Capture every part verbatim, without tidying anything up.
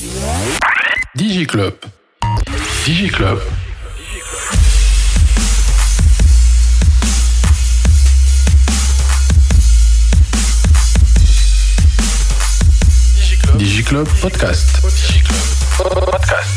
DigiClub. DigiClub. DigiClub Podcast. DigiClub Podcast.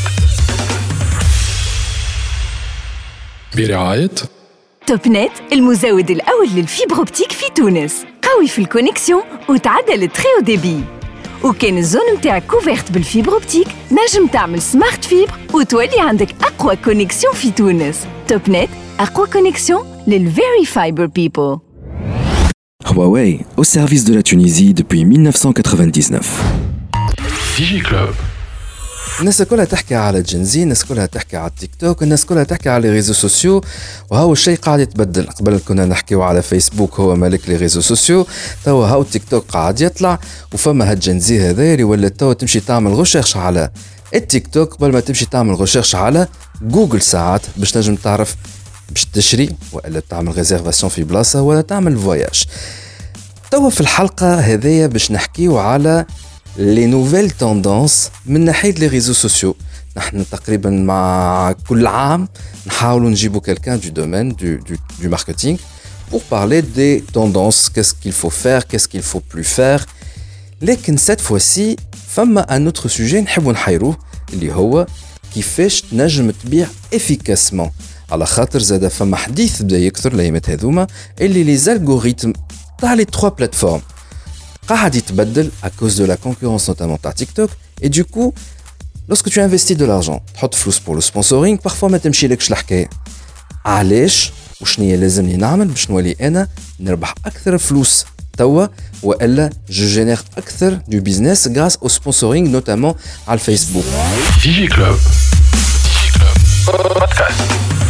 برعاية توب نت، المزود الأول للفيبر أوبتيك في تونس. قوي في الكونيكسيون وتعدل التري أو ديبي. وكان الزون متاعك كوفيرت بالفيبر أوبتيك، نجم تعمل سمارت فيبر وتولي عندك أقوى كونيكسيون في تونس. توب نت، أقوى كونيكسيون للفيري فايبر بيبل. Huawei, au service de la Tunisie depuis mille neuf cent quatre-vingt-dix-neuf. DigiClub. الناس كلها تحكي على جنزي، الناس كلها تحكي على التيك توك، الناس كلها تحكي على ريزو سوسيو، وهو الشيء قاعد يتبدل. قبل كنا نحكيو على فيسبوك هو ملك لي ريزو سوسيو، توا هاو التيك توك قاعد يطلع، وفما هاد جنزي هذا اللي ولات توا تمشي تعمل غوشيرش على التيك توك قبل ما تمشي تعمل غوشيرش على جوجل ساعات باش نجم تعرف باش تشري ولا تعمل ريزيرفاسيون في بلاصه ولا تعمل فواياج. توا في الحلقه هذيا باش نحكيو على les nouvelles tendances من ناحية les réseaux sociaux. نحن تقريبا مع كل عام نحاولوا نجيبوا quelqu'un du domaine du, du, du marketing pour parler des tendances, qu'est-ce qu'il faut faire, qu'est-ce qu'il faut plus faire. لكن cette fois-ci فما un autre sujet نحبوا نحيروه اللي هو كيفاش تنجم تبيع efficacement. على خاطر زاد فما حديث بدا يكثر الايامات هذوما اللي les algorithmes تاع les trois plateformes قاعد يتبدل à cause de la concurrence notamment par TikTok. Et du coup, lorsque tu investis de l'argent, تحط فلوس pour le sponsoring, parfois ما تمشيلكش الحكاية. علاش وشنو هي لازمني نعمل باش نولي أنا نربح أكثر فلوس توا وإلا je génère أكثر du business grâce au sponsoring notamment على الفيسبوك. DigiClub. DigiClub Podcast.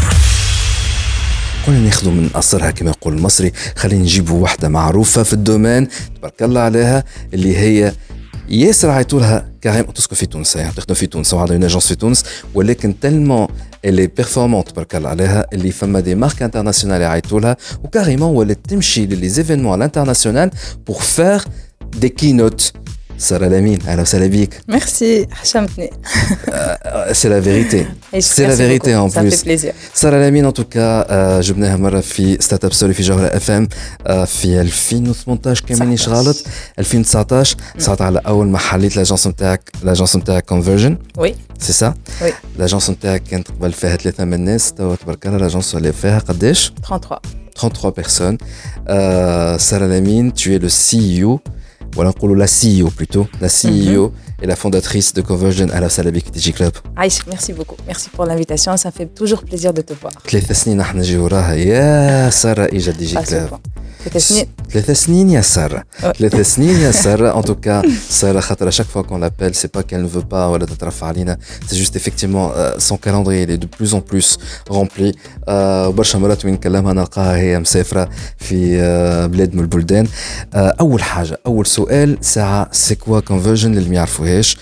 قلنا ناخذوا من أصرها كما يقول المصري، خلينا نجيبوا واحدة معروفة في الدومين تبارك الله عليها اللي هي ياسر عيطولها كريم تسكن في تونس، يعني تخدم في تونس وعندها اون اجونس في تونس، ولكن تلمون اللي بيرفورمانت تبارك الله عليها اللي فما دي مارك انترناسيونال عيطولها وكاريمون ولات تمشي للي زيفينمون الانترناسيونال بور فير دي كينوت. سارة لامين، أهلا وسهلا بيك. Merci, حشمتني. C'est la vérité. C'est la vérité en plus. Ça fait plaisir. سارة لامين en tout cas جبناها مرة في ستارت اب ستوري في جوهرة اف ام في ألفين وثمانية عشر كان مانيش غلط، ألفين وتسعة عشر صارت على أول ما حليت لاجونس نتاعك، لاجونس نتاعك كونفرجن. وي. سي سا؟ وي. لاجونس نتاعك كانت قبل فيها ثلاثة من الناس، توا تبارك الله لاجونس اللي فيها قداش؟ ثلاثة وثلاثين. trente-trois personnes. Sarah Lamine, tu es le C E O. Voilà, on parle la C E O plutôt, la C E O mm-hmm. et la fondatrice de Conversion à la Salabik DigiClub. Aïch, merci beaucoup. Merci pour l'invitation, ça fait toujours plaisir de te voir. ثلاث سنين نحن نجي وراها يا سارة إجا DigiClub. ثلاث سنين. ثلاث سنين يا سارة. ثلاث سنين يا سارة. En tout cas, Sarah خاطر à chaque fois qu'on l'appelle, c'est pas qu'elle ne veut pas ولا تترفع علينا, c'est juste effectivement euh, son calendrier il est de plus en plus rempli. وبرشا مرات وين نكلمها نلقاها هي مسافرة في uh, بلاد من البلدان. uh, أول حاجة أول سؤال ساعة c'est quoi conversion اللي ما يعرفوهاش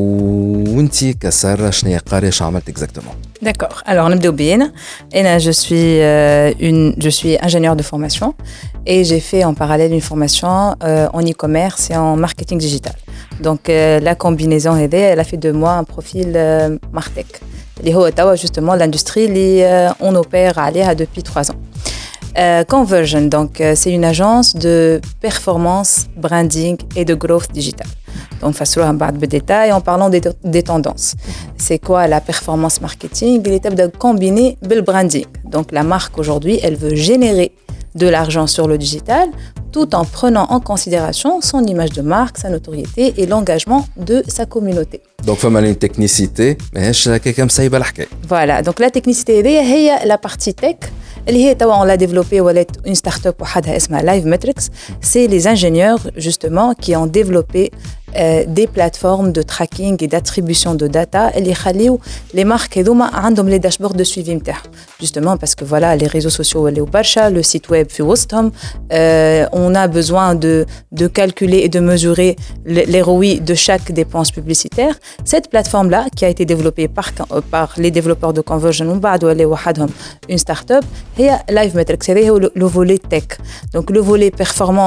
وانتي كسارة شنو هي قارية شو عملت exactement. D'accord. Alors, نبداو بينا. أنا je suis euh, une je suis ingénieure de formation et j'ai fait en parallèle une formation euh, en e-commerce et en marketing digital. Donc euh, la combinaison elle a fait de moi un profil euh, Martech. اللي هو توا justement l'industrie اللي euh, on opère عليها depuis trois ans. Euh, Conversion, donc euh, c'est une agence de performance, branding et de growth digital. Donc, faisons un peu de détails en parlant des, des tendances. C'est quoi la performance marketing? Il est de combiner le branding. Donc, la marque aujourd'hui, elle veut générer de l'argent sur le digital tout en prenant en considération son image de marque, sa notoriété et l'engagement de sa communauté. Donc, il faut une technicité, mais quelqu'un me sait pas la. Voilà, donc la technicité, c'est la partie tech. اللي هي توا on l'a développé ولات une start-up وحدها اسمها LiveMetrics. C'est les ingénieurs justement qui ont développé euh, des plateformes de tracking et d'attribution de data اللي يخليو les marques هذوما عندهم les dashboards de suivi نتاعهم. Justement parce que voilà les réseaux sociaux ولاو برشا, le site web في وسطهم, euh, on a besoin de de calculer et de mesurer les R O I de chaque dépense publicitaire. Cette plateforme là qui a été développée par par les développeurs de Conversion ومن بعد ولاو وحدهم une start-up هي LiveMetrics. هذا هو le volet tech. Donc le volet performance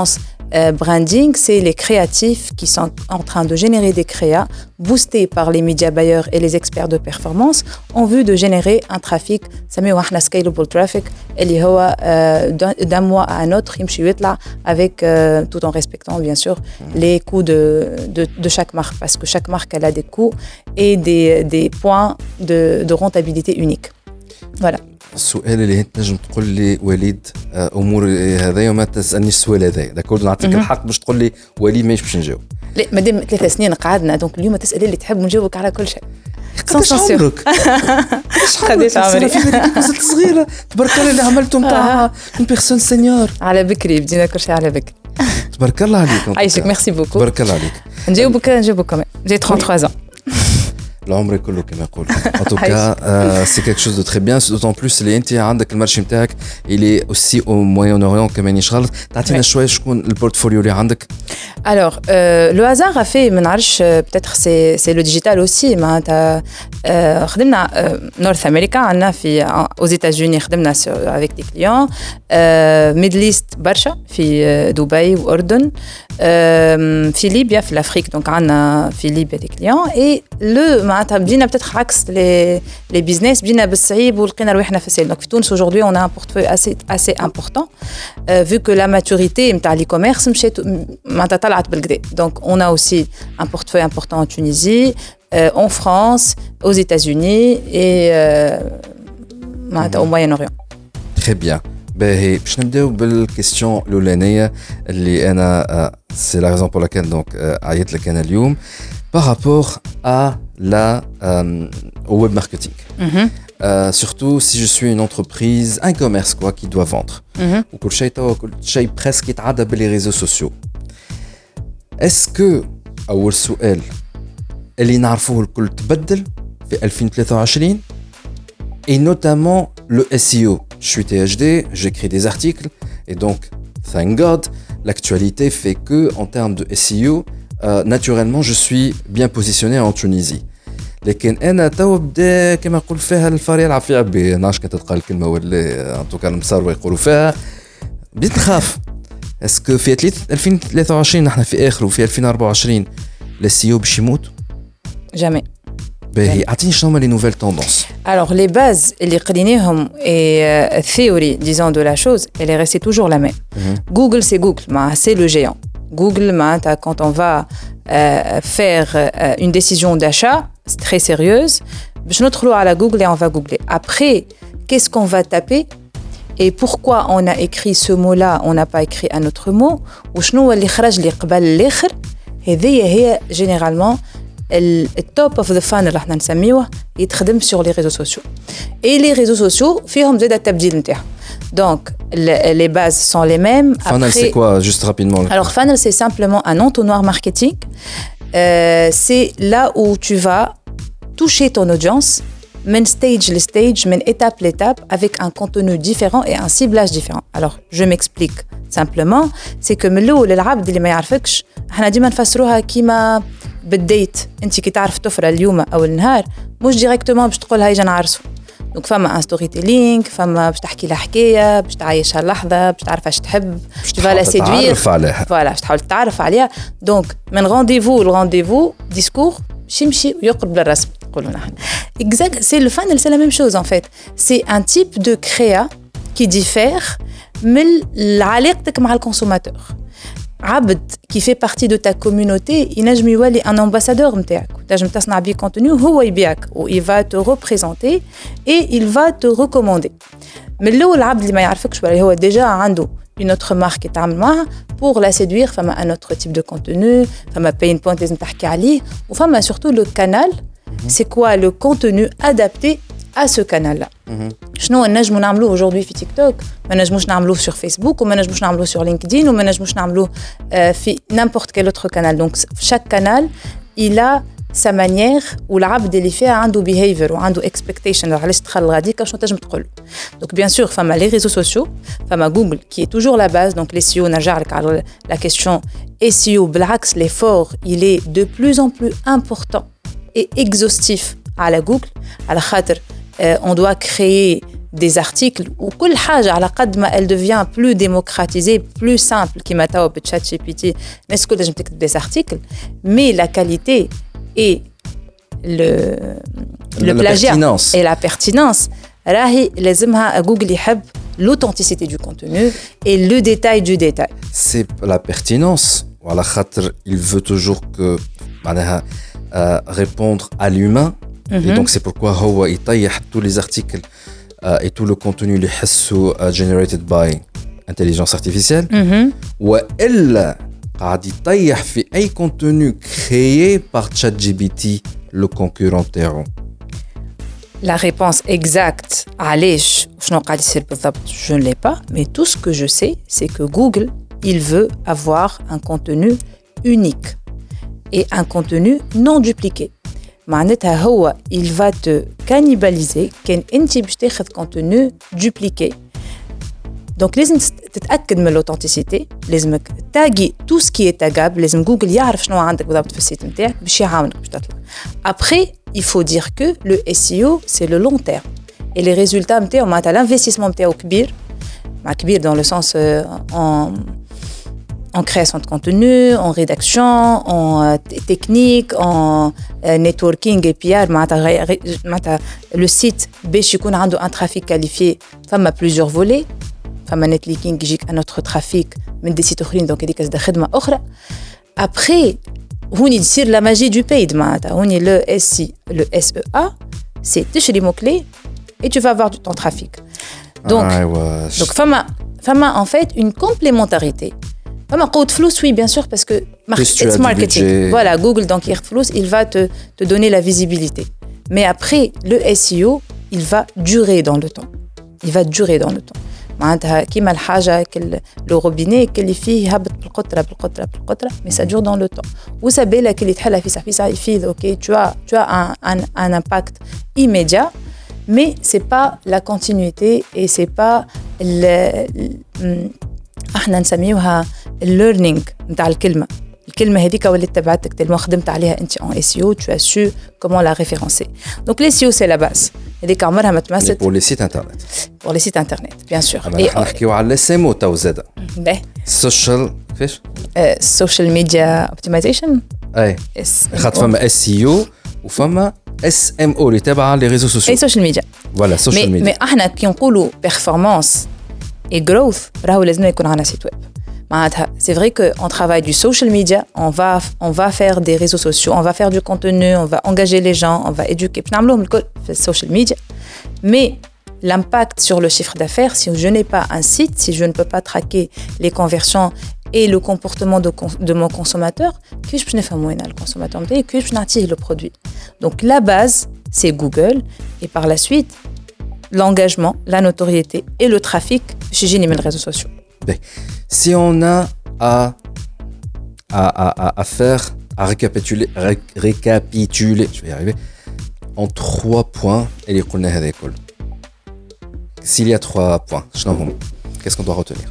Euh, branding, c'est les créatifs qui sont en train de générer des créas boostés par les médias bailleurs et les experts de performance en vue de générer un trafic, ça met un scalable traffic, اللي هو euh, d'un, d'un mois à un autre يمشي ويطلع avec euh, tout en respectant bien sûr les coûts de, de, de chaque marque parce que chaque marque elle a des coûts et des, des points de, de rentabilité uniques. Voilà. السؤال اللي انت نجم تقول لي وليد امور هذايا وما تسالنيش السؤال هذايا داكور نعطيك الحق باش تقول لي وليد ماهيش باش نجاوب لا مادام ثلاث سنين قعدنا دونك اليوم تسالي اللي تحب نجاوبك على كل شيء قداش عمرك قداش عمرك مازلت صغيره تبارك الله اللي عملتم تاع اون بيرسون سينيور على بكري بدينا كل شيء على بكري تبارك الله عليك عايشك ميرسي بوكو تبارك الله عليك نجاوبك نجاوبك كمان جي ثلاثة وثلاثين ans العمر كله كما يقول en tout cas euh, c'est quelque chose de très bien d'autant plus اللي انت عندك المارشي نتاعك اللي aussi au Moyen-Orient كمان يشغل تعطينا شويه شكون البورتفوليو اللي عندك. Alors euh, le hasard a fait ما نعرفش peut-être c'est c'est le digital aussi معناتها euh, خدمنا نورث امريكا عندنا في aux États-Unis خدمنا avec des clients euh, Middle East برشا في دبي واردن euh, في ليبيا في الافريق donc عندنا في ليبيا des clients et le معناتها بدينا peut-être عكس les les business بدينا بالصعيب ولقينا روحنا في السيل. Donc في تونس aujourd'hui on a un portefeuille assez assez important euh, vu que la maturité نتاع l'e-commerce مشات معناتها طلعت بالكدا. Donc on a aussi un portefeuille important en Tunisie, euh, en France, aux États-Unis et euh, معناتها au Moyen-Orient. Très bien. باهي باش نبداو بالكيستيون الاولانيه اللي انا سي لا ريزون بور لاكيل دونك عيطت لك انا اليوم par rapport à la euh, au web marketing. Mm-hmm. Euh, surtout si je suis une entreprise, un commerce quoi qui doit vendre. Ou كل شيء تو كل شيء presque يتعدى باللي réseaux sociaux. Est-ce que أول سؤال اللي نعرفوه الكل تبدل في ألفين وثلاثة وعشرين et notamment le S E O. Je suis T H D, j'écris des articles et donc thank God, l'actualité fait que en termes de S E O Euh, naturellement je suis bien positionné en Tunisie لكن انا تو بدا كما نقول فيها الفار يلعب في عبي ناش كانت تلقى الكلمه ولا ان توكا المسار يقولوا فيها بديت نخاف اسكو في ألفين وثلاثة وعشرين نحن في اخر وفي ألفين وأربعة وعشرين السيو باش يموت جامي باهي اعطيني شنو هما لي نوفيل توندونس. Alors les bases اللي قريناهم et euh, théorie disons de la chose elle est restée toujours la même. Mm-hmm. Google c'est Google ما c'est le géant. Google, quand on va euh, faire euh, une décision d'achat très sérieuse, je nous à la Google et on va googler. Après, qu'est-ce qu'on va taper et pourquoi on a écrit ce mot-là, on n'a pas écrit un autre mot, ou شنو اللي خرج اللي قبل الآخر. هذه هي généralement le top of the funnel اللي احنا نسميوه يتخدم sur les réseaux sociaux. Et les réseaux sociaux فيهم زاد التبديل نتاعهم. Donc, les, les bases sont les mêmes. Funnel, Après, c'est quoi, juste rapidement? Alors, funnel, c'est simplement un entonnoir marketing. Euh, c'est là où tu vas toucher ton audience, men stage le stage, men étape l'étape, avec un contenu différent et un ciblage différent. Alors, je m'explique simplement. C'est que من الأول العبد اللي ما يعرفكش، احنا ديما نفسروها كيما بالديت. أنت كي تعرف طفرة اليوم أو النهار، مش ديريكتومون باش تقول هاي جا نعرسو. دونك فما ان ستوري تيلينغ فما باش تحكي لها حكايه باش تعيشها اللحظه باش تعرف ايش تحب باش تفالا سيدوير فوالا باش تحاول تعرف عليها. دونك من رونديفو لرونديفو ديسكور باش يمشي ويقرب للرسم نقولوا نحن اكزاكت. سي لو فانل سي لا ميم شوز ان فيت سي ان تيب دو كريا كي ديفير من علاقتك مع الكونسوماتور. عبد qui fait partie de ta communauté ينجم يولي un ambassadeur نتاعك تنجم تصنع بيه contenu هو يبيعك و il va te représenter et il va te recommander. من الأول العبد اللي ما يعرفكش ولا هو déjà عنده une autre marque يتعامل معها pour la séduire فما un autre type de contenu فما pain point لازم تحكي عليه وفما surtout le canal. C'est quoi le contenu adapté à ce canal-là. شنو نجمو نعملوه aujourd'hui في تيك توك ما نجموش نعملوه sur Facebook وما نجموش نعملوه sur LinkedIn وما نجموش نعملوه في n'importe quel autre canal. Donc chaque canal il a sa manière والعبد اللي فيها عنده behavior وعنده expectation. علاش تدخل غاديك شنو تنجم تقول. Donc bien sûr فما les réseaux sociaux فما Google qui est toujours la base. Donc les S E O نرجع لك على la question S E O بالعكس l'effort il est de plus en plus important et exhaustif على Google على خاطر Euh, on doit créer des articles ou كل حاجة على قد ما elle devient plus démocratisée, plus simple كيما توا بتشات جي بي تي الناس كلها تنجم تكتب des articles, mais la qualité et le le plagiat et la pertinence راهي لازمها جوجل يحب l'authenticité du contenu et le détail du détail. C'est la pertinence. Voilà, il veut toujours que euh, répondre à l'humain. Mm-hmm. Et donc c'est pourquoi هو يطيح tous les articles euh, et tout le contenu اللي يحسوا uh, generated by intelligence artificielle. Mm-hmm. وإلا قاعد يطيح في أي contenu créé par ChatGPT, le concurrent تاعو. La réponse exacte علاش شنو قاعد يصير بالضبط je ne l'ai pas, mais tout ce que je sais c'est que Google il veut avoir un contenu unique et un contenu non dupliqué. معناتها هو il va te cannibaliser كان انت باش تاخذ contenu dupliqué. Donc لازم تتاكد من l'authenticité, لازمك تاغي tout ce qui est tagable, لازم جوجل يعرف شنو عندك بالضبط في السيت نتاعك باش يعاونك باش تطلع. Après il faut dire que le S E O c'est le long terme et les résultats نتاعو معناتها l'investissement نتاعو كبير, مع كبير dans le sens euh, en en création de contenu, en rédaction, en euh, technique, en euh, networking et P R. Le site باش يكون عنده un trafic qualifié, فما plusieurs volets. فما netlinking يجيك un autre trafic من des sites اخرين, donc هذيك قصدها خدمه اخرى. Après هوني تصير la magie du paid معناتها هوني le S I, le S E A, c'est تشري mots clés et tu vas avoir ton trafic. Donc ah, donc فما فما en fait une complémentarité. Fama قوة فلوس, oui bien sûr, parce que it's marketing. Voilà, Google donc il va te te donner la visibilité. Mais après le S E O, il va durer dans le temps. Il va durer dans le temps. معناتها كيما الحاجة كل لو روبيني اللي فيه هبط بالقطرة بالقطرة بالقطرة, mais ça dure dans le temps. وسابيلك اللي تحلها في صحفي صحفي يفيد, ok, tu as tu as un un un impact immédiat, mais c'est pas la continuité et c'est pas le احنا نسميوها الليرنينغ نتاع الكلمه. الكلمه هذيك ولات تبعتك تلمو خدمت عليها انت en S E O, tu as su comment la référencer. Donc les S E O c'est la base. هذيك عمرها ما تمست pour les sites internet. pour les sites internet bien sûr. et نحكيو على S M O تو زاد. باهي social كيفاش؟ social media optimization. اي خاطر فما S E O وفما S M O اللي تابعه لي ريزو سوسيو. اي social media. voilà social media. mais احنا كي نقولوا performance et growth, راهو لازم يكون عندنا سيت ويب. معناتها c'est vrai que on travaille du social media, on va on va faire des réseaux sociaux, on va faire du contenu, on va engager les gens, on va éduquer. باش نعملوهم الكل في social media. Mais l'impact sur le chiffre d'affaires, si je n'ai pas un site, si je ne peux pas traquer les conversions et le comportement de de mon consommateur, كيفاش باش نفهم وين الكونسوماتور نتاعي, كيفاش باش نعطيه le produit. Donc la base c'est Google et par la suite l'engagement, la notoriété et le trafic chez Génie les réseaux sociaux. Si on a à, à, à, à faire, à récapituler, ré, récapituler, je vais y arriver, en trois points, s'il y a trois points, qu'est-ce qu'on doit retenir?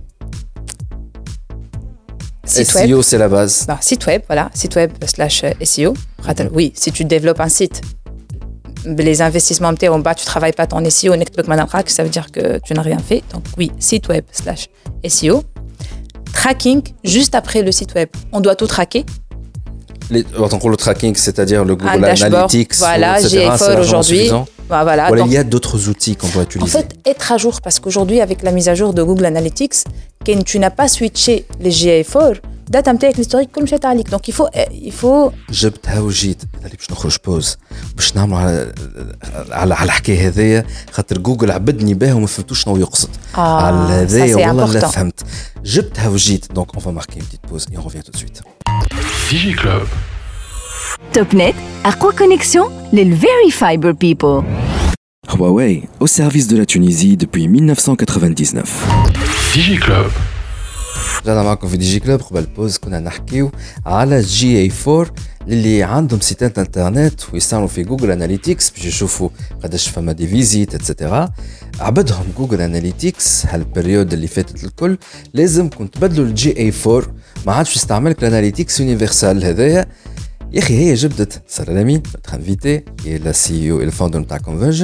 Site S E O, web. c'est la base. Bah, site web, voilà, site web slash S E O. Mm-hmm. Oui, si tu développes un site, les investissements en bas, tu ne travailles pas ton S E O, ça veut dire que tu n'as rien fait. Donc oui, site web slash S E O. Tracking, juste après le site web, on doit tout traquer. Les, le tracking, c'est-à-dire le Google Analytics, voilà, et cetera, G A F O aujourd'hui. Bah, voilà, voilà, donc, il y a d'autres outils qu'on doit utiliser. En fait, être à jour, parce qu'aujourd'hui, avec la mise à jour de Google Analytics, quand tu n'as pas switché les G A F O, date نتاعك l'historique كل مشات عليك. Donc il faut il faut جبتها وجيت اللي باش نخرج بوز باش نعمل على على على الحكايه هذيا خاطر جوجل عبدني بها وما فهمتوش شنو يقصد. آه على هذايا والله لا important. فهمت. جبتها وجيت. Donc on va marquer une petite pause et on revient tout de suite. DigiClub. TopNet, أقوى connexion لل very fiber people. Huawei, au service de la Tunisie depuis mille neuf cent quatre-vingt-dix-neuf. DigiClub. رجعنا معكم في دي جي كلوب. قبل البوز كنا نحكيو على جي اي أربعة اللي عندهم سيتات انترنت ويستعملوا في جوجل اناليتيكس باش يشوفوا قداش فما دي فيزيت اتسيتيرا. عبدهم جوجل اناليتيكس هالبريود اللي فاتت الكل لازم كنت تبدلوا الجي اي أربعة ما عادش يستعملك الاناليتيكس يونيفرسال هذايا. يا اخي هي جبدت سلامين تخنفيتي هي لا سي او الفاوندر نتاع كونفرجن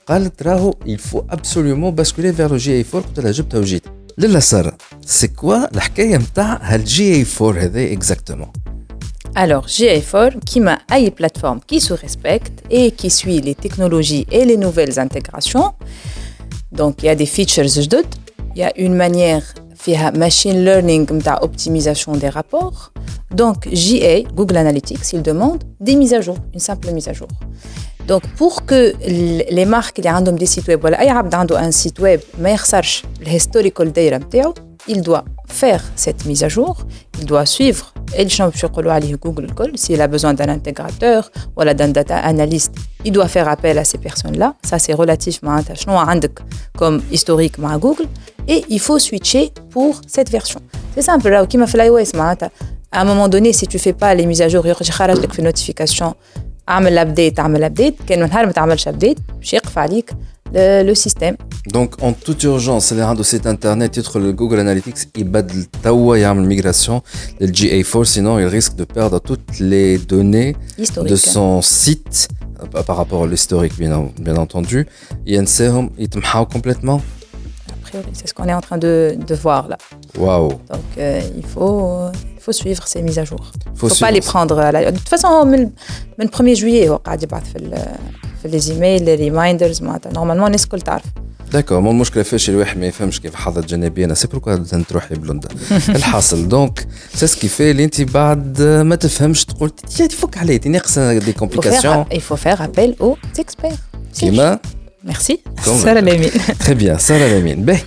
قالت راهو il faut absolument basculer vers le جي إيه فور. قلت لها جبتها وجيت. لالا سارة سي كوا الحكاية متاع هالجي إيه فور هذا exactement؟ Alors, جي إيه فور, qui m'a une plateforme qui se respecte et qui suit les technologies et les nouvelles intégrations. Donc, il y a des features جدد. Il y a une manière فيها machine learning متاع optimisation des rapports. Donc, J A, Google Analytics, il demande des mises à jour, une simple mise à jour. Donc, pour que les marques qui ont des sites web, ou أي عبد عنده un site web, ما يخسرش الهيستوريكال دايرة متاعو, il doit faire cette mise à jour, il doit suivre et شنو باش يقولوا عليه Google Call, s'il a besoin d'un intégrateur ou d'un data analyst, il doit faire appel à ces personnes-là. Ça, c'est relatif معناتها شنو عندك comme historique مع Google, et il faut switcher pour cette version. C'est simple, là, كيما في iOS معناتها à un moment donné, si tu fais pas les mises à jour, يخرج خارج لك في notification اعمل l'update, اعمل l'update, كان من نهار ما تعملش update باش يقف عليك le, le système. Donc en toute urgence, les gens de site internet يدخل le Google Analytics يبدل توا يعمل migration لل جي إيه فور, sinon il risque de perdre toutes les données historique de son site par rapport à l'historique bien, bien entendu. ينساهم يتمحاو complètement. C'est ce qu'on est en train de, de voir là. Waouh. Donc euh, il faut il faut suivre ces mises à jour. Il faut, faut pas les prendre à la... De toute façon من le premier juillet هو قاعد يبعث في في les emails, les reminders معناتها normalement الناس الكل تعرف. داكور. مو المشكله فاش الواحد ما يفهمش كيف حظت جانبيه. انا سي بروكو تروحي بلوندا الحاصل. دونك سي سكي في اللي انت بعد ما تفهمش تقول تي تفك عليه ناقصه دي كومبليكاسيون. Il faut faire appel aux experts. كيما Merci. Sarah Lamine. Très bien, Sarah Lamine. Ben,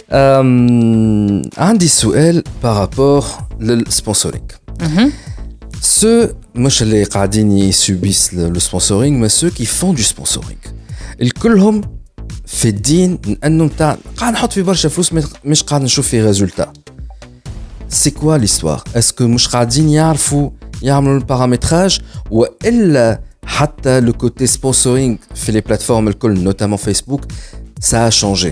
euh, un des sujets par rapport au sponsoring. Mm-hmm. Ceux, moi je les قاعدين subissent le, le sponsoring, mais ceux qui font du sponsoring. ils كلهم فادين انه نتاع قاعد نحط في برشا فلوس مش قاعد نشوف في résultat. C'est quoi l'histoire? Est-ce que مش قاعدين يعرفوا يعملوا البارامتراج وإلا حتى le côté sponsoring في les plateformes الكل notamment Facebook ça a changé?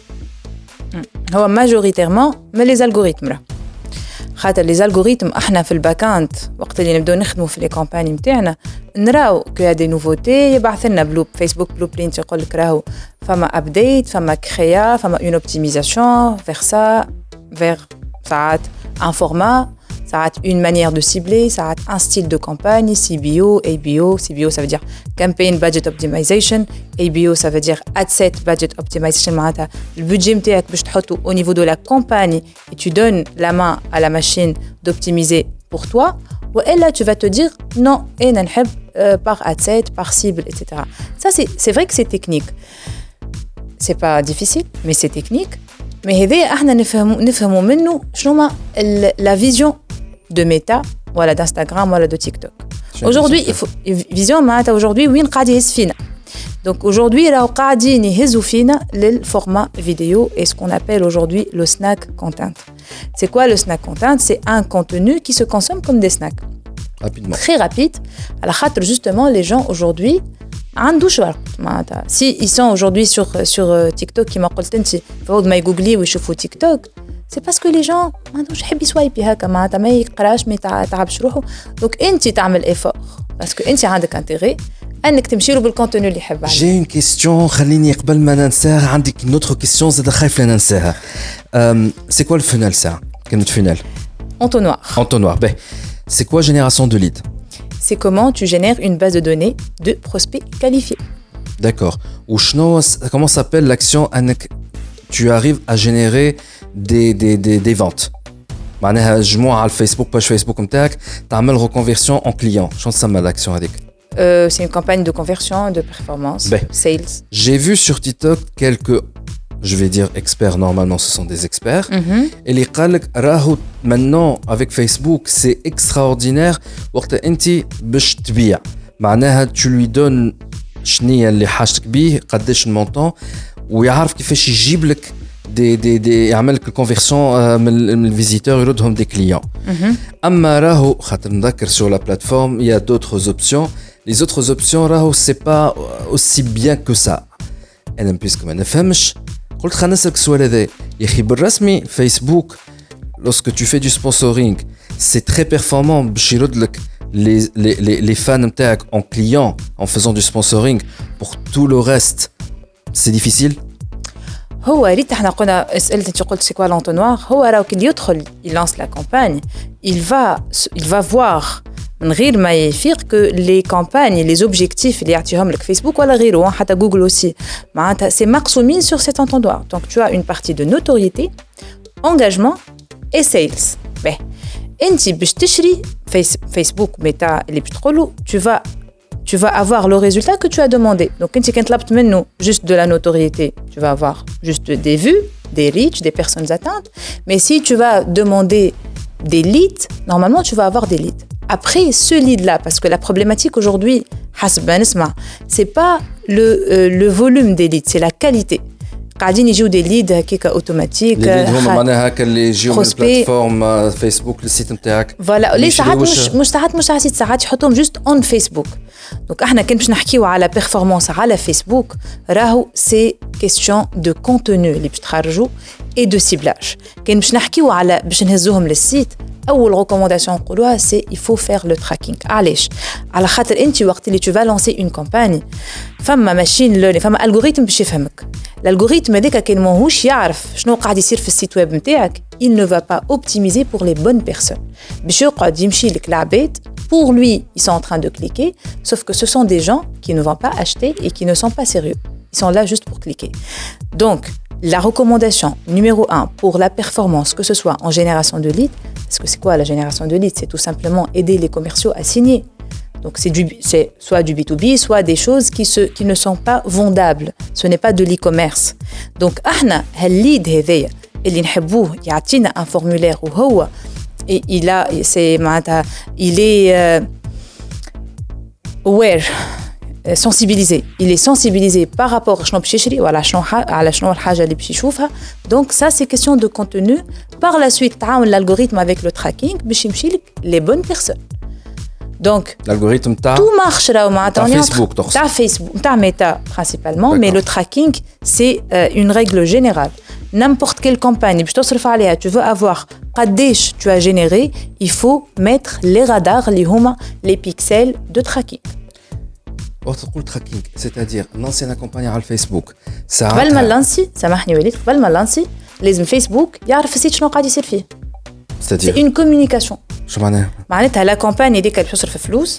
هو majoritairement mais les algorithmes là. خاطر les algorithmes احنا في الباكاند وقت اللي نبداو نخدموا في لي كامباني نتاعنا نراو كو دي نوفوتي يبعث لنا بلوب فيسبوك بلو برينت يقول لك راهو فما ابديت فما كريا فما اون اوبتيميزاسيون فيغ سا فيغ ساعات ان فورما ساعات une manière de cibler, ساعات un style de campagne, C B O, A B O. C B O ça veut dire campaign budget optimization, A B O ça veut dire ad set budget optimization. معناتها البودجي نتاعك باش تحطه au niveau de la campagne et tu donnes la main à la machine d'optimiser pour toi. وإلا tu vas te dire non أنا نحب par ad set, par cible, et cetera. Ça c'est c'est vrai que c'est technique. C'est pas difficile, mais c'est technique. Mais هذا احنا نفهموا نفهموا منه شنو la vision de Meta, voilà d'Instagram, voilà de TikTok. Aujourd'hui, il faut vision معناتها aujourd'hui وين قاعد يهز فينا. Donc aujourd'hui راهو قاعدين يهزوا فينا للformat vidéo et ce qu'on appelle aujourd'hui le snack content. C'est quoi le snack content? C'est un contenu qui se consomme comme des snacks. Rapidement. Très rapide. À la خاطر justement les gens aujourd'hui عندوش وقت معناتها. Si ils sont aujourd'hui sur sur TikTok كيما قلت انت فوق ما يجوجلي ويشوفوا تيك توك. C'est parce que les gens ما عندهمش يحب يسوايبي هكا معناتها ما يقراش ما يتعبش روحه. دونك انت تعمل ايفور باسكو انت عندك انتيغي انك تمشي له بالكونتوني اللي يحب عليه. جي اون كيستيون خليني قبل ما ننساها عندك نوتر كيستيون زاد خايف لا ننساها. سي كوا الفونال ساعه كلمه فونال entonnoir entonnoir باهي. C'est quoi génération de lead? C'est comment tu génères une base de données de prospects qualifiés. D'accord. Ou comment s'appelle l'action tu arrives à générer des, des, des, des ventes. معناها جموع على الفيسبوك باج فيسبوك نتاعك تعمل reconversion en client. شنو تسمى l'action هذيك؟ Euh, c'est une campagne de conversion, de performance, ben, sales. J'ai vu sur TikTok quelques, je vais dire experts, normalement ce sont des experts, mm-hmm. et les قالك راهو maintenant avec Facebook c'est extraordinaire وقت انت باش تبيع معناها tu lui donnes شنية اللي حاجتك بيه قداش المونطون ويعرف كيفاش يجيب لك دي دي دي يعمل لك الكونفيرسيون من الفيزيتور يردهم دي كليون. اما راهو خاطر نذكر sur la plateforme il y a d'autres options. Les autres options راهو c'est pas aussi bien que ça. انا بيسكو ما نفهمش قلت خلينا نسالك السؤال هذا يا اخي بالرسمي فيسبوك lorsque tu fais du sponsoring c'est très performant باش يرد لك les les les les fans نتاعك en client en faisant du sponsoring pour tout le reste c'est difficile. هو ريت احنا قلنا اسئله انت قلت سي كوا لونتونوار هو راهو كي يدخل يلانس لا كامباني il va il va voir من غير ما يفيق que les campagnes les objectifs اللي يعطيهم لك فيسبوك ولا غيره حتى جوجل اوسي معناتها سي مقسومين sur cet entonnoir donc tu as une partie de notoriété engagement et sales ben انت باش تشري فيس فيسبوك ميتا اللي باش تقولوا tu vas tu vas avoir le résultat que tu as demandé. Donc, quand tu as juste de la notoriété, tu vas avoir juste des vues, des reach, des personnes atteintes. Mais si tu vas demander des leads, normalement, tu vas avoir des leads. Après, ce lead-là, parce que la problématique aujourd'hui, c'est pas le, euh, le volume des leads, c'est la qualité. قاعدين يجيو دي ليد هكاك اوتوماتيك لي ليد هما معناها هكا اللي يجيو من البلاتفورم فيسبوك للسيت نتاعك فوالا لي ساعات مش مش ساعات مش ساعات ساعات يحطوهم جوست اون فيسبوك دونك احنا كان باش نحكيو على بيرفورمانس على فيسبوك راهو سي كيستيون دو كونتوني اللي باش تخرجوا اي دو سيبلاج كان باش نحكيو على باش نهزوهم للسيت اول ريكومونداسيون نقولوها سي il faut faire le tracking علاش على خاطر انت وقت اللي tu vas lancer une campagne فما ماشين ليرنينغ فما الجوريثم باش يفهمك الالغوريثم هذاك كان ماهوش يعرف شنو قاعد يصير في السيت ويب نتاعك il ne va pas optimiser pour les bonnes personnes باش يقعد يمشي لك العباد pour lui ils sont en train de cliquer sauf que ce sont des gens qui ne vont pas acheter et qui ne sont pas sérieux ils sont là juste pour cliquer donc la recommandation numéro un pour la performance que ce soit en génération de leads parce que c'est quoi la génération de leads c'est tout simplement aider les commerciaux à signer. Donc c'est, du, c'est soit du B to B, soit des choses qui, se, qui ne sont pas vendables. Ce n'est pas de l'e-commerce. Donc احنا هالليد هذايا اللي نحبوه يعطينا un formulaire وهو et il a c'est معناتها il est euh, aware sensibilisé. Il est sensibilisé par rapport à شنو باش يشري ولا شنو على شنو الحاجه اللي باش يشوفها. Donc ça c'est question de contenu. Par la suite تعاون l'algorithme avec le tracking باش يمشي لك les bonnes personnes. Donc, l'algorithme ta tout marche là au matin. Facebook, ta Facebook, ta Meta principalement, mais le tracking c'est euh, une règle générale. N'importe quelle campagne, tu veux avoir قديش tu as généré, il faut mettre les radars, les huma, les pixels de tracking. وقت تقول tracking, c'est-à-dire lancer la campagne على الفيسبوك. قبل ما نلانسي سامحني وليد قبل ما نلانسي لازم فيسبوك يعرف السيت شنو قاعد يصير فيه. C'est-à-dire c'est une communication. شو معناها؟ معناتها لا كامباني هذيك اللي باش تصرف فلوس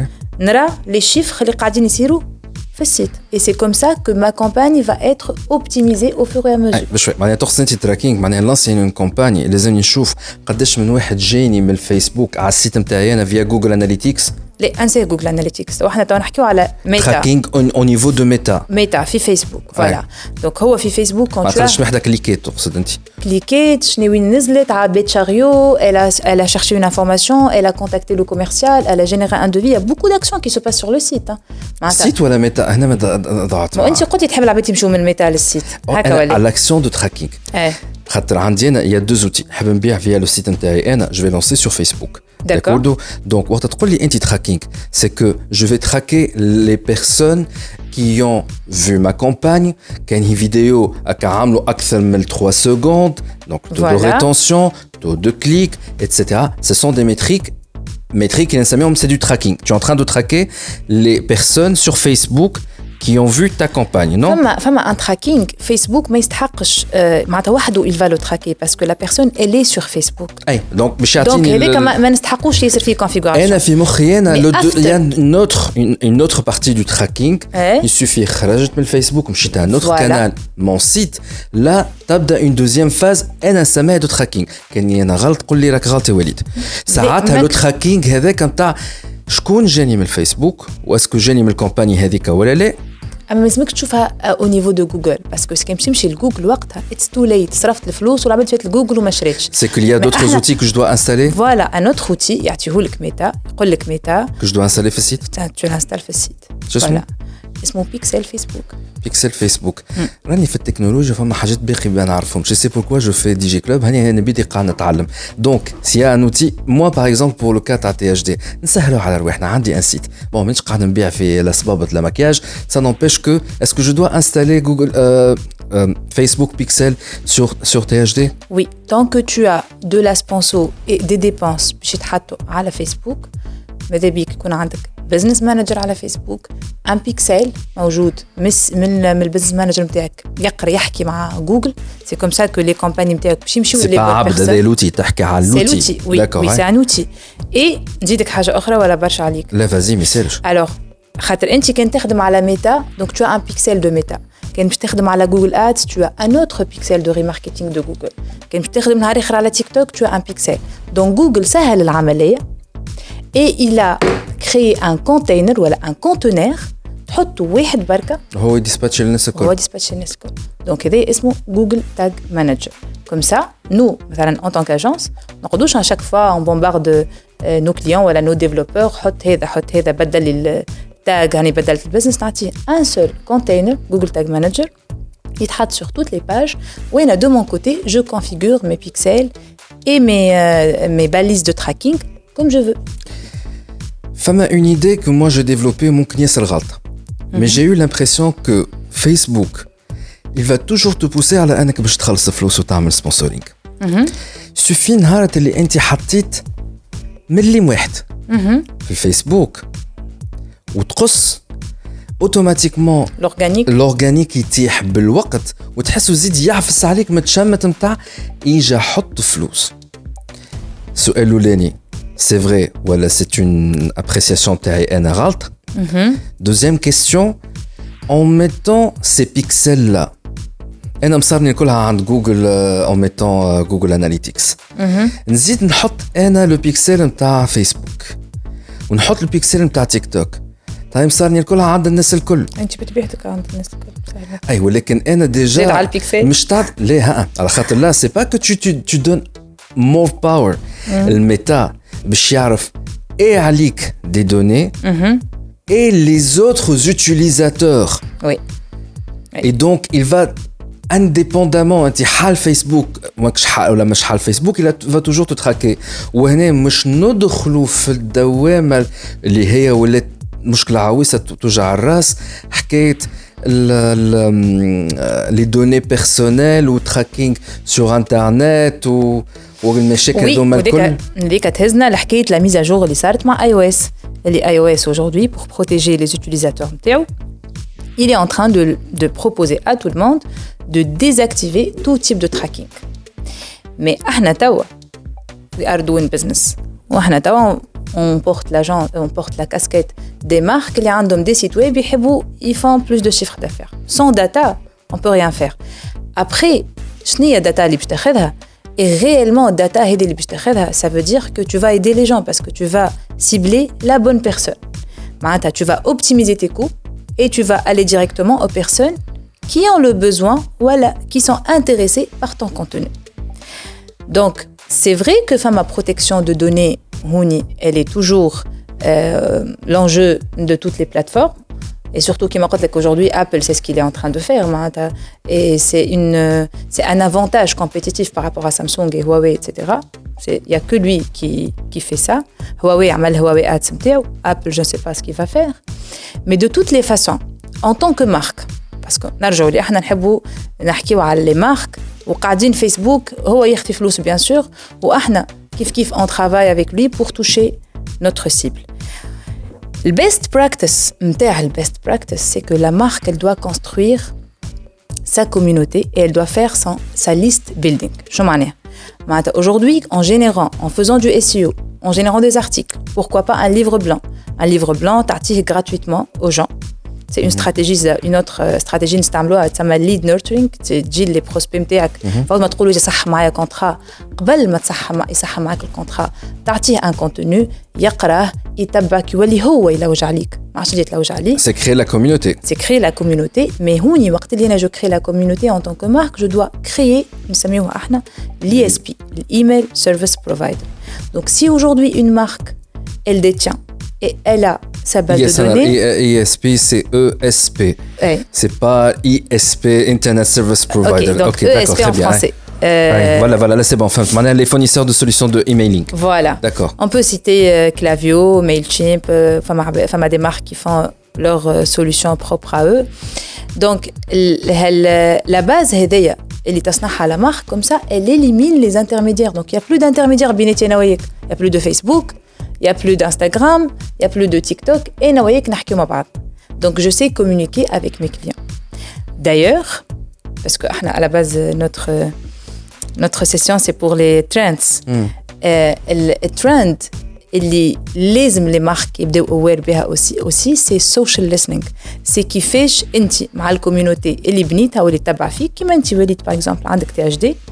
نرى لي شيفر اللي قاعدين يصيروا في السيت et c'est comme ça que ma campagne va être optimisée au fur et à mesure. بشوي معناها تقصد انت تراكينغ معناها لانسي اون كامباني لازم نشوف قداش من واحد جايني من الفيسبوك على السيت نتاعي انا فيا جوجل اناليتيكس. لا انسى جوجل اناليتيكس وحنا تو نحكيو على ميتا تراكينغ او نيفو دو ميتا ميتا في فيسبوك فوالا دونك هو في فيسبوك كون tu as وحده كليكيت تقصد انت كليكيت شنو وين نزلت عبيت شاريو elle a elle a cherché une information elle a contacté le commercial elle a généré un devis il y a beaucoup d'actions qui se passent sur le site معناتها سيت ولا ميتا هنا ضاعت انت قلتي تحب العباد يمشيو من ميتا للسيت هكا ولا على l'action de tracking خاطر عندي انا il y a deux outils حاب نبيع فيا لو سيت نتاعي انا je vais lancer sur Facebook. D'accord. Donc, وقت تقول لي انت tracking, c'est que je vais traquer les personnes qui ont vu ma campagne, كاين هي فيديو هكا عملوا اكثر من trois secondes, donc taux voilà. de rétention, taux de clic, et cetera. Ce sont des métriques métriques qui c'est du tracking. Tu es en train de traquer les personnes sur Facebook qui ont vu ta campagne, non? فما فما un tracking Facebook ما يستحقش معناتها وحده il va le traquer parce que la personne elle est sur Facebook. اي دونك باش يعطيني donc هذاك ما نستحقوش يصير فيه configuration. انا في مخي انا il y a une autre une, une autre partie du tracking. il suffit خرجت من الفيسبوك مشيت على notre canal mon site là تبدا une deuxième phase انا نسميها دو tracking. كاني انا غلط قول لي راك غلط يا وليد. ساعتها لو tracking هذاك نتاع شكون جاني من الفيسبوك واسكو جاني من الكومباني هذيك ولا لا. اما لازمك تشوفها او نيفو دو جوجل باسكو كان باش نمشي لجوجل وقتها اتس تو ليت صرفت الفلوس والعباد فات لجوجل وما شريتش. سي كو ليا دوطخ اوتي كو جو دو انستالي فوالا ان اوتر اوتي يعطيهولك ميتا يقول لك ميتا كو جو دو انستالي في السيت تو لانستال في السيت فوالا اسمه بيكسل فيسبوك. بيكسل فيسبوك راني في التكنولوجيا فما حاجات باقي ما نعرفهم جو سي بوركوا جو في دي جي كلوب هاني انا بدي قاعد نتعلم دونك سي ان اوتي موا باغ اكزومبل بور لو كا تاع تي اش دي نسهلوا على رواحنا عندي ان سيت بون مانيش قاعد نبيع في الصبابط لا مكياج سا نومبيش كو اسكو جو دو انستالي جوجل Facebook Pixel sur sur T H D. Oui, tant que tu as de la sponsor et des dépenses باش يتحطوا على فيسبوك ماذا بيك يكون عندك بزنس مانجر على فيسبوك ان بيكسل موجود مس من من البزنس مانجر نتاعك يقرا يحكي مع جوجل سي كوم سا كو لي كومباني نتاعك باش يمشيو لي عبد هذا لوتي تحكي على اللوتي سي وي وي سي ان اوتي اي نزيدك حاجه اخرى ولا برشا عليك لا فازي ميسالش الوغ خاطر انت كان تخدم على ميتا دونك تو ان بيكسل دو ميتا كان باش تخدم على جوجل ادز تو ان اوتر بيكسل دو ريماركتينغ دو جوجل كان باش تخدم نهار اخر على تيك توك تو ان بيكسل دونك جوجل سهل العمليه et il a créé un container ولا un conteneur تحط واحد بركه هو يديسباتش الناس الكل هو يديسباتش الناس الكل دونك هذا اسمه جوجل تاج مانجر كوم سا نو مثلا en tant qu'agence ما نقعدوش à chaque fois on bombarde nos clients ولا nos développeurs حط هذا حط هذا بدل التاج يعني بدلت البزنس نعطيه un seul container جوجل تاج مانجر يتحط sur toutes les pages وين de mon côté je configure mes pixels et mes euh, mes balises de tracking comme je veux. Fama une idée que moi j'ai développée mon knies الغلطة. Mais j'ai eu l'impression que Facebook il va toujours te pousser على انك باش تخلص فلوس وتعمل سبونسورينغ. suffit نهار اللي انت حطيت مليم واحد في الفيسبوك وتقص اوتوماتيكمون لورغانيك لورغانيك يتيح بالوقت وتحسه زيد يعفس عليك متشمت نتاع يجي حط فلوس. السؤال الاولاني c'est vrai voilà c'est une appréciation تاعي انا غلط. deuxième question en mettant ces pixels là انا مصارني كلها عند جوجل en mettant جوجل اناليتيكس نزيد نحط انا لو بيكسل نتاع فيسبوك ونحط البيكسل نتاع تيك توك طيب صارني كلها عند الناس الكل انت بتبيعتك عند الناس الكل صحيح اي ولكن انا ديجا على البيكسل مش تعرف ليه ها على خاطر لا سي با كو tu tu donnes more power الميتا باش يعرف ايه عليك دي دوني et les autres utilisateurs oui et donc il va indépendamment انت حال فيسبوك ماكش حال ولا مش حال فيسبوك il va toujours te traquer وهنا مش ندخلوا في الدوامه اللي هي ولات مشكله عويصه توجع الراس حكايه لي دوني بيرسونيل و تراكينغ سور انترنت و والمشاكل هذوما الكل اللي كتهزنا لحكايه لا ميزا جور اللي صارت مع اي او اس اللي اي او اس aujourd'hui pour protéger les utilisateurs نتاعو il est en train de de proposer à tout le monde de désactiver tout type de tracking mais احنا توا we are doing business واحنا توا on porte l'agent on porte la casquette des marques اللي عندهم des sites web يحبوا ils font plus de chiffre d'affaires sans data on peut rien faire après شنو هي الداتا اللي باش تاخذها et réellement data هذه اللي باش تاخذها ça veut dire que tu vas aider les gens parce que tu vas cibler la bonne personne معناتها tu vas optimiser tes coûts et tu vas aller directement aux personnes qui ont le besoin voilà qui sont intéressées par ton contenu donc c'est vrai que femme à protection de données Houni, elle est toujours euh, l'enjeu de toutes les plateformes et surtout qui m'accorde qu'aujourd'hui Apple c'est ce qu'il est en train de faire et c'est une c'est un avantage compétitif par rapport à Samsung et Huawei et cetera c'est il y a que lui qui qui fait ça Huawei عمل Huawei Ads نتاعو Apple je ne sais pas ce qu'il va faire mais de toutes les façons en tant que marque parce que نرجعوا لي احنا نحبوا نحكيوا على les marques وقاعدين فيسبوك هو يخفي فلوس bien sûr واحنا كيف كيف on travaille avec lui pour toucher notre cible. Le best practice, le best practice, c'est que la marque, elle doit construire sa communauté et elle doit faire son, sa liste building. Aujourd'hui, en générant, en faisant du S E O, en générant des articles, pourquoi pas un livre blanc. Un livre blanc, t'article gratuitement aux gens. C'est une stratégie, une autre stratégie نستعملوها تسمى lead nurturing تجي لي بروسبي نتاعك فاول ما تقولوا يصح معايا كونترا قبل ما تصح يصح معاك الكونترا تعطيه ان كونتوني يقراه يتبعك يولي هو يلوج عليك ما عادش يتلوج عليك c'est créer la communauté c'est créer la communauté mais هوني وقت اللي انا جو crée la communauté en tant que marque je dois créer نسميوها احنا l'I S P l'email service provider donc si aujourd'hui une marque elle détient et elle a sa base yes, de données. I S P, c'est E S P. Ouais. C'est pas I S P, Internet Service Provider. Ok, donc okay, E S P en bien, français. Ouais. Euh... Ouais, voilà, voilà, là c'est bon. Enfin, maintenant, les fournisseurs de solutions de emailing. Voilà. D'accord. On peut citer euh, Klaviyo, Mailchimp, euh, enfin, des marques qui font leurs euh, solutions propres à eux. Donc, la base, هذيا اللي تصنعها la marque, comme ça, elle élimine les intermédiaires. Donc, il n'y a plus d'intermédiaires بيناتي أنا وياك. Il n'y a plus de Facebook. il y a plus d'Instagram, il y a plus de TikTok et نويك نحكيو مع بعض. Donc je sais communiquer avec mes clients. D'ailleurs, parce que à la base notre notre session c'est pour les trends. Mm. Euh, le trend اللي لازم les marques يبداو aware بها aussi aussi c'est social listening. c'est كيفاش انت مع الكوميونيتي اللي بنيتها واللي تتبع فيك كيما انت وليت باغ اكزومبل عندك تي اتش دي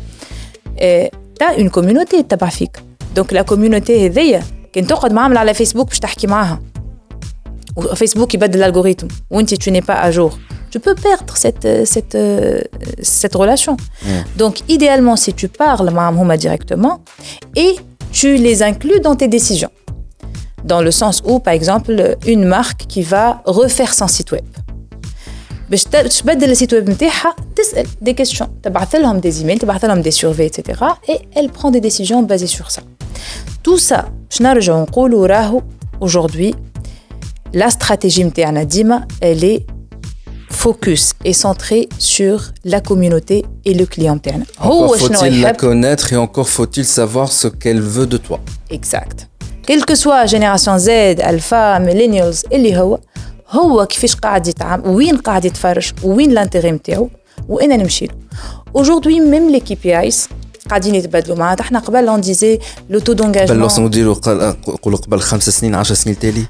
تا اون كوميونيتي تتبع فيك. دونك لا كوميونيتي هذيا كان تقعد معامله على فيسبوك باش تحكي معاها وفيسبوك يبدل الالغوريثم وانت tu n'es pas à jour, tu peux perdre cette cette cette relation. mm. Donc idéalement si tu parles معهم هما directement et tu les inclus dans tes décisions. Dans le sens où, par exemple, une marque qui va refaire son site web. باش تبدل السيت ويب نتاعها تسأل des questions, تبعث لهم des emails, تبعث لهم des surveys, et cetera. Et elle prend des décisions basées sur ça. Tout ça, باش نرجعوا نقولوا راهو aujourd'hui la stratégie نتاعنا ديما elle est focus est centré sur la communauté et le client interne. Encore faut-il la connaître et encore faut-il savoir ce qu'elle veut de toi. Exact. Quelle que soit génération Z, Alpha, Millennials, اللي هو هو كيفاش قاعد يتعامل وين قاعد يتفرج وين الانتري نتاعو وين نمشي له. Aujourd'hui même les K P Is قاعدين يتبدلوا معناتها احنا قبل on disait le taux d'engagement قبل لو نديروا نقولوا قبل خمس سنين عشر سنين تالي.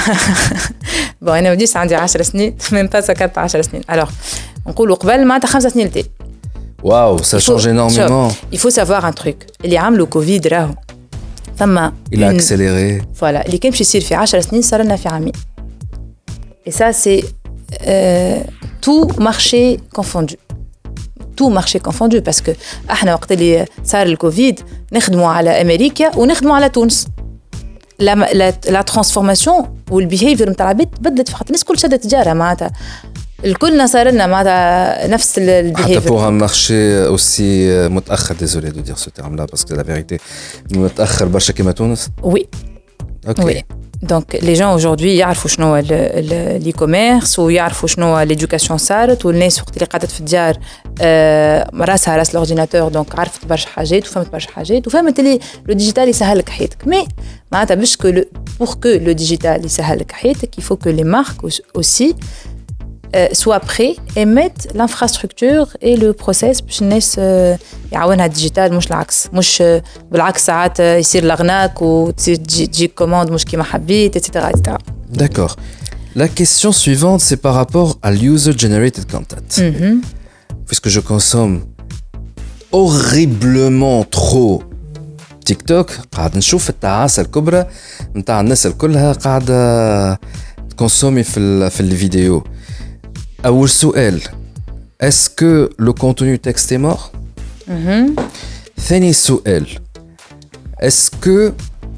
bon انا وديت عندي عشر سنين même pas سكرت عشر سنين. alors نقولوا قبل معناتها خمس سنين تالي. واو ça change énormément. il faut savoir un truc اللي عملوا كوفيد راهو ثم il a accéléré. voilà اللي كان باش يصير في عشر سنين صار لنا في عامين. et ça c'est euh, tout marché confondu. tout marché confondu parce que احنا وقت اللي صار الكوفيد نخدموا على امريكا ونخدموا على تونس. لا لا لا ترانسفورماسيون والبيهيفير نتاع العباد بدلت، فقط الناس كل شدت تجاره معناتها الكلنا صار لنا معناتها نفس البيهيفير. حتى pour un marché aussi متاخر، désolé de dire ce terme là parce que la vérité متاخر برشا كيما تونس. oui ok oui. donc les gens aujourd'hui يعرفوا شنو هو الاي كوميرس ويعرفوا شنو هو ليدوكاسيون صارت، والناس وقت اللي قعدت في الدار آه راسها راس الاورديناتور دونك عرفت برشا حاجات وفهمت برشا حاجات وفهمت اللي لو ديجيتال يسهل لك حياتك. مي معناتها باش كو pour que le digital يسهل لك حياتك il faut que les marques aussi euh, soient prêts et mettent l'infrastructure et le process باش الناس euh, يعاونها الديجيتال مش العكس. مش بالعكس ساعات يصير لغناك وتجيك كوموند مش كيما حبيت etc etc. D'accord. La question suivante c'est par rapport à l'user generated content. Mm-hmm. Puisque je consomme horriblement trop TikTok قاعد نشوف التعاسة الكبرى نتاع الناس الكلها قاعدة تكونسومي في في الفيديو. أول سؤال est-ce que le contenu texte est mort؟ mm-hmm. ثاني سؤال est-ce que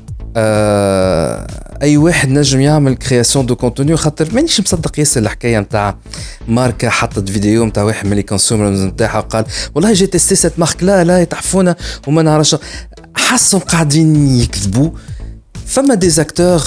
آه أي واحد نجم يعمل كرياسيون دو كونتوني؟ خاطر مانيش مصدق ياسر الحكاية نتاع ماركة حطت فيديو نتاع واحد من لي كونسومرز نتاعها قال والله جي تيستي سيت مارك لا لا يتحفونا وما نعرفش، حسهم قاعدين يكذبوا. فما دي زاكتور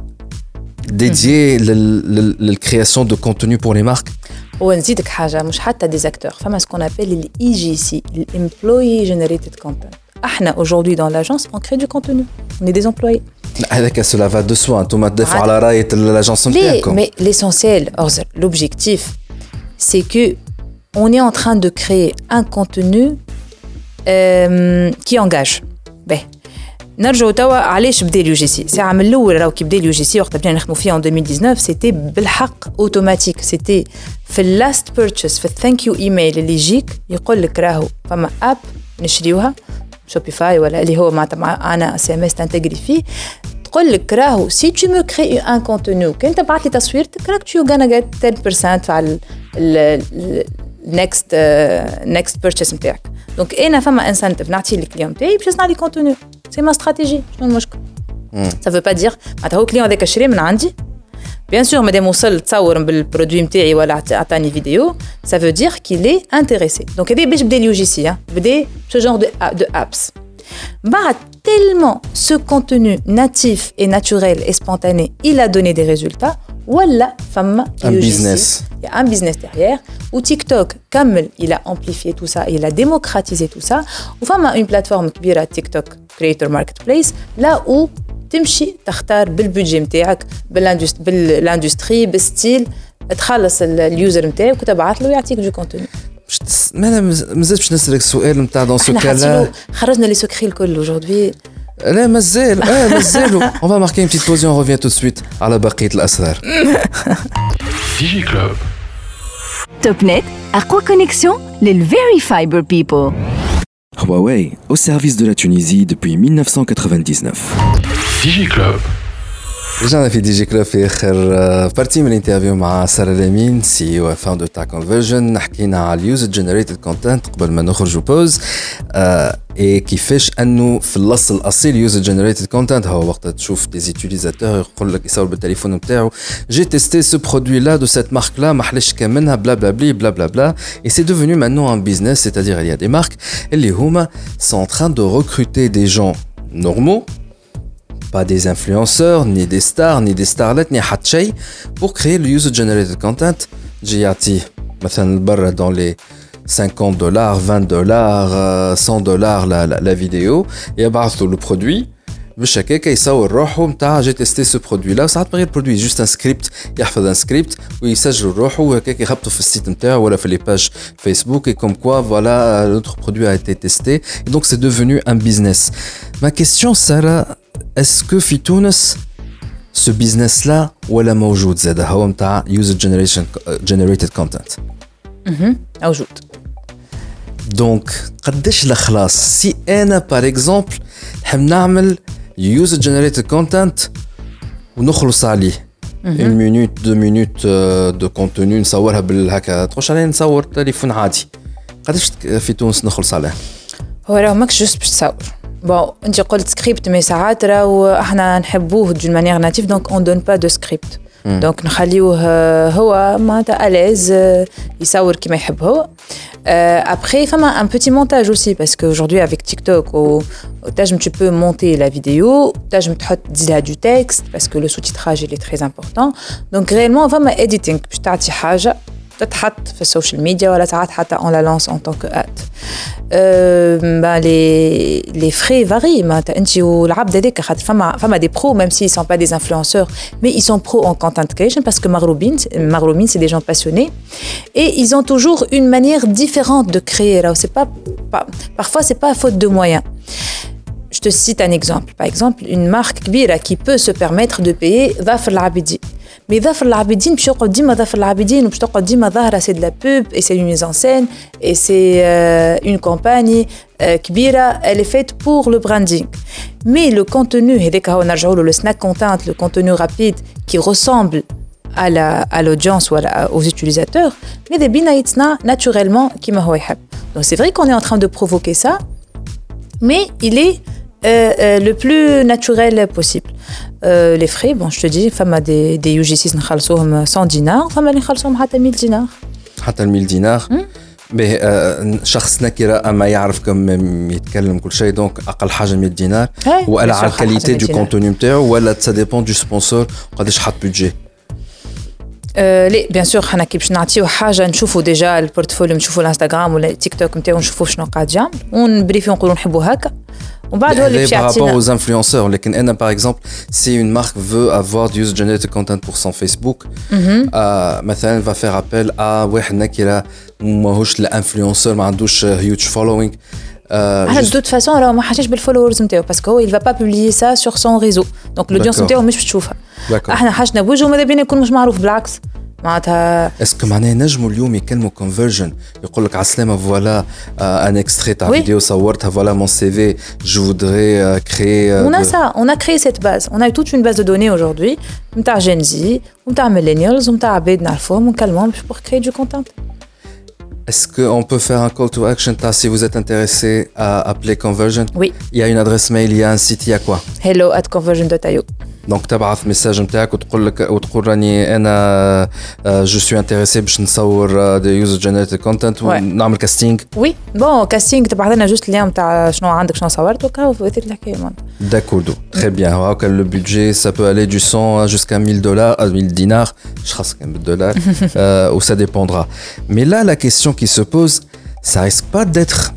ديديي للكرياسيون دو كونتوني بور لي مارك. ونزيدك حاجة مش حتى دي زاكتور، فما سكون ابل الاي جي سي الامبلوي جينيريتد كونتنت. احنا aujourd'hui dans l'agence on crée du contenu, on est des employés. هذاك cela va de soi. انتم تدافعوا على راية l'agence نتاعكم. mais l'essentiel l'objectif c'est que on est en train de créer un contenu euh, qui engage. ben نرجعوا توا علاش بدا اليو جي سي. ساعه من الاول راهو كي بدا اليو جي سي وقت بدينا نخدموا فيه en deux mille dix-neuf سيتي بالحق اوتوماتيك. سيتي في اللاست بيرتشيز في الثانك يو ايميل اللي يجيك يقول لك راهو فما اب نشريوها شوبيفاي ولا اللي هو معناتها انا اس ام اس تنتجري فيه تقول لك راهو سي تو مو كري ان كونتوني كنت بعت لي تصويرتك راك تو غانا جيت ten percent على النكست نكست بيرتشيز نتاعك. دونك انا فما انسنتيف نعطي للكليون تاعي باش يصنع لي كونتوني. سي ما استراتيجي. شنو المشكل؟ ça veut pas dire معناتها هو كليون هذاك شري من عندي بيان سور مادام وصل تصور بالبرودوي نتاعي ولا عطاني فيديو ça veut dire qu'il est intéressé. دونك هذا باش بدا اليو جي سي بدا ce genre de de apps. بعد tellement ce contenu natif et naturel et spontané il a donné des résultats ولا فما un business. il y a un business derrière où TikTok كمل il a amplifié tout ça, il a démocratisé tout ça. وفما une plateforme كبيرة TikTok Creator Marketplace là où تمشي تختار بالبودجي نتاعك بالاندستري بالستيل تخلص اليوزر نتاعك وتبعث له ويعطيك دو كونتوني. باش تس... ما انا مازال باش نسالك السؤال نتاع دون سو كالا خرجنا لي سكري الكل aujourd'hui. لا مازال اه مازالوا. On va marquer une petite pause et on revient tout de suite على بقية الأسرار. Digi Club. توب أقوى كونيكسيون للفيري فايبر بيبل. Huawei, au service de la Tunisie depuis dix-neuf cent quatre-vingt-dix-neuf. Digi Club. رجعنا في دي جي كلوب في اخر بارتي من الانترفيو مع سارة لامين سي او فاوندر تاع كونفرجن. حكينا على اليوزر جنريتد كونتنت قبل ما نخرجوا بوز اي كيفاش انه في الاصل الاصيل يوزر جنريتد كونتنت هو وقت تشوف دي زيتيليزاتور يقول لك يصور بالتليفون نتاعو جي تيستي سو برودوي لا دو سيت مارك لا ما حلاش كاملها بلا بلا بلي بلا بلا بلا اي سي devenu maintenant un business, c'est-à-dire il y a des marques اللي هما sont en train de recruter des gens normaux, pas des influenceurs, ni des stars, ni des starlets, ni حتى شيء pour créer le user generated content. جي يعطيه مثلا برا dans les cinquante dollars, vingt dollars, cent dollars la, la, la vidéo يبعث له le produit باش هكاك يصور روحه نتاع جي تيستي سو برودوي لا. وساعات من غير برودوي جوست ان سكريبت يحفظ ان سكريبت ويسجل روحه وهكاك يهبطوا في السيت نتاعو ولا في لي باج فيسبوك et comme quoi voilà notre produit a été testé et donc c'est devenu un business. Ma question Sarah, est-ce que في تونس ce business là ولا موجود زاد هو نتاع user generation generated content؟ اها موجود. دونك قداش الخلاص سي انا بار اكزومبل نحب نعمل user generated content ونخلص عليه une minute deux minutes de contenu نصورها بالهكا تخش عليه نصور تليفون عادي قداش في تونس نخلص عليه؟ هو راهو ماكش جوست باش تصور بون انت قلت سكريبت مي ساعات راهو احنا نحبوه دون مانيير ناتيف دونك اون دون با دو سكريبت دونك نخليوه هو معناتها اليز يصور كيما يحب هو. Après, il y a un petit montage aussi parce qu'aujourd'hui avec TikTok, tu peux monter la vidéo, tu peux dire du texte parce que le sous-titrage il est très important. Donc réellement, il y a un editing. Je t'ai dit quelque chose, تتحط في السوشيال ميديا ولا ساعات حتى on la lance en tant que ad. Euh, bah les les frais varient. ما انت والعبد هذاك خاطر فما فما des pros même s'ils sont pas des influenceurs mais ils sont pros en content creation parce que Maghroubine Maghroubine c'est des gens passionnés et ils ont toujours une manière différente de créer. Là c'est pas, pas parfois c'est pas faute de moyens. Je te cite un exemple. Par exemple, une marque كبيرة qui peut se permettre de payer ظافر العابدين. Mais ظافر العابدين باش يقعد ديما ظافر العابدين وباش تقعد ديما ظاهرة c'est de la pub et c'est une mise en scène et c'est euh, une campagne euh, كبيرة, elle est faite pour le branding. Mais le contenu هذاك هو نرجعوا له le snack content, le contenu rapide qui ressemble à la à l'audience ou à la, aux utilisateurs, mais des بينا يتصنع naturellement كيما هو يحب. Donc c'est vrai qu'on est en train de provoquer ça, mais il est Euh, euh, le plus naturel possible. Euh, les frais, bon, je te dis, femme a des, des U G six نخلصوهم cent dinars, femme اللي نخلصوهم حتى mille dinars. حتى mille dinars. به شخص نكرة أما يعرف كم يتكلم كل شيء دونك أقل حاجة mille dinars. ولا على الكاليتي دو كونتوني نتاعو ولا ça dépend du sponsor قداش حط بيدجي. لي بيان سور حنا كي باش نعطيو حاجه نشوفوا ديجا البورتفوليو نشوفوا الانستغرام ولا تيك توك نتاعو نشوفوا شنو قاعد يعمل ونبريفيو نقولوا نحبوا هكا وبعد هو اللي باش يعطينا. Par rapport aux influenceurs, لكن أنا par exemple si une marque veut avoir du user generated content pour son Facebook, euh, مثلا va faire appel à واحد نكرة ماهوش الانفلونسور ما عندوش huge following. على de toute façon راهو ما حاجاش بالفولورز نتاعو باسكو هو il va pas publier ça sur son réseau donc l'audience نتاعو مش باش تشوفها. احنا حاجنا بوجهه ماذا بينا يكون مش معروف بالعكس معناتها. اسكو معناها نجموا اليوم يكلموا كونفرجن يقول لك على السلامه فوالا ان اكستري تاع فيديو صورتها فوالا مون سي في جو فودري كريي. On a ça, on a créé cette base. On a toute une base de données aujourd'hui نتاع Gen Z ونتاع millennials ونتاع عباد نعرفوهم ونكلموهم pour créer du content. Est-ce qu'on peut faire un call to action si vous êtes intéressé à appeler Conversion? Oui. Il y a une adresse mail, il y a un site, il y a quoi? hello at conversion dot i o. Donc تبعث ميساج نتاعك وتقول لك وتقول راني انا جو سوي انتريسي باش نصور دي يوزر جنريتد كونتنت ونعمل كاستينغ. وي بون كاستينغ تبعث لنا جوست اللي نتاع شنو عندك شنو صورت وكا وثيك الحكايه معناتها. D'accord, très bien. هاكا le budget ça peut aller du cent jusqu'à mille dollars à mille dinars, je crois que c'est dollars euh, ou ça dépendra. Mais là la question qui se pose, ça risque pas d'être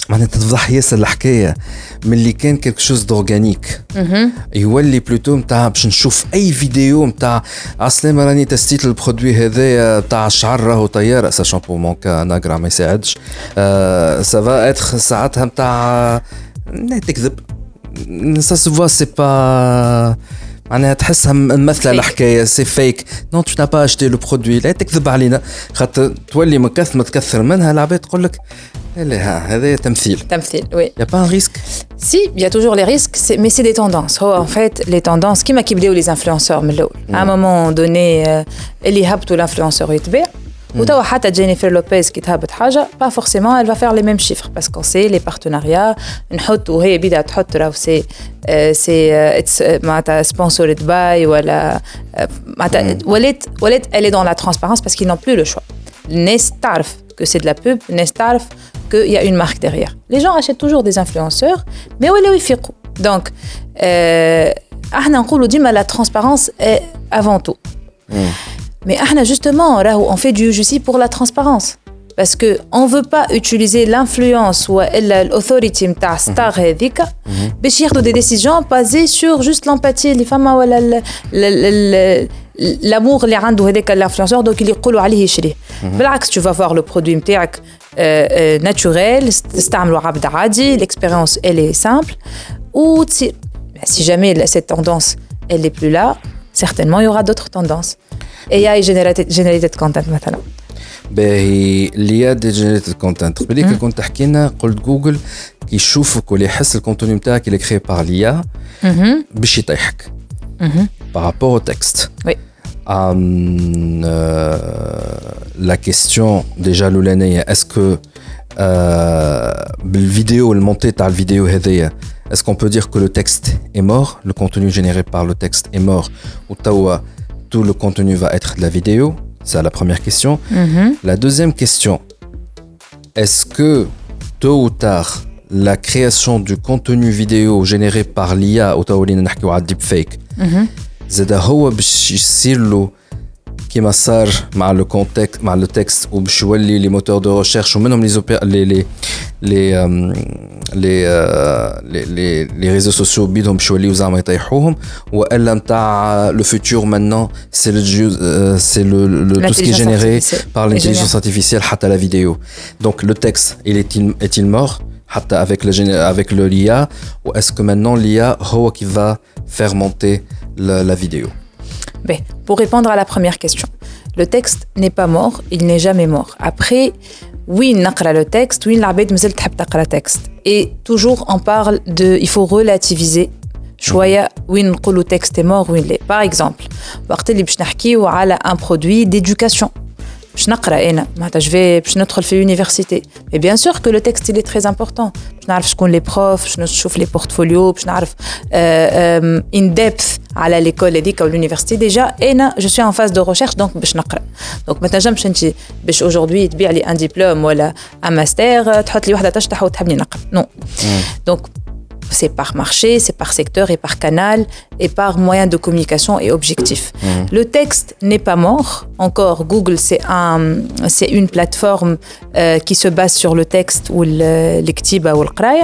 معناتها تفضح ياسر الحكايه من اللي كان كيلك شوز دورغانيك يولي بلوتو نتاع باش نشوف اي فيديو نتاع عسلامه راني تستيت البرودوي هذايا تاع الشعر راهو طياره سا شامبو مونكا ناغرا ما يساعدش سافا اتر ساعتها نتاع تكذب سا سو فوا سي با معناها تحسها ممثله الحكايه سي فيك نون تو با اشتي لو برودوي لا تكذب علينا خاطر تولي مكث ما تكثر منها العباد تقول لك لا هذا تمثيل تمثيل oui il y a pas un risque si il y a toujours les risques c'est, mais c'est des tendances oh, en fait les tendances كيما كيبداو les influenceurs من الاول à un moment donné اللي هبطوا l'influenceur يتباع وتوا حتى جينيفر لوبيز كي تهبط حاجه با فورسيمون elle va faire les mêmes chiffres parce qu'on sait les partenariats نحط وهي بدها تحط راهو سي سي معناتها sponsored by ولا معناتها ولات ولات elle est dans la transparence parce qu'ils n'ont plus le choix الناس تعرف que c'est de la pub الناس تعرف qu'il y a une marque derrière les gens achètent toujours des influenceurs mais ولاو يفيقوا donc احنا نقولوا ديما la transparence est avant tout mais ahna justement on fait du justice pour la transparence parce que on veut pas utiliser l'influence ou l'autorité نتاع ستار هذيك باش ياخذوا des décisions basées sur juste l'empathie اللي فما ولا l'amour اللي عنده هذاك l'influenceur donc اللي يقولوا عليه يشريه بالعكس tu vas voir le produit نتاعك naturel تستعملوا عبد عادي l'expérience elle est simple ou si jamais cette tendance elle est plus là certainement il y aura d'autres tendances اي اي جينيريتد كونتنت مثلا باهي اللي يا دي جينيريتد كونتنت قبل لي كنت تحكي لنا قلت جوجل كي يشوفك ولا يحس الكونتوني نتاعك اللي كري بار ليا باش يطيحك بارابور او تكست وي ام لا كيستيون ديجا لولانيه اسكو بالفيديو المونتي تاع الفيديو هذيا est-ce qu'on peut dire que le texte est mort le contenu généré par le texte est mort ou tawa tout le contenu va être de la vidéo? C'est la première question. Mm-hmm. La deuxième question, est-ce que tôt ou tard, la création du contenu vidéo généré par l'I A ou le deepfake, c'est هو باش يصير له كيما صار مع le contexte مع le texte ou باش يولي les moteurs de recherche ومنهم les les les les les les les les réseaux sociaux بدهم باش يوليو زعما يطيحوهم والا نتاع le futur maintenant c'est le c'est le, le tout ce qui est généré par l'intelligence artificielle حتى la vidéo donc le texte il est-il est-il mort حتى avec le avec le l'I A ou est-ce que maintenant l'I A هو qui va faire monter la, la vidéo? Ben, pour répondre à la première question, le texte n'est pas mort, il n'est jamais mort. Après, oui, نقرأ le texte, oui, العباد مازال تحب تقرأ texte. Et toujours on parle de, il faut relativiser شوية وين نقولوا texte est mort وين لا. Par exemple, وقت اللي باش نحكيو على un produit d'éducation. باش نقرا انا معناتها جو باش ندخل في يونيفرسيتي مي بيان سور كو لو تكست لي تري امبورطون باش نعرف شكون لي بروف باش نشوف لي بورتفوليو باش نعرف ان ديبث على ليكول هذيك او اليونيفرسيتي ديجا انا جو سوي ان فاز دو ريشيرش دونك باش نقرا دونك ما تنجمش انت باش اجوردي تبيع لي ان ديبلوم ولا ان ماستر تحط لي وحده تشطح وتحبني نقرا نو دونك c'est par marché, c'est par secteur et par canal et par moyen de communication et objectif. Mmh. Le texte n'est pas mort. Encore, Google, c'est, un, c'est une plateforme euh, qui se base sur le texte ou l'ektiba ou le qraya.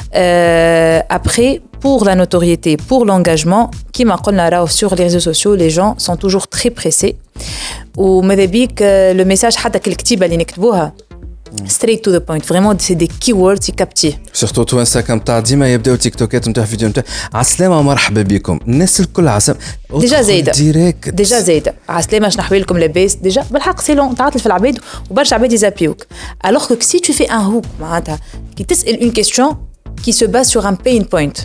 Euh, après, pour la notoriété, pour l'engagement, qui m'a dit sur les réseaux sociaux, les gens sont toujours très pressés. Ou madabik, le message حتى الكتيبة اللي نكتبوها straight to the point vraiment c'est des keywords qui captent surtout تو انستغرام تاع ديما يبداو تيك توكات نتاع فيديو نتاع عسلامه مرحبا بكم الناس الكل عسام ديجا زايده ديريكت ديجا زايده عسلامه شنو احوالكم لاباس ديجا بالحق سي لون تعاطل في العباد وبرشا عباد يزابيوك alors que si tu fais un hook معناتها كي تسال une question qui se base sur un pain point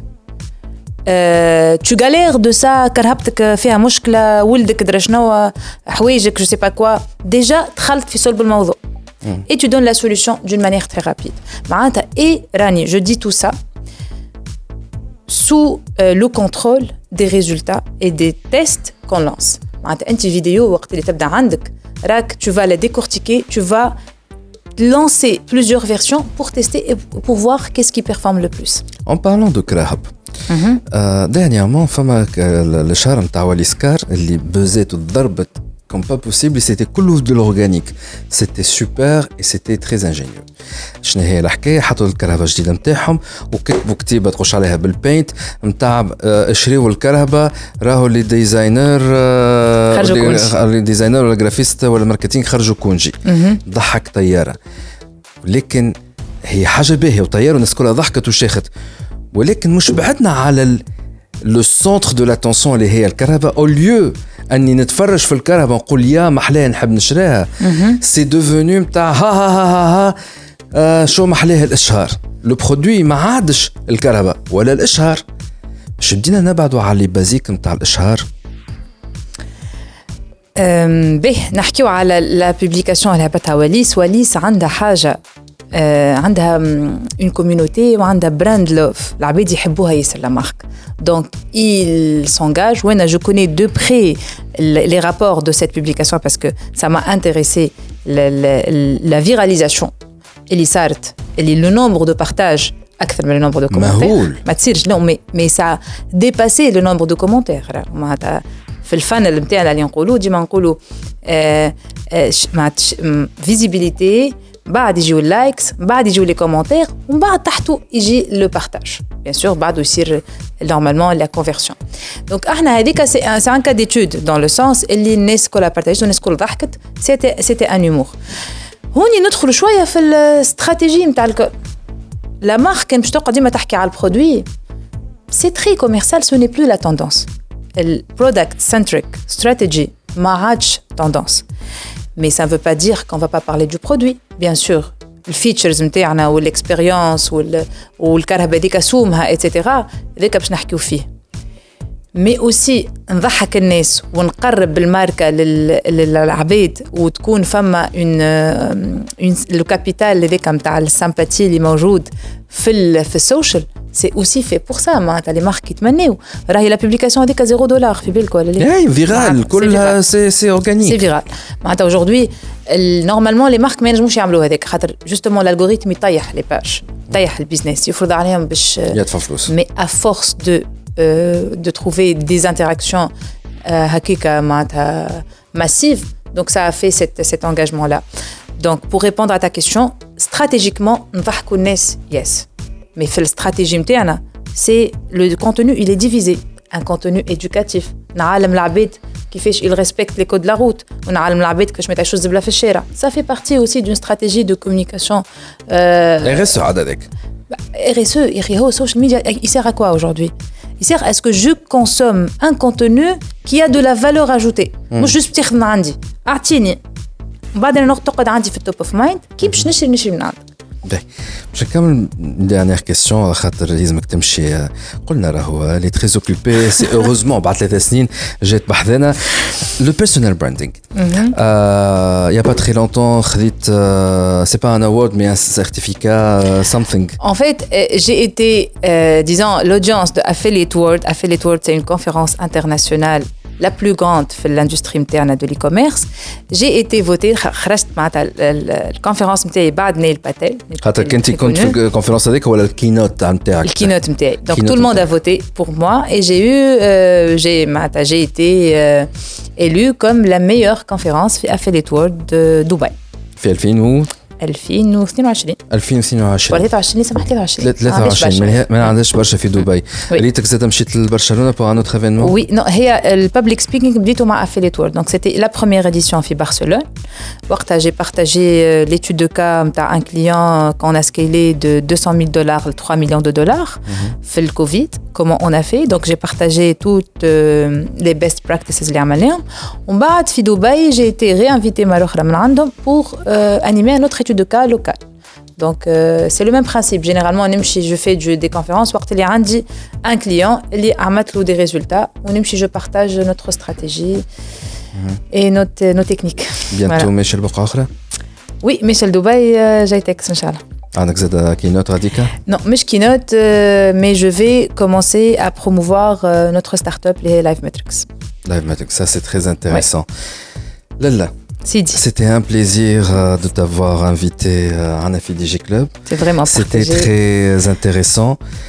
Euh, tu galères de ça كرهبتك فيها مشكله ولدك درا شنو حوايجك je sais pas quoi déjà دخلت في صلب الموضوع et tu donnes la solution d'une manière très rapide. Et Rani, je dis tout ça sous euh, le contrôle des résultats et des tests qu'on lance. Une vidéo, tu vas la décortiquer, tu vas lancer plusieurs versions pour tester et pour voir qu'est-ce qui performe le plus. En parlant de Krahab, mm-hmm. euh, dernièrement, le charme de Waliskar, اللي بزات وضربت comme pas possible et c'était كله de l'organique. C'était super et c'était très ingénieux. شنو هي الحكايه؟ حطوا الكرهبه الجديده نتاعهم وكتبوا كتيبه تخش عليها بالبينت نتاع اشريوا الكرهبه راهو لي ديزاينر لي ديزاينر ولا جرافيست ولا ماركتينغ خرجوا كونجي ضحك طياره. لكن هي حاجه باهيه وطياره والناس كلها ضحكت وشاخت ولكن مش بعدنا على لو سونتر دو لاتونسيون اللي هي الكرهبه او ليو اني نتفرج في الكرهبه نقول يا محلاها نحب نشراها. سي دوفوني نتاع ها ها ها ها آه شو محلاها الاشهار. لو برودوي ما عادش الكرهبه ولا الاشهار. باش بدينا نبعدوا على لي بازيك نتاع الاشهار. به نحكيو على لا بوبليكاسيون اللي هبطها وليس. وليس عندها حاجه آه عندها اون كوميونيتي وعندها براند لوف العباد يحبوها ياسر لا مارك. دونك il s'engage. وانا je connais de près les rapports de cette publication parce que ça m'a intéressé la, la, la viralisation اللي صارت اللي le nombre de partages اكثر من le nombre de commentaires. ما تصيرش لا مي مي ça dépassé le nombre de commentaires. معناتها في الفانل نتاعنا اللي نقولوا ديما نقولوا فيزيبيليتي بعد يجيو اللايكس بعد يجيو لي كومونتير ومن بعد تحته يجي لو بارتاج بيان سور بعده يصير نورمالمون لا كونفيرسيون. دونك احنا هذيك سي ان سي ان كا ديتود دون لو سونس اللي الناس كلها بارتاجت والناس كلها ضحكت. سيتي سيتي ان هومور. هوني ندخل شويه في الاستراتيجي نتاع لا مارك. كان باش تقعد ديما تحكي على البرودوي سي تري كوميرسيال. سو ني بلو لا توندونس. البرودكت سنتريك ستراتيجي ما عادش توندونس. Mais ça ne veut pas dire qu'on ne va pas parler du produit. Bien sûr, les features نتاعنا والexpérience والكرهبة ديك سومها et cetera ذيك باش نحكيو فيه. Mais aussi نضحك الناس ونقرب بالماركة للعباد وتكون فما une le capital هذاك نتاع السامباتي اللي موجود في في السوشيال. سي اوسي في بور سا معناتها لي مارك يتمناو. راهي لا بوبليكاسيون هذيك زيرو دولار في بالك ولا لا؟ اي فيرال كلها سي سي اورغانيك سي فيرال. معناتها اجوردي نورمالمون لي مارك ما ينجموش يعملوا هذاك خاطر جوستومون الالغوريثم يطيح لي باج يطيح البيزنس يفرض عليهم باش يدفع فلوس. مي ا فورس دو دو تروفي دي انتراكسيون هكاكا معناتها ماسيف. دونك سا في سيت سيت انغاجمون لا. دونك بور ريبوندر ا تا كيسيون ستراتيجيكمون نضحكوا الناس يس. Mais في الاستراتيجي نتاعنا c'est le contenu il est divisé. Un contenu éducatif. نعلم العباد كيفاش il respecte les codes de la route ونعلم العباد كيفاش ما يتعشوش الزبله في الشارع. Ça fait partie aussi d'une stratégie de communication. R S E عددك. R S E il هو social media il sert à quoi aujourd'hui? Il sert à ce que je consomme un contenu qui a de la valeur ajoutée. مش juste بتاخذ من عندي اعطيني بعدين نقعد تقعد عندي في التوب اوف مايند كي باش نشري نشري من عندك. باش نكمل ديرنيير كيسيون خاطر لازمك تمشي. قلنا راهو لي تري اوكوبي سي اوروزمون بعد ثلاث سنين جات بحذنا لو بيرسونال براندينغ. يا با تري لونتون خذيت سي با ان اوورد مي ان سيرتيفيكا something. En fait, j'ai été euh, disons l'audience de Affiliate World. Affiliate World c'est une conférence internationale la plus grande في l'industrie نتاعنا de l'e-commerce. J'ai été votée خرجت معناتها الكونفرنس نتاعي بعد نيل باتيل. خاطر كنت كنت في الكونفرنس هذيك ولا الكينوت نتاعك؟ الكينوت نتاعي. Donc tout le monde a voté pour moi et j'ai eu euh, j'ai معناتها j'ai été euh, élue comme la meilleure conférence في Affiliate World de Dubaï. في ألفين و ألفين واثنين وعشرين ألفين واثنين وعشرين ولا ثلاثة وعشرين سمحت ثلاثة وعشرين ثلاثة وعشرين ما عندهاش برشا في دبي. ريتك زاد مشيت لبرشلونه بور ان اوتر ايفينمون. وي نو هي البابليك سبيكينغ بديتو مع افيليت وورد. دونك سيتي لا بروميير اديسيون في برشلونه. وقتها جي بارتاجي ليتود دو كا نتاع ان كليون كون ا سكيلي دو deux cent mille dollars ل trois millions de dollars في الكوفيد. comment on a fait. Donc j'ai partagé toutes euh, les best practices اللي عملناهم. ومن بعد في دبي j'ai été réinvité مرة أخرى من عندهم pour euh, animer un autre étude de cas local. Donc euh, c'est le même principe. Généralement نمشي je fais du, des conférences وقت اللي عندي un client اللي عملت له des résultats ونمشي je partage notre stratégie mm-hmm. et notre nos techniques. bientôt ماشي لبقعة أخرى. oui ماشي لدبي جاي تكس إن شاء الله. عندك زاد كينوت غاديكا؟ Non, مش كينوت euh, mais je vais commencer à promouvoir euh, notre start-up les Live Metrics. Live Metrics, ça c'est très intéressant. Ouais. Lalla. Sidi. C'était un plaisir euh, de t'avoir invité euh, à Nafi D J Club. C'est vraiment C'était partagé. très intéressant.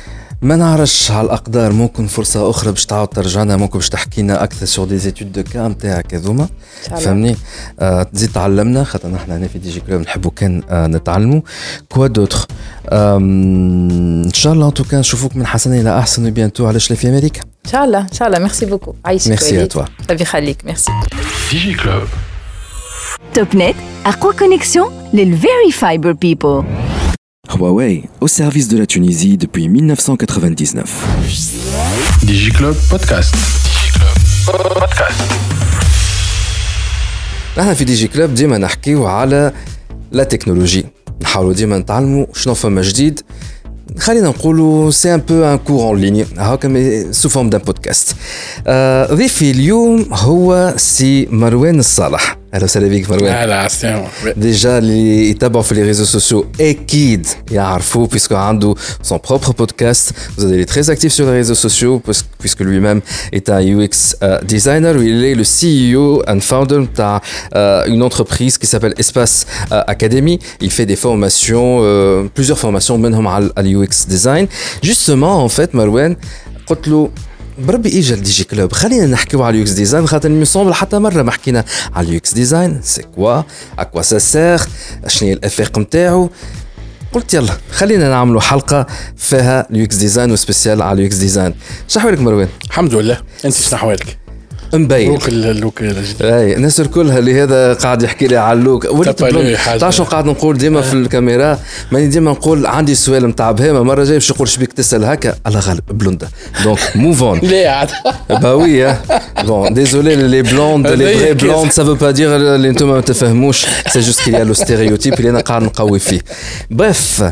ما نعرفش على الأقدار ممكن فرصة أخرى باش تعاود ترجعنا ممكن باش تحكينا أكثر sur des études de cas نتاعك هذوما فهمني آه تزيد تعلمنا خاطر نحن هنا في دي جي كلوب نحبوا كان آه نتعلموا كوا دوتر إن شاء الله ان توكا نشوفوك من حسن إلى أحسن بيانتو على شلي في أمريكا إن شاء الله إن شاء الله ميرسي بوكو عايشك ميرسي à toi ربي يخليك ميرسي ديجي كلوب توب نت أقوى كونيكسيون للفيري فايبر بيبل. Huawei, au service de la Tunisie depuis dix-neuf cent quatre-vingt-dix-neuf. ديجي كلوب بودكاست. ديجي كلوب بودكاست. نحن في دي جي كلوب ديما نحكيو على لا تكنولوجي نحاولوا ديما نتعلموا شنو فما جديد خلينا نقولوا سي ان بو ان كور اون ليني هاكا سو فورم دان بودكاست. ضيفي اليوم هو سي مروان الصالح. اهلا وسهلا بك مروان. اهلا السلام. ديجا اللي يتابعوا في لي ريزو سوسيو اكيد يعرفوا puisque عنده son propre podcast. Vous allez être très actif sur les réseaux sociaux puisque lui-même est un U X euh, designer. Il est le C E O and founder d'une euh, entreprise qui s'appelle Espace euh, Academy. Il fait des formations, euh, plusieurs formations منهم على ال U X design. Justement en fait Marwan قلت له بربي اجا الدي جي كلوب خلينا نحكيو على اليو اكس ديزاين خاطر ميسومبل حتى مره ما حكينا على اليو اكس ديزاين سي كوا اكوا سا سير شنو هي الافاق نتاعو. قلت يلا خلينا نعملوا حلقه فيها اليو اكس ديزاين وسبيسيال على اليو اكس ديزاين. شنو احوالك مروان؟ الحمد لله. انت شنو احوالك؟ مبين لوك اللوك اي الناس الكلها اللي هذا قاعد يحكي لي على اللوك وليت تعرف شنو قاعد نقول ديما في الكاميرا ماني ديما نقول عندي سؤال نتاع بهيمه مره جاي باش نقول شبيك تسال هكا الله غالب بلوندا دونك موف اون. لا عاد با وي بون ديزولي لي بلوند لي فري بلوند سا فو با دير اللي انتم ما تفهموش سي جوست كي لو ستيريوتيب اللي انا قاعد نقوي فيه. بريف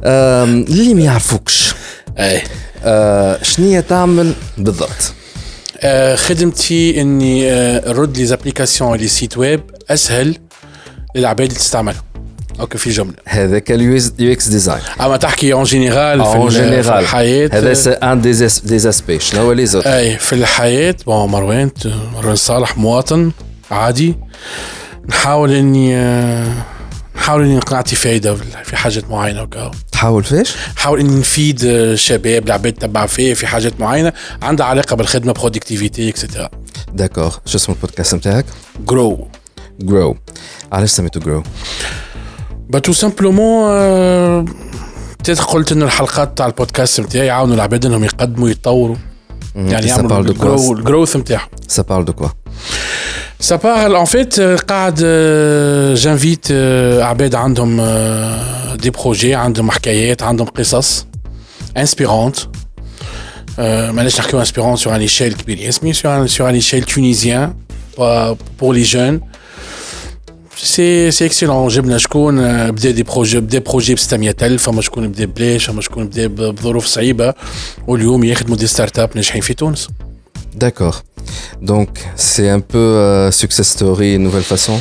اللي ما يعرفوكش اي شنو تعمل بالضبط؟ آه خدمتي اني آه نرد لي زابليكاسيون لي سيت ويب اسهل للعباد اللي تستعملها. اوكي في جمله هذاك اليو اكس ديزاين اما تحكي اون جينيرال في, في الحياه هذا سي ان دي اسبي شنو هو لي زوت اي في الحياه. بون مروان مروان صالح مواطن عادي نحاول اني آه نحاول اني نعطي فايده في حاجات معينه وكا. تحاول فيش؟ نحاول اني نفيد الشباب العباد تبع فيه في حاجات معينه عندها علاقه بالخدمه برودكتيفيتي اكسترا. داكور. شو اسم البودكاست نتاعك؟ جرو. جرو. علاش سميتو جرو؟ با تو سامبلومون تيت قلت انه الحلقات تاع البودكاست نتاعي يعاونوا العباد انهم يقدموا يتطوروا يعني يعملوا الجرو الجروث نتاعهم. سا بارل دو كوا؟ Ça parle en fait قاعد j'invite عباد عندهم des projets عندهم حكايات عندهم قصص inspirantes ماناش نحكيو inspirant sur un échelle كبير اسمي sur un sur un échelle tunisien pour les jeunes. سي سي اكسيلون. جبنا شكون بدا دي بروجي بدا بروجي ب ستمية ألف فما شكون بدا بلاش فما شكون بدا بظروف صعيبه واليوم يخدموا دي ستارت اب ناجحين في تونس. D'accord. Donc, c'est un peu euh, success story, une nouvelle façon.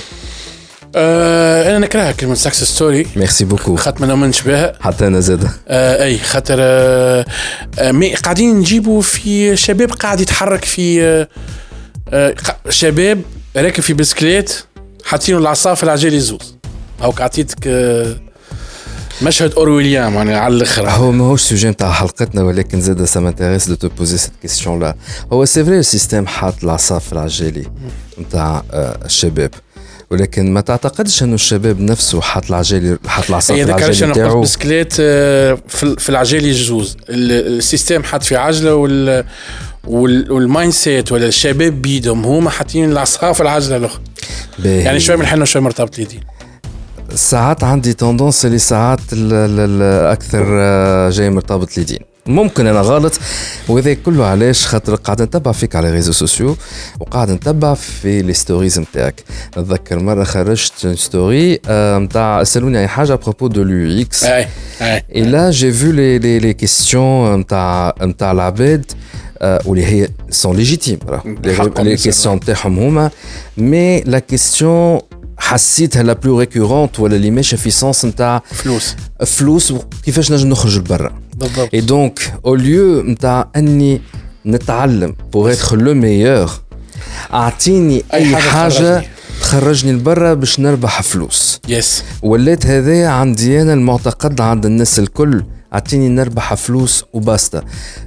Euh, أنا نكرهها كلمة success story. Merci beaucoup. خاطر ما نؤمنش بها. حتى أنا زاد. آه أي خاطر آه مي قاعدين نجيبوا في شباب قاعد يتحرك في آه آه شباب راكب في بسكليت حاطينه العصا العجل يزوز. أو عطيتك آه مشهد أورويليان يعني على الآخر. هو ماهوش سوجي نتاع حلقتنا ولكن زاد سا مانتيريس دو تو بوزي سيت كيستيون لا. هو سي فري السيستم حاط العصا في العجالي نتاع الشباب ولكن ما تعتقدش انه الشباب نفسه حاط العجالي حاط العصا في العجالي نتاعو. بسكليت في العجالي يجوز السيستم حاط في عجله وال والمايند سيت ولا الشباب بيدهم هما حاطين العصا في العجله الاخرى يعني شوي منحنا شوي مرتبط اليدين. ساعات عندي تندونس اللي ساعات اكثر جاي مرتبط اليدين. ممكن انا غلط وهذا كله علاش خاطر قاعد نتبع فيك على ريزو سوسيو وقاعد نتبع في لي ستوريز نتاعك. نتذكر مره خرجت ستوري نتاع سالوني اي حاجه ابروبو دو اليو اكس اي اي اي لا جي فو لي لي لي كيستيون نتاع نتاع العباد واللي هي سون ليجيتيم لي كيستيون نتاعهم هما مي لا كيستيون حسيتها لا بلو ريكورونت ولا اللي ماشيه في سونس نتاع فلوس فلوس كيفاش نجم نخرج لبرا. بالضبط. اي دونك او ليو نتاع اني نتعلم بور اتر لو ميور اعطيني اي حاجه تخرجني لبرا باش نربح فلوس. يس. ولات هذا عندي انا المعتقد عند الناس الكل اعطيني نربح فلوس وباستا.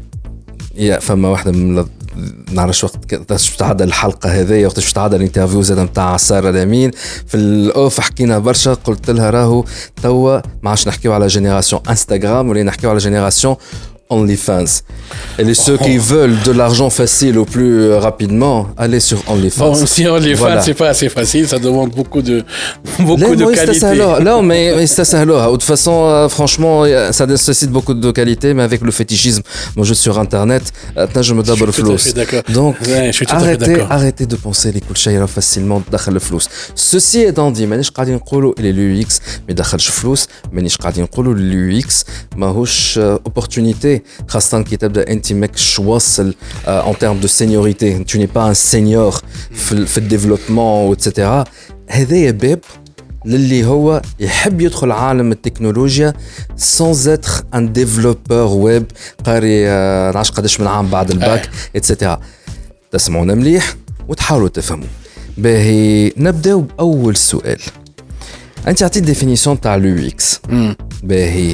يا فما واحده من نعرفش وقت باش تعدى الحلقه هذه وقت باش تعدى الانترفيو زاد نتاع ساره الامين في الاوف حكينا برشا. قلت لها راهو توا ما عادش نحكيو على جينيراسيون انستغرام ولا نحكيو على جينيراسيون OnlyFans. Et les ceux qui veulent de l'argent facile au plus rapidement, allez sur OnlyFans. Bon, si OnlyFans, voilà. C'est pas assez facile, ça demande beaucoup de, beaucoup de qualité. Non, mais, mais ça, ça, alors, de toute façon, euh, franchement, ça nécessite beaucoup de qualité, mais avec le fétichisme, moi, je suis sur Internet, maintenant, je me double le flou. Donc, ouais, je suis tout arrêtez, à fait d'accord. arrêtez de penser les coups de chaïra facilement d'akhal le flou. Ceci étant dit, مانيش قاعدين نقولوا اللي l'U X ما يدخلش فلوس، مانيش قاعدين نقولوا l'U X ماهوش opportunité. خاصة كي تبدا انت ماكش واصل en termes de seniorité, tu n'es pas un senior في في الديفلوبمون واتسيتيرا. هذايا باب للي هو يحب يدخل عالم التكنولوجيا sans être un développeur web قاري نعرفش قداش من عام بعد الباك اتسيتيرا. تسمعونا مليح وتحاولوا تفهموا. باهي نبداو باول سؤال. انت عطيت ديفينيسيون تاع l'U X. باهي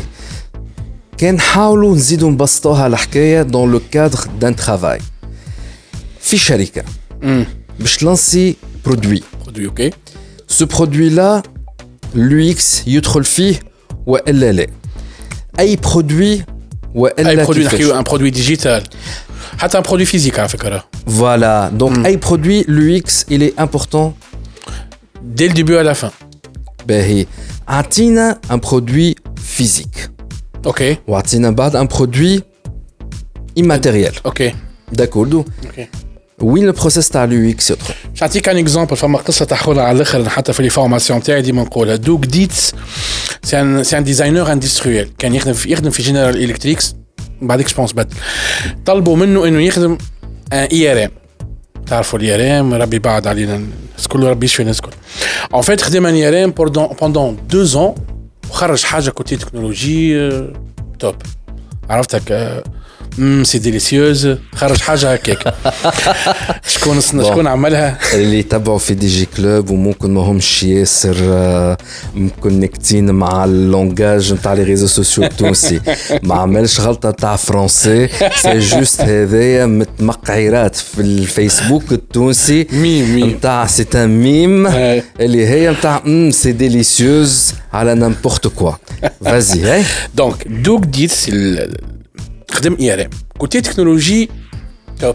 كان نحاولوا نزيدوا نبسطوها الحكايه dans le cadre d'un travail في شركه باش لانسي برودوي برودوي اوكي. ce produit là l'U X يدخل فيه والا لا اي برودوي والا اي برودوي نحكيو ان برودوي ديجيتال حتى ان برودوي فيزيك على فكره. voilà donc اي برودوي l'U X il est important dès le début à la fin. باهي عطينا un produit physique. Ok. Ou a-t-il un produit immatériel. Ok. D'accord. Ok. Oui, le process تاع l'U X يدخل. نعطيك ان اكزامبل. فما قصه تحولها على الاخر حتى في لي فورماسيون تاعي ديما نقولها. دوك ديتس سي ان سي ان ديزاينر اندستريال كان يخدم في يخدم في جنرال الكتريكس بعدك جوبونس بد طلبوا منه انه يخدم ان اي ار ام. تعرفوا الاي ار ام ربي بعد علينا كل ربي يشفي الناس الكل. ان فيت خدم ان اي ار ام بوندون deux ans وخرج حاجه كوتي تكنولوجي توب. عرفتك امم سي ديليسيوز خرج حاجه هكاك. شكون شكون عملها؟ اللي يتبعوا في دي جي كلوب وممكن ما همش ياسر مكونكتين مع اللونجاج نتاع لي ريزو سوسيو التونسي. ما عملش غلطه تاع فرونسي سي جوست هذايا متمقعرات في الفيسبوك التونسي ميم نتاع سي ان ميم اللي هي نتاع امم سي ديليسيوز على نامبورت كوا. فازي هاي دونك دوك ديت خدم اي ار ام كوتي تكنولوجي توب.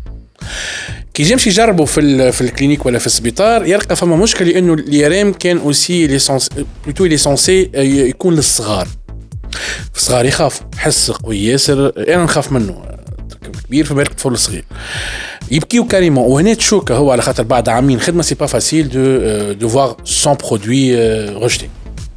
كي يمشي يجربوا في في الكلينيك ولا في السبيطار يلقى فما مشكله لانه الاي ار ام كان اوسي ليسونس بلوتو ليسونسي يكون للصغار. الصغار يخافوا حس قوي ياسر. انا نخاف منه كبير فبالك طفل صغير يبكيو كاريمون. وهنا تشوك هو على خاطر بعد عامين خدمه سي با فاسيل دو دو فوار سون برودوي ريجتي.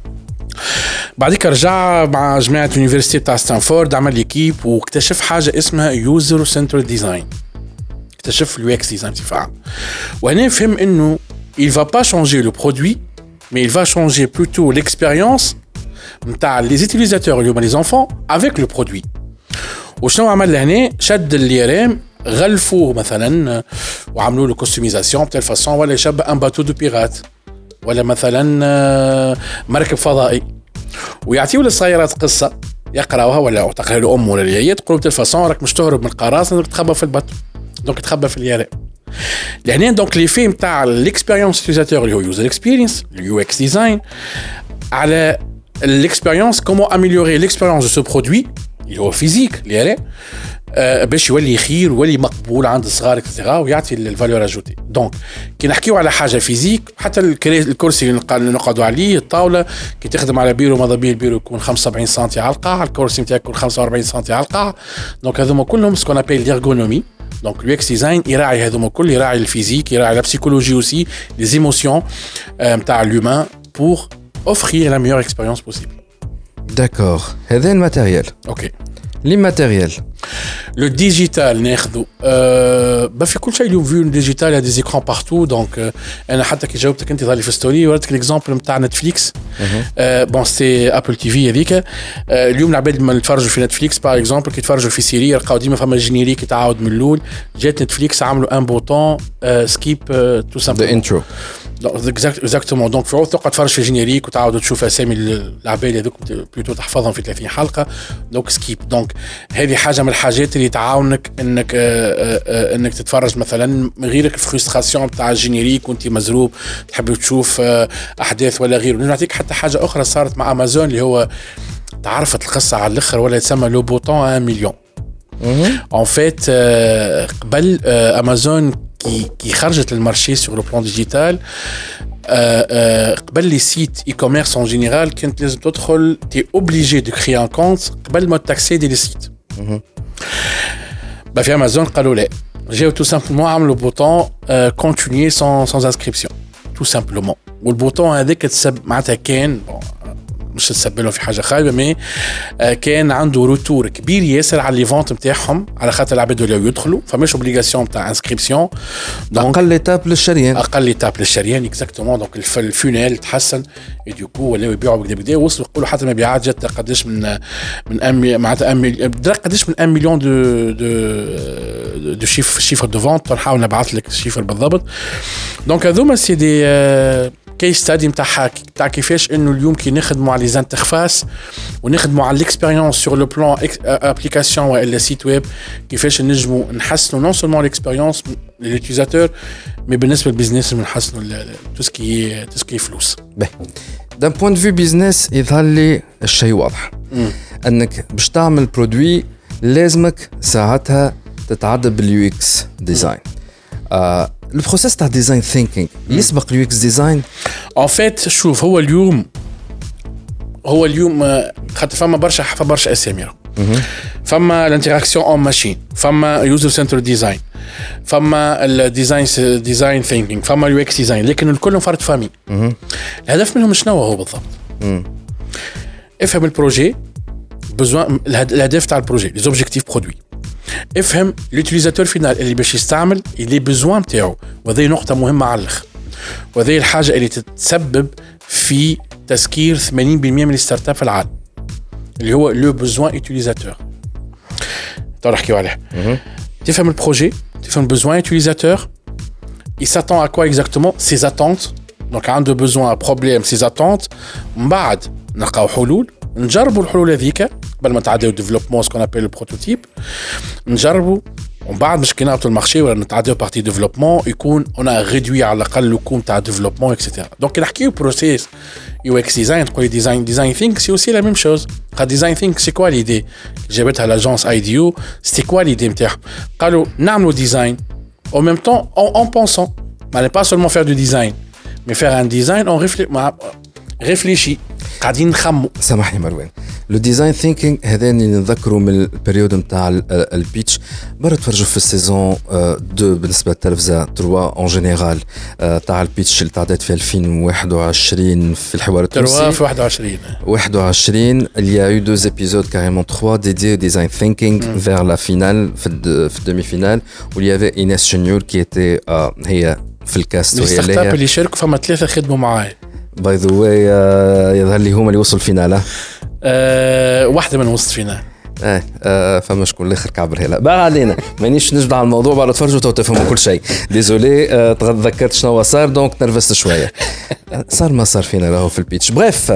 بعديك رجع مع جماعة اليونيفرسيتي بتاع ستانفورد عمل ليكيب واكتشف حاجة اسمها يوزر سنترال ديزاين. اكتشف اليو اكس ديزاين بصفة عامة. وهنا فهم انه il va pas changer le produit mais il va changer plutôt l'expérience نتاع les utilisateurs اللي هما les enfants avec le produit. وشنو عمل لهنا؟ شد الاي ار ام غلفوه مثلا وعملوا له كوستوميزاسيون بتال فاصون ولا يشبه ان باتو دو بيرات ولا مثلا مركب فضائي ويعطيوا للصغيرات قصه يقراوها ولا تقرا له ام ولا اليايه تقول بتال فاصون راك مش تهرب من القراصنه راك تخبى في الباتو دونك تخبى في اليارا. لهنا دونك لي فيم تاع الاكسبيريونس يوزاتور اللي هو يوزر اكسبيرينس اليو اكس ديزاين على الاكسبيريونس كومون اميليوري الاكسبيريونس دو سو برودوي اللي هو فيزيك اليارا أه باش يولي خير ويولي مقبول عند الصغار اكسترا ويعطي الفالور اجوتي. دونك كي نحكيو على حاجه فيزيك حتى الكرسي اللي نقعدوا عليه الطاوله كي تخدم على بيرو ماذا بيه البيرو يكون خمسة وسبعين سنتي على القاع الكرسي نتاعك يكون خمسة وأربعين سنتي على القاع. دونك هذوما كلهم سكون ابيل ليرغونومي. دونك اليو اكس ديزاين يراعي هذوما كل يراعي الفيزيك يراعي لا بسيكولوجي اوسي لي زيموسيون نتاع لومان بور اوفرير لا ميور اكسبيريونس بوسيبل. داكور هذا الماتيريال. اوكي لي ماتيريال لو ديجيتال ناخذو أه با في كل شيء اليوم فيو ديجيتال يا دي زيكران بارتو. دونك أه انا حتى كي جاوبتك انت ظهر في ستوري وريتك ليكزامبل نتاع نتفليكس أه بون سي ابل تي في هذيك أه اليوم العباد ما يتفرجوا في نتفليكس باغ اكزامبل كي يتفرجوا في سيري يلقاو ديما فما جينيريك يتعاود من الاول. جات نتفليكس عملوا ان بوطون أه سكيب أه تو سامبل ذا انترو اكزاكتومون دونك في عوض تقعد تفرج في الجينيريك وتعاود تشوف اسامي العباد هذوك بلوتو تحفظهم في ثلاثين حلقه دونك سكيب دونك هذه حاجه من الحاجات اللي تعاونك انك آآ آآ انك تتفرج مثلا من غيرك الفرستراسيون بتاع الجينيريك وانت مزروب تحب تشوف احداث ولا غيره. نعطيك حتى حاجه اخرى صارت مع امازون اللي هو تعرفت القصه على الاخر ولا يتسمى لو بوطون واحد مليون. ان فيت قبل امازون كي كي خرجت للمارشي سور لو بلان ديجيتال قبل لي سيت اي كوميرس ان جينيرال كنت لازم تدخل تي اوبليجي دو كري ان كونت قبل ما تاكسيدي لي سيت. با في امازون قالوا لا جاو تو سامبلومون عملوا بوطون كونتينيي سون سون انسكريبسيون تو سامبلومون والبوطون هذاك تسب معناتها كان مش تسبلهم في حاجه خايبه مي كان عنده روتور كبير ياسر على لي فونت نتاعهم على خاطر العباد ولاو يدخلوا فماش اوبليغاسيون تاع انسكريبسيون اقل ايتاب للشريان اقل ايتاب للشريان اكزاكتومون دونك الفونيل تحسن ودوكو ولاو يبيعوا بكدا بكدا وصلوا يقولوا حتى المبيعات جات قداش من من أم معناتها قداش من واحد مليون دو دو دو شيف شيفر دو فونت نحاول نبعث لك الشيفر بالضبط. دونك هذوما سي دي كيس ستادي نتاع تاع كيفاش انه اليوم كي نخدموا على لي انترفاس ونخدموا على الاكسبيريونس سور لو بلان ابليكاسيون ولا سيت ويب كيفاش نجموا نحسنوا نون سولمون الاكسبيريونس لليوتيزاتور مي بالنسبه للبيزنس نحسنوا تو سكي تو سكي فلوس. دان بوين دو في بيزنس يظهر لي الشيء واضح م. انك باش تعمل برودوي لازمك ساعتها تتعدى باليو اكس ديزاين. آه البروسيس تاع ديزاين ثينكينج يسبق اليو اكس ديزاين. ان فيت شوف هو اليوم هو اليوم خاطر فما برشا فما برشا اسامي فما الانتراكسيون اون ماشين فما يوزر سنتر ديزاين فما الديزاين ديزاين ثينكينج فما اليو اكس ديزاين لكن الكل فرد فامي. الهدف منهم شنو هو بالضبط؟ مم. افهم البروجي بزوان الهدف تاع البروجي لي زوبجيكتيف برودوي افهم اليوتيليزاتور فينال اللي باش يستعمل اللي بزوان تاعو وهذه نقطه مهمه على الاخر وهذه الحاجه اللي تتسبب في تسكير ثمانين بالمئة من الستارت اب في العالم اللي هو لو بزوان يوتيليزاتور. تو نحكيو عليه. تفهم البروجي تفهم البزوان يوتيليزاتور il s'attend à quoi exactement ses attentes donc عنده besoin problème ses attentes من بعد نلقاو حلول نجربوا الحلول هذيك قبل ما نتعداو ديفلوبمون سكون ابل البروتوتيب نجربوا ومن بعد مش كي نعطوا المارشي ولا نتعداو بارتي ديفلوبمون يكون انا ريدوي على الاقل الكوم تاع ديفلوبمون اكسيتيرا. دونك نحكيو بروسيس يو اكس ديزاين تقول ديزاين ديزاين ثينك سي اوسي لا ميم شوز. قال ديزاين ثينك سي كوا ليدي جابتها لاجونس اي دي يو سي كوا ليدي نتاعهم قالوا نعملوا ديزاين au même temps en, en pensant mais pas seulement faire du design mais faire un design on réfléchit قاعدين نخمو. سامحني مروان لو ديزاين ثينكينغ هذاني نذكروا من البريود نتاع البيتش برا تفرجوا في السيزون اثنين بالنسبه للتلفزه ثلاثة اون جينيرال تاع البيتش اللي تعدت في ألفين وواحد وعشرين في الحوار التونسي ثلاثة في واحد وعشرين واحد وعشرين il y a eu deux épisodes carrément trois dédiés au design thinking mm. vers la finale في في الدمي فينال où il y avait Inès Cheniour qui était uh, هي في الكاست وهي الستارت اب اللي شاركوا فما ثلاثه خدموا معايا باي ذا واي يظهر لي هما اللي وصلوا الفينال. أه واحده من وسط فينال اه, آه فما شكون الاخر كعبر هلا بقى علينا مانيش نجبد على الموضوع بعد تفرجوا تو تفهموا كل شيء. ديزولي آه تذكرت شنو صار دونك نرفزت شويه. صار ما صار فينا راهو في البيتش. بريف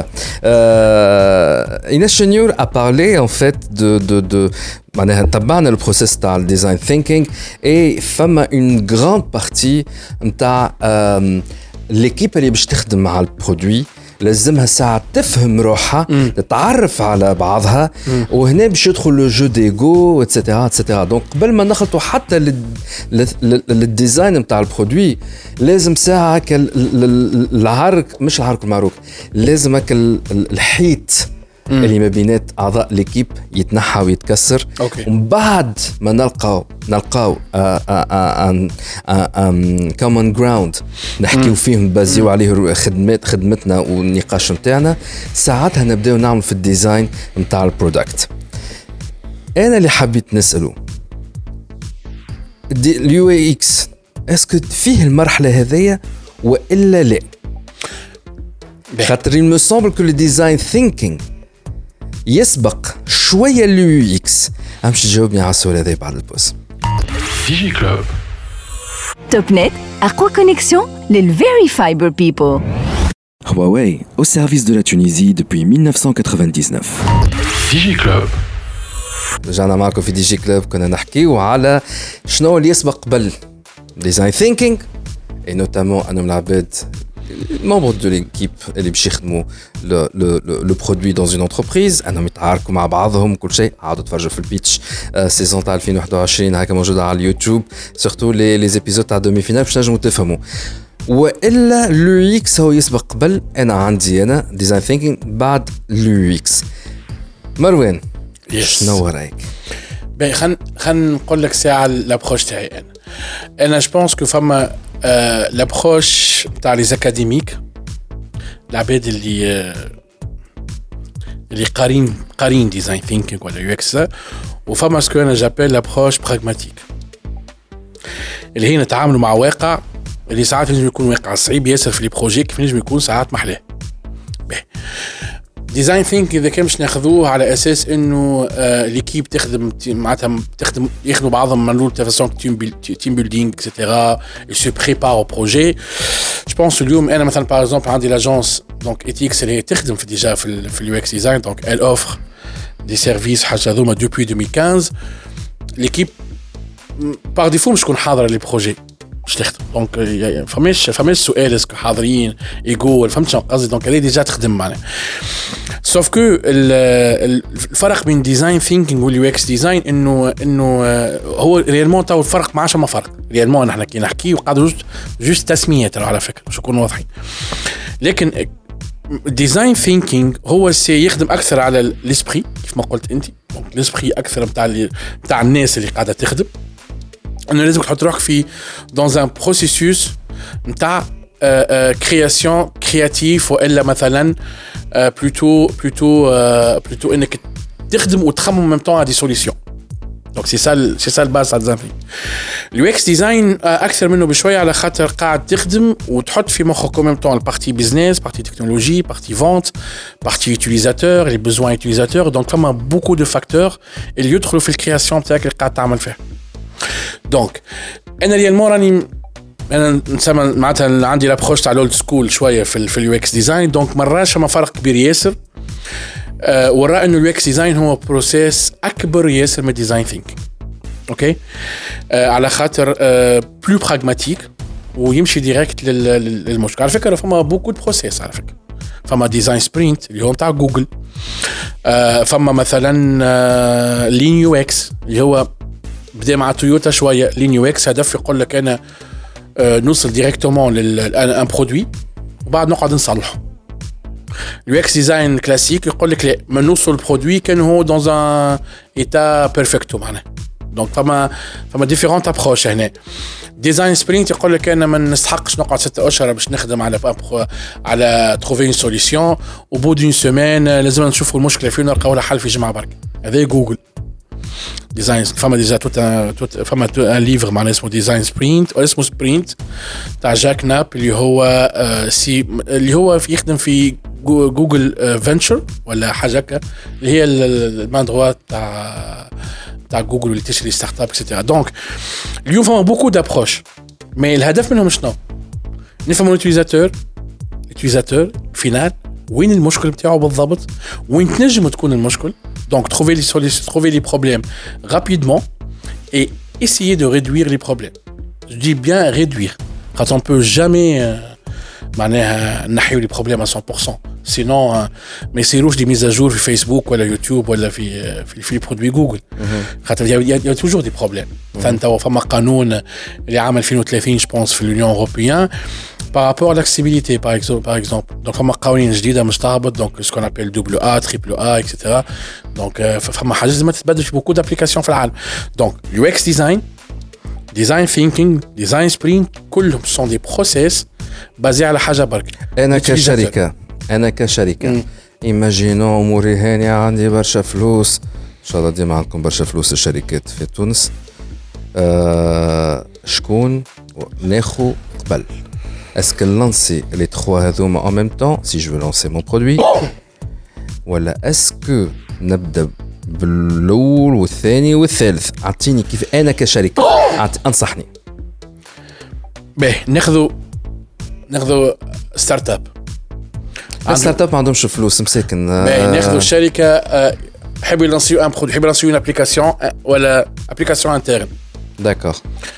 ايناس شنيور ا بارلي ان فيت دو دو دو معناها تبعنا البروسيس تاع الديزاين ثينكينغ اي فما اون غراند بارتي نتاع ليكيب اللي باش تخدم مع البرودوي لازمها ساعة تفهم روحها م. تتعرف على بعضها م. وهنا باش يدخل لو جو ديغو اتسيتيرا اتسيتيرا. دونك قبل ما نخلطوا حتى للديزاين نتاع البرودوي لازم ساعة العرك مش العرك المعروك لازمك الحيط مم. اللي ما بينات اعضاء ليكيب يتنحى ويتكسر. ومن بعد ما نلقاو نلقاو ان كومن جراوند نحكيو فيه نبازيو عليه خدمات خدمتنا والنقاش نتاعنا ساعتها نبداو نعمل في الديزاين نتاع البرودكت. انا اللي حبيت نساله اليو اي اكس اسكو فيه المرحله هذية والا لا؟ خاطر il me semble que le design thinking يسبق شوية اليو اكس. امشي تجاوبني على السؤال هذا بعد البوز. ديجي كلوب توب نت أقوى كونيكسيون لل Very Fiber People. Huawei, au service de la Tunisie depuis mille neuf cent quatre-vingt-dix-neuf. DigiClub. رجعنا معكم في دي جي كلوب. كنا نحكيو على شنو اللي يسبق قبل ديزاين ثينكينج اي نوتامون انهم العباد membres de l'équipe اللي باش يخدموا لو لو لو برودوي دون اون انتربريز انهم يتعاركوا مع بعضهم كل شيء. عادوا تفرجوا في البيتش سيزون تاع ألفين وواحد وعشرين هكا موجوده على اليوتيوب سورتو لي لي زيبيزود تاع دومي فينال باش نجموا تفهموا. والا لو اكس هو يسبق قبل. انا عندي انا ديزاين ثينكينج بعد لو اكس. مروان شنو رايك؟ باهي خلينا خلينا نقول لك ساعه لابروش تاعي انا. انا جو بونس كو فما آه لابروش تاع لي زاكاديميك العباد اللي آه اللي قارين قارين ديزاين ثينكينج ولا يو اكس وفما سكو انا جابيل لابروش براغماتيك اللي هي نتعاملوا مع واقع اللي ساعات ينجم يكون واقع صعيب ياسر في لي بروجي كيف ينجم يكون ساعات محلاه. باهي ديزاين ثينك اذا كان باش ناخذوه على اساس انه آه ليكيب تخدم معناتها تخدم ياخذوا بعضهم من لول فاسون تيم تيم بيلدينغ اكسيتيرا يسو بريبار او بروجي. جو بونس اليوم انا مثلا باغ اكزومبل عندي لاجونس دونك ايتيكس اللي تخدم في ديجا في في اليو اكس ديزاين دونك ال اوفر دي سيرفيس حاجه هذوما دوبوي ألفين وخمسطاش. ليكيب باغ ديفو مش تكون حاضره لي بروجي مش تخدم دونك فماش فماش سؤال اسكو حاضرين ايجو فهمت شنو قصدي. دونك هذه ديجا تخدم معنا سوف كو الفرق بين ديزاين ثينكينج واليو اكس ديزاين انه انه هو ريالمون تو الفرق ما عادش ما فرق ريالمون. نحن كي نحكي وقاعد جوست جوست تسميات على فكره باش نكونوا واضحين. لكن ديزاين ثينكينج هو سي يخدم اكثر على الاسبري كيف ما قلت انت. دونك الاسبري اكثر نتاع نتاع الناس اللي قاعده تخدم. انه لازم تحط روحك في دون ان بروسيسوس نتاع كرياسيون كرياتيف والا مثلا بلوتو بلوتو بلوتو انك تخدم وتخمم ميم طون على دي سوليسيون. دونك سي سا سي سا الباز تاع الديزاين. اليو اكس ديزاين اكثر منه بشويه على خاطر قاعد تخدم وتحط في مخك ميم طون البارتي بيزنس بارتي تكنولوجي بارتي فونت بارتي يوتيليزاتور لي بوزوان يوتيليزاتور. دونك فما بوكو دو فاكتور اللي يدخلوا في الكرياسيون تاعك اللي قاعد تعمل فيها. دونك انا ريالمون راني انا نسمى معناتها عندي لابروش تاع الاولد سكول شويه في في اليو اكس ديزاين. دونك مراش ما فرق كبير ياسر أه وراء انه اليو اكس ديزاين هو بروسيس اكبر ياسر من ديزاين ثينكينج. اوكي أه على خاطر أه بلو براغماتيك ويمشي ديريكت للمشكل. على فكره فما بوكو دو بروسيس على فكره. فما ديزاين سبرينت اللي هو تاع جوجل. أه فما مثلا أه لين يو اكس اللي هو بدا مع تويوتا شويه. لين يو اكس هدف يقول لك انا أه نوصل ديريكتومون لان برودوي وبعد نقعد نصلحه. اليو اكس ديزاين كلاسيك يقول لك لا ما نوصل البرودوي كان هو دون ان ايتا بيرفكتو معناه. دونك فما فما ديفيرونت ابروش هنا. ديزاين سبرينت يقول لك انا ما نستحقش نقعد ستة اشهر باش نخدم على على تروفي اون سوليسيون او بو دون سيمين لازم نشوفوا المشكله فين نلقاو لها حل في جمعه برك. هذا جوجل ديزاين. فما ديجا توت توت فما ان ليفر معناه اسمه ديزاين سبرينت او اسمه سبرينت تاع جاك ناب اللي هو آه سي اللي هو في يخدم في جوجل آه فينتشر ولا حاجه هكا اللي هي المان دروات تاع تاع جوجل اللي تشري ستارت اب اكسيتيرا. دونك اليوم فما بوكو دابروش مي الهدف منهم شنو؟ نفهموا اليوتيليزاتور اليوتيليزاتور فينال وين المشكل بتاعه بالضبط وين تنجم تكون المشكل. Donc, trouver les solutions, trouver les problèmes rapidement et essayer de réduire les problèmes. Je dis bien réduire. Quand on peut jamais معناها نحيو les problèmes à cent pour cent. Sinon, ما يصيروش des mises à jour في فيسبوك ولا يوتيوب ولا في في في برودوي جوجل. خاطر il y a toujours des problèmes. فانت فما قانون اللي عام ألفين وثلاثين je pense في l'Union européenne par rapport à l'accessibilité par exemple par exemple. Donc فما قوانين جديده مش تهبط donc ce qu'on appelle double A, triple A et cetera. Donc فما حاجات لازم تتبدل في beaucoup d'applications في العالم. Donc U X design, design thinking, design sprint كلهم sont des process basés على حاجه برك. انا كشركه انا كشركه ايماجينو اموري هاني عندي برشا فلوس ان شاء الله ديما عندكم برشا فلوس الشركات في تونس. أه شكون ناخو قبل est-ce que lancer les trois هذوما en même temps si je veux lancer mon produit ولا est-ce que نبدا بالاول والثاني والثالث؟ اعطيني كيف انا كشركه انصحني. باهي ناخذوا ناخذوا ستارت اب ستارت اب ما عندهمش فلوس مساكن ناخذوا الشركه يحبوا يلانسيو ان برودوي يحبوا يلانسيو اون ابليكاسيون ولا ابليكاسيون انترن داكور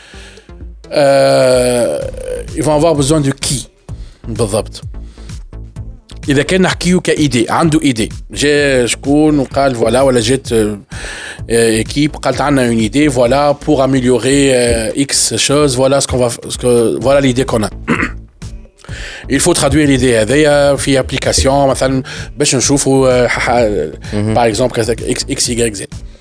ils vont avoir besoin de qui بالضبط اذا كان نحكيو كايدي عنده ايدي جا شكون وقال فوالا ولا جات équipe قالت عندنا une idée voilà pour améliorer euh, x chose voilà ce qu'on va ce que voilà l'idée qu'on a il faut traduire l'idée هذيا في application مثلا باش نشوفوا par exemple x y z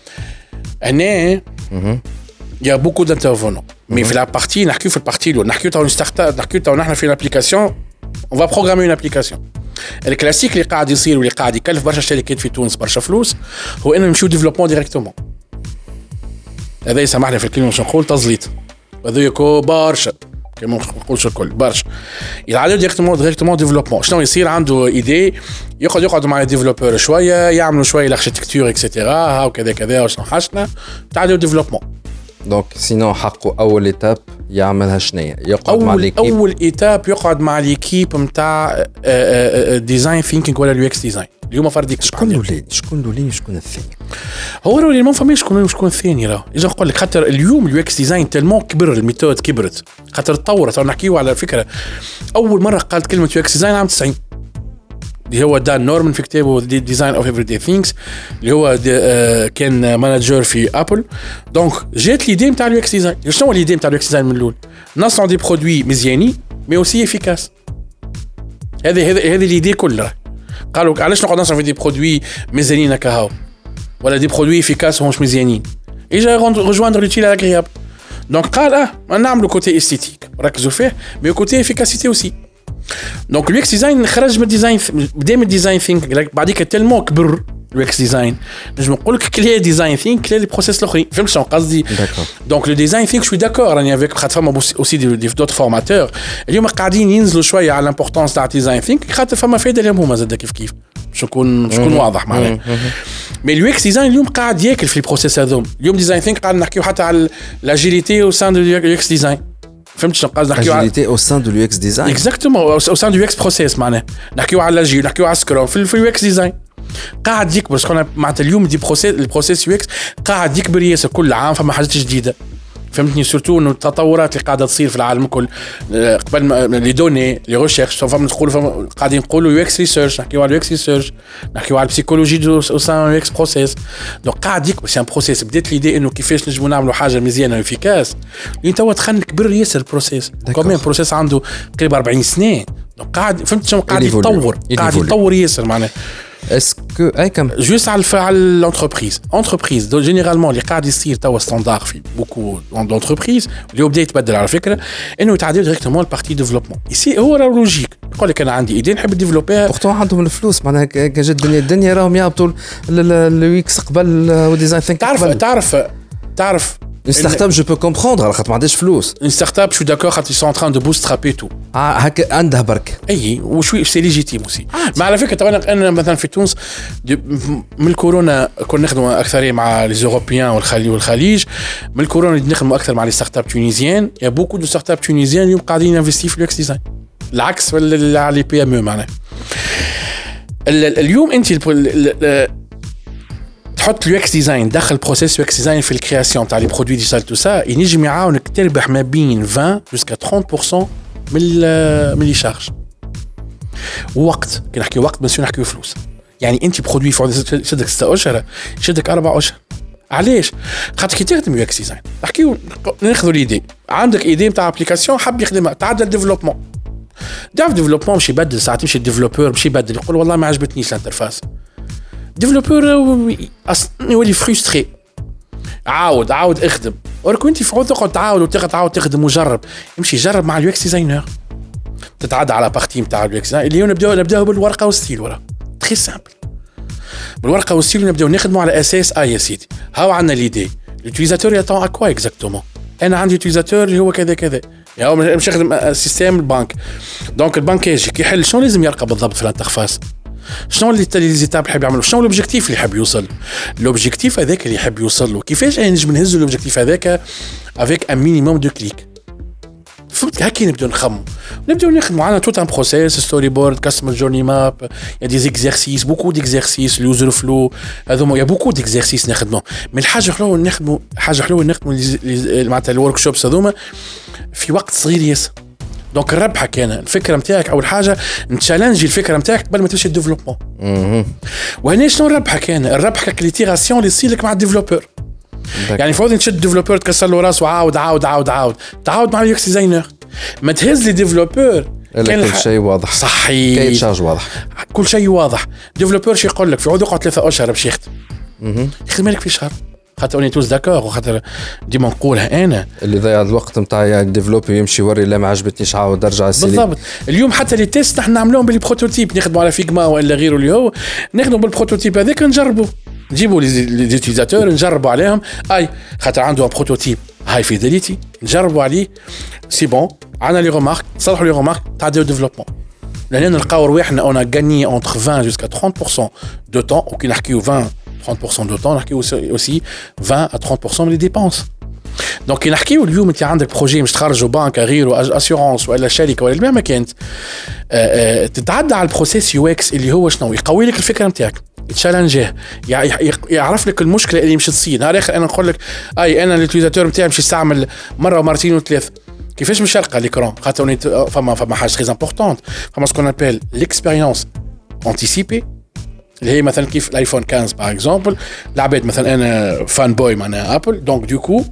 هنا il y a beaucoup d'intervenants mais في la partie نحكيو في البارتي الاولى نحكيو تاع ستارت اب نحكيو تاع نحن في l'application on va programmer une application الكلاسيك اللي قاعد يصير واللي قاعد يكلف برشا شركات في تونس برشا فلوس هو انه نمشيو ديفلوبمون ديريكتومون هذا يسمحنا في الكلمه باش نقول تزليط هذا يكو برشا كما نقولش الكل برشا يلعبوا ديريكتومون ديريكتومون ديفلوبمون شنو يصير عنده ايدي يقعد يقعد مع الديفلوبور شويه يعملوا شويه الاركتيكتور اكسيتيرا ها وكذا كذا وشنو حاجتنا تعالوا ديفلوبمون دونك سينو حقه اول ايتاب يعملها شنية يقعد مع ليكيب اول ايتاب يقعد مع ليكيب نتاع ديزاين ثينكينج ولا اليو اكس ديزاين اليوم فرديك شكون الاولاني شكون الاولاني شكون الثاني هو راه ما فماش شكون شكون الثاني راه اجا نقول لك خاطر اليوم اليو اكس ديزاين تلمون كبر الميثود كبرت خاطر تطورت نحكيو على فكره اول مره قالت كلمه يو اكس ديزاين عام تسعين اللي هو دان نورمان في كتابه ديزاين اوف افري داي ثينكس اللي هو آه كان مانجر في ابل دونك جات ليدي نتاع اليو اكس ديزاين شنو هو ليدي نتاع اليو اكس ديزاين من الاول نصنع دي برودوي مزيانين مي اوسي افيكاس هذه هذه هذه ليدي كلها قالوا علاش نقعد نصنع في دي برودوي مزيانين هكا ولا دي برودوي افيكاس ومش مزيانين اجا رجواندر لوتيل اغريابل دونك قال اه نعملوا كوتي استيتيك ركزوا فيه مي كوتي افيكاسيتي اوسي دونك اليو اكس ديزاين خرج من الديزاين بدا من الديزاين ثينك بعديك تلمو كبر اليو اكس ديزاين نجم نقول لك كلي ديزاين ثينك كلي لي بروسيس الاخرين فهمت شنو قصدي دونك لو ديزاين ثينك شوي داكور راني افيك خاطر فما اوسي دي دوت فورماتور اليوم قاعدين ينزلوا شويه على الامبورطونس تاع ديزاين ثينك خاطر فما فايده لهم هما زاد كيف كيف باش نكون باش نكون واضح معناها مي اليو اكس ديزاين اليوم قاعد ياكل في البروسيس هذوم اليوم ديزاين ثينك قاعد نحكيو حتى على لاجيليتي او سان دو اليو اكس ديزاين فهمت شنو قصدي نحكيو على agilité au sein de l'U X design اكزاكتومون au sein du U X process معناها نحكيو على لاجيل نحكيو على سكرام في اليو اكس ديزاين قاعد يكبر شكون معناتها اليوم دي بروسيس البروسيس يو اكس قاعد يكبر ياسر كل عام فما حاجات جديده فهمتني سورتو انه التطورات اللي قاعده تصير في العالم الكل قبل لي دوني لي ريشيرش فما نقولوا قاعدين نقولوا يو اكس ريسيرش نحكيو على اليو اكس ريسيرش نحكيو على البسيكولوجي او سان يو اكس بروسيس دونك قاعد يكبر سي ان بروسيس بدات ليدي انه كيفاش نجموا نعملوا حاجه مزيانه وافيكاس انت توا تخن كبر ياسر البروسيس كومين بروسيس عنده قريب أربعين سنه دونك قاعد فهمت شنو قاعد يتطور قاعد يتطور ياسر معناها اسكو اي كم جوست على على l'entreprise entreprise دو جينيرالمون اللي قاعد يصير توا ستاندار في بوكو دونتربريز اللي بدا يتبدل على فكره انه يتعدل ديريكتومون البارتي ديفلوبمون يسي هو راه لوجيك يقول لك انا عندي ايدي نحب ديفلوبيها بورتون عندهم الفلوس معناها كان جات الدنيا الدنيا راهم يهبطوا اليو اكس قبل وديزاين ثينك تعرف تعرف تعرف une startup je peux comprendre على خاطر ما عندهاش فلوس une startup je suis d'accord خاطر ils sont en train de bootstrapper tout هكا عندها برك اي وشوي سي ليجيتيم اوسي مع على فكره طبعا انا مثلا في تونس من الكورونا كنا نخدموا اكثر مع لي اوروبيان والخليج والخليج من الكورونا نخدموا اكثر مع لي ستارت اب تونيزيان يا بوكو دو ستارت اب تونيزيان اليوم قاعدين انفستي في الاكس ديزاين العكس ولا على لي بي ام او معناها اليوم انت تحط اليو اكس ديزاين داخل بروسيس يو اكس ديزاين في الكرياسيون تاع لي برودوي ديجيتال تو سا ينجم يعاونك تربح ما بين عشرين جوسكا ثلاثين بالمية من من لي شارج وقت كي نحكي وقت ماشي نحكيو فلوس يعني انت برودوي شدك ستة اشهر شدك أربعة اشهر علاش خاطر كي تخدم يو اكس ديزاين نحكيو ناخذوا ليدي عندك ايدي نتاع ابليكاسيون حاب يخدمها تعدل ديفلوبمون داف ديفلوبمون ماشي يبدل ساعات تمشي الديفلوبور ماشي يبدل يقول والله ما عجبتنيش الانترفاس ديفلوبور يولي فريستري عاود عاود اخدم ولكن انت في عود تقعد تعاود وتاخذ تعاود تخدم وجرب امشي جرب مع اليو اكس ديزاينر تتعدى على بارتي نتاع اليو اكس ديزاين اليوم نبداو نبداو بالورقه والستيل ورا تري سامبل بالورقه والستيل نبداو نخدموا على اساس اي يا سيدي هاو عندنا ليدي لوتيليزاتور يطون اكوا اكزاكتومون انا عندي يوتيليزاتور اللي هو كذا كذا يعني مش نخدم سيستم البنك دونك البنك يجي كيحل شنو لازم يرقى بالضبط في الانترفاس شنو اللي لي زيتاب اللي يحب يعملوا شنو لوبجيكتيف اللي يحب يوصل لوبجيكتيف هذاك اللي يحب يوصل له كيفاش انا نجم نهز لوبجيكتيف هذاك افيك ان مينيموم دو كليك فهمت هكا نبداو نخمو نبداو نخدموا على توت ان بروسيس ستوري بورد كاستمر جورني ماب يا دي زيكزيرسيس بوكو ديكزيرسيس اليوزر فلو هذوما يا بوكو ديكزيرسيس نخدموا من الحاجه حلوه نخدموا حاجه حلوه نخدموا معناتها الورك شوبس هذوما في وقت صغير ياسر دونك الربحه كان الفكره نتاعك اول حاجه نتشالنجي الفكره نتاعك قبل ما تمشي الديفلوبمون وهنا شنو الربحه كان الربحه كليتيراسيون اللي تصير لك مع الديفلوبر يعني فاضي تشد ديفلوبر تكسر له راسه عاود عاود عاود عاود تعاود مع اليو اكس ديزاينر ما تهز لي ديفلوبر كان كل شيء واضح صحيح كاين تشارج واضح كل شيء واضح ديفلوبر شي يقول لك في عود يقعد ثلاثة اشهر باش يخدم يخدم لك في شهر خاطر اوني توز داكور وخاطر ديما نقولها انا اللي ضيع الوقت نتاع يعني الديفلوبر يمشي يوري لا ما عجبتنيش عاود ارجع السيلي بالضبط اليوم حتى لي تيست نحن نعملوهم بالبروتوتيب نخدموا على فيجما ولا غيره اللي هو نخدموا بالبروتوتيب هذاك نجربوا نجيبوا لي زيتيزاتور نجربوا عليهم اي خاطر عنده بروتوتيب هاي فيداليتي نجربوا عليه سي بون عندنا لي رومارك صلحوا لي رومارك تاع دو ديفلوبمون لان نلقاو رواحنا اون غاني entre vingt jusqu'à trente pour cent de temps وكي نحكيو vingt trente pour cent de temps نحكيو aussi vingt à trente pour cent من les dépenses دونك كي نحكيو اليوم انت عندك بروجي مش تخرجوا بنك غيره اسيورونس ولا شركه ولا ما كانت تتعدى على البروسيس يو اكس اللي هو شنو يقوي لك الفكره نتاعك يتشالنجيه يعرف لك المشكله اللي مش تصير نهار اخر انا نقول لك اي انا اليوتيليزاتور نتاعي مش يستعمل مره ومرتين وثلاث كيفاش مش يلقى ليكرون خاطر فما فما حاجه تري امبورطونت فما سكون ابل ليكسبيريونس انتيسيبي اللي هي مثلا كيف الايفون خمسة باغ اكزومبل العباد مثلا انا فان بوي معناها ابل دونك دو كو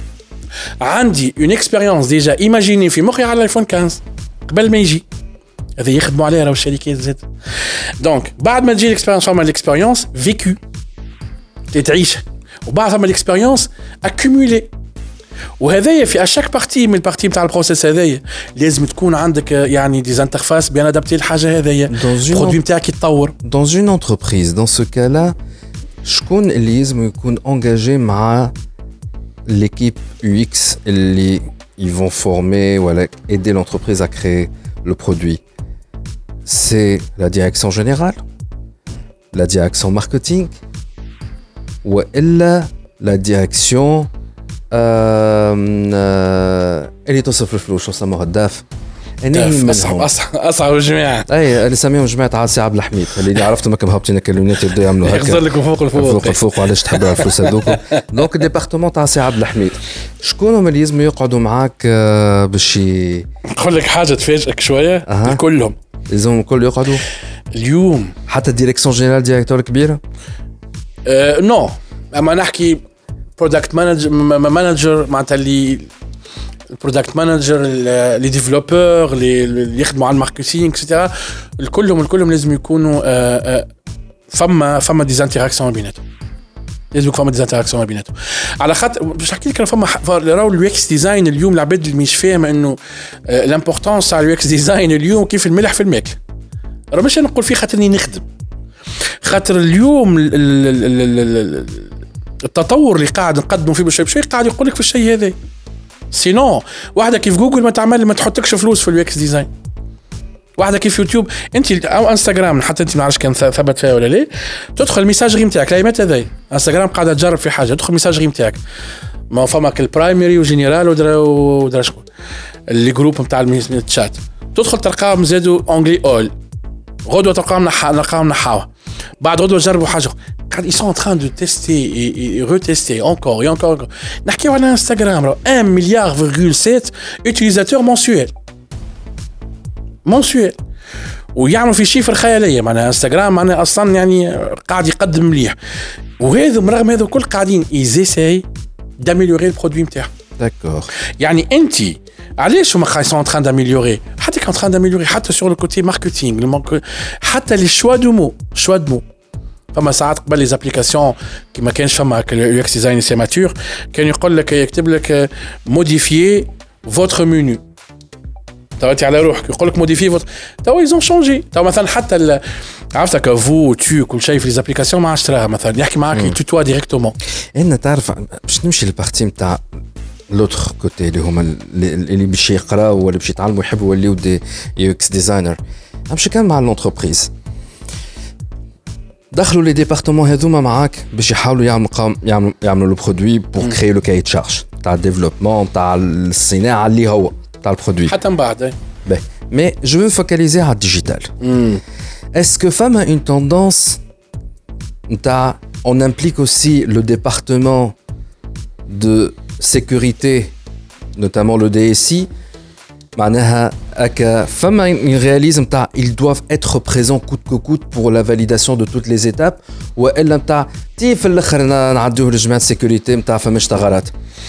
عندي اون اكسبيريونس ديجا ايماجيني في مخي على الايفون خمسة قبل ما يجي هذا يخدموا عليها راهو الشركات زاد دونك بعد ما تجي الاكسبيريونس فما الاكسبيريونس فيكو تعيش وبعد فما الاكسبيريونس اكومولي وهذايا في اشاك بارتي من البارتي نتاع البروسيس هذايا لازم تكون عندك يعني دي انترفاس بيان ادابتي الحاجه هذايا البرودوي نتاعك يتطور dans une entreprise dans ce cas là شكون اللي لازم يكون انجاجي مع l'équipe U X اللي ils vont former ou aider l'entreprise à créer le produit c'est la direction générale la direction marketing ou elle la direction اللي توصف الفلوس وسموها الداف انا اصعب اصعب اصعب جماعه اي اللي سميهم جماعه عاصي عبد الحميد اللي عرفتهم كم هابطين كلونات يبداو يعملوا هكا يخزر لكم فوق الفوق فوق الفوق وعلاش تحبوا الفلوس هذوك دونك الديبارتمون تاع عاصي عبد الحميد شكون هما اللي لازم يقعدوا معاك باش نقول لك حاجه تفاجئك شويه أه. كلهم لازم الكل يقعدوا اليوم حتى الديريكسيون جينيرال ديريكتور كبيره أه نو اما نحكي برودكت مانجر مانجر معناتها اللي البرودكت مانجر لي ديفلوبور اللي يخدموا على الماركتينغ اكسترا الكلهم الكلهم لازم يكونوا فما فما دي انتراكسيون بيناتهم لازم يكون فما دي انتراكسيون بيناتهم على خاطر باش نحكي لك فما راهو اليو اكس ديزاين اليوم العباد اللي مش فاهمه انه الامبورطونس تاع اليو اكس ديزاين اليوم كيف الملح في الماكل راه مش نقول فيه خاطرني نخدم خاطر اليوم التطور اللي قاعد نقدمه فيه بشيء بشيء قاعد يقول لك في الشيء هذا سينو واحده كيف جوجل ما تعمل ما تحطكش فلوس في اليو اكس ديزاين واحده كيف يوتيوب انت او انستغرام حتى انت ما عرفش كان ثبت فيها ولا لا تدخل الميساجري نتاعك لا متى هذاي انستغرام قاعده تجرب في حاجه تدخل الميساجري نتاعك ما فما البرايمري وجينيرال ودرا ودرا شكون اللي جروب نتاع الشات تدخل تلقاهم زادوا اونجلي اول غدوه تلقاهم نلقاهم نحاوه بعد غدوه جربوا حاجه ils sont en train de tester et, et retester encore et encore نحكيو على انستغرام un milliard virgule sept utilisateurs mensuels mensuels ويعملوا في شيفر خياليه معناها انستغرام معناها اصلا يعني قاعد يقدم مليح وهذا رغم هذا الكل قاعدين يزيساي داميليوري البرودوي نتاعهم داكور يعني انت علاش هما خايسون en train d'améliorer حتى كان en train d'améliorer حتى sur le côté marketing حتى les choix de mots choix de mots فما ساعات قبل لي زابليكاسيون كي ما كانش فما اليو اكس ديزاين سي ماتور كان يقول لك يكتب لك موديفيي فوتر منيو تواتي على روحك يقول لك موديفيي فوتر تو ايزون شونجي تو مثلا حتى عرفتك فو تو كل شيء في لي زابليكاسيون ما عادش تراها مثلا يحكي معاك توتوا ديريكتومون ان تعرف باش نمشي للبارتي نتاع لوتر كوتي اللي هما اللي باش يقراو ولا باش يتعلموا يحبوا يوليو دي يو اكس ديزاينر نمشي كان مع لونتربريز دخلوا لي ديبارتمون هذوما معاك باش يحاولوا يعملوا يعملوا يعملوا لو برودوي بور كريي لو كاي تشارج تاع الديفلوبمون تاع الصناعه اللي هو تاع البرودوي حتى من بعد. باهي مي جو فو فوكاليزي على الديجيتال. اسكو فما اون توندونس نتاع on implique aussi le département de sécurité, notamment le D S I. معناها هكا فما une réalisme نتاع ils doivent être présents coûte que coûte pour la validation de toutes les étapes والا نتاع تي في الاخر نعدوه لجماعه السيكوريتي نتاع فماش ثغرات.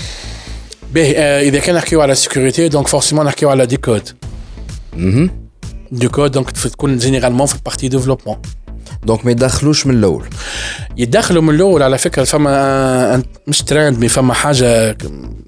باهي اذا كان نحكيو على سيكوريتي دونك فورسيمون نحكيو على دي كود. اها دي كود دونك تكون جينيرالمون في البارتي ديفلوبمون. دونك ما يدخلوش من الاول. يدخلوا من الاول على فكره فما مش ترند مي فما حاجه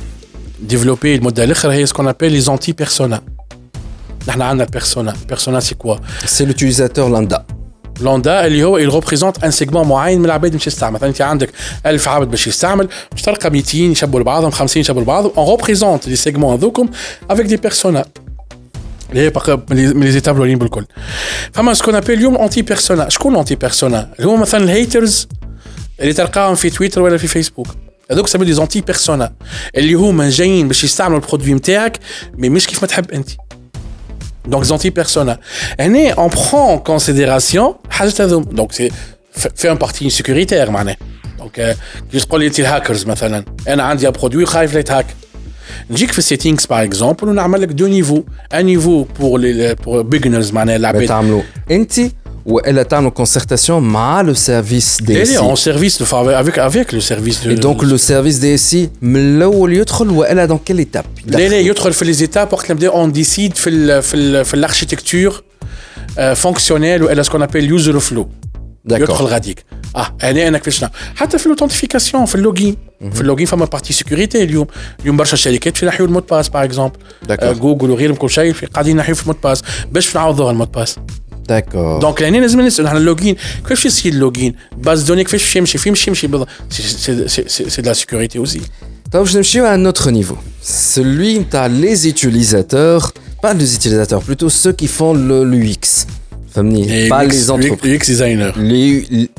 ديفلوبي المده الاخرى هي سكون ابل لي زونتي بيرسونا. نحن عندنا بيرسونا. بيرسونا سي كوا؟ سي لوتيليزاتور لاندا. لاندا اللي هو il représente un segment معين من العباد باش يستعمل. مثلا انت عندك ألف عبد باش يستعمل باش تلقى مئتين يشبوا لبعضهم خمسين يشبوا لبعضهم. on représente les segments هذوكم avec des personas. اللي هي من لي زيتاب الاولين بالكل. فما سكون ابل اليوم انتي بيرسونا. شكون انتي بيرسونا؟ اللي هو مثلا الهيترز اللي تلقاهم في تويتر ولا في فيسبوك. هذوك سمي دي زونتي بيرسونا اللي هما جايين باش يستعملوا البرودوي نتاعك مي مش كيف ما تحب انت. دونك زونتي بيرسونا هنا اون برون كونسيديراسيون حاجه هذوم. دونك سي في ان بارتي سيكوريتير معناه. دونك كي تقول لي انت الهاكرز مثلا انا عندي برودوي خايف لا يتهاك نجيك في السيتينغز باغ اكزومبل ونعمل لك دو نيفو. ان نيفو بور لي بور بيجنرز معناه العباد تعملوا انت والا تعملوا كونسيرتاسيون مع لو سيرفيس دي اس اي اون سيرفيس افيك افيك لو سيرفيس دو دونك لو سيرفيس دي اس من الاول يدخل والا دون كيل ايتاب؟ لا لا يدخل في لي زيتاب وقت نبدا اون ديسيد في ال في ال في الاركتيكتور فونكسيونيل والا سكون ابل يوزر فلو. يدخل غاديك اه هنا انا كيفاش حتى في الاوثنتيفيكاسيون في اللوجين. في اللوجين فما بارتي سيكوريتي اليوم. اليوم برشا شركات في نحيو المود باس باغ اكزومبل جوجل وغيرهم كل شيء قاعدين نحيو في المود باس باش نعوضوها المود باس. داكور دونك لهنا لازم نسال نحن اللوجين كيفاش يصير اللوجين باز دوني كيفاش يمشي فين يمشي يمشي بالضبط. سي سي سي دو لا سيكوريتي اوسي. طيب باش نمشيو à un autre niveau, celui نتاع les utilisateurs, pas les utilisateurs, plutôt ceux qui font le l'U X. فهمني pas les entreprises. U X designer. les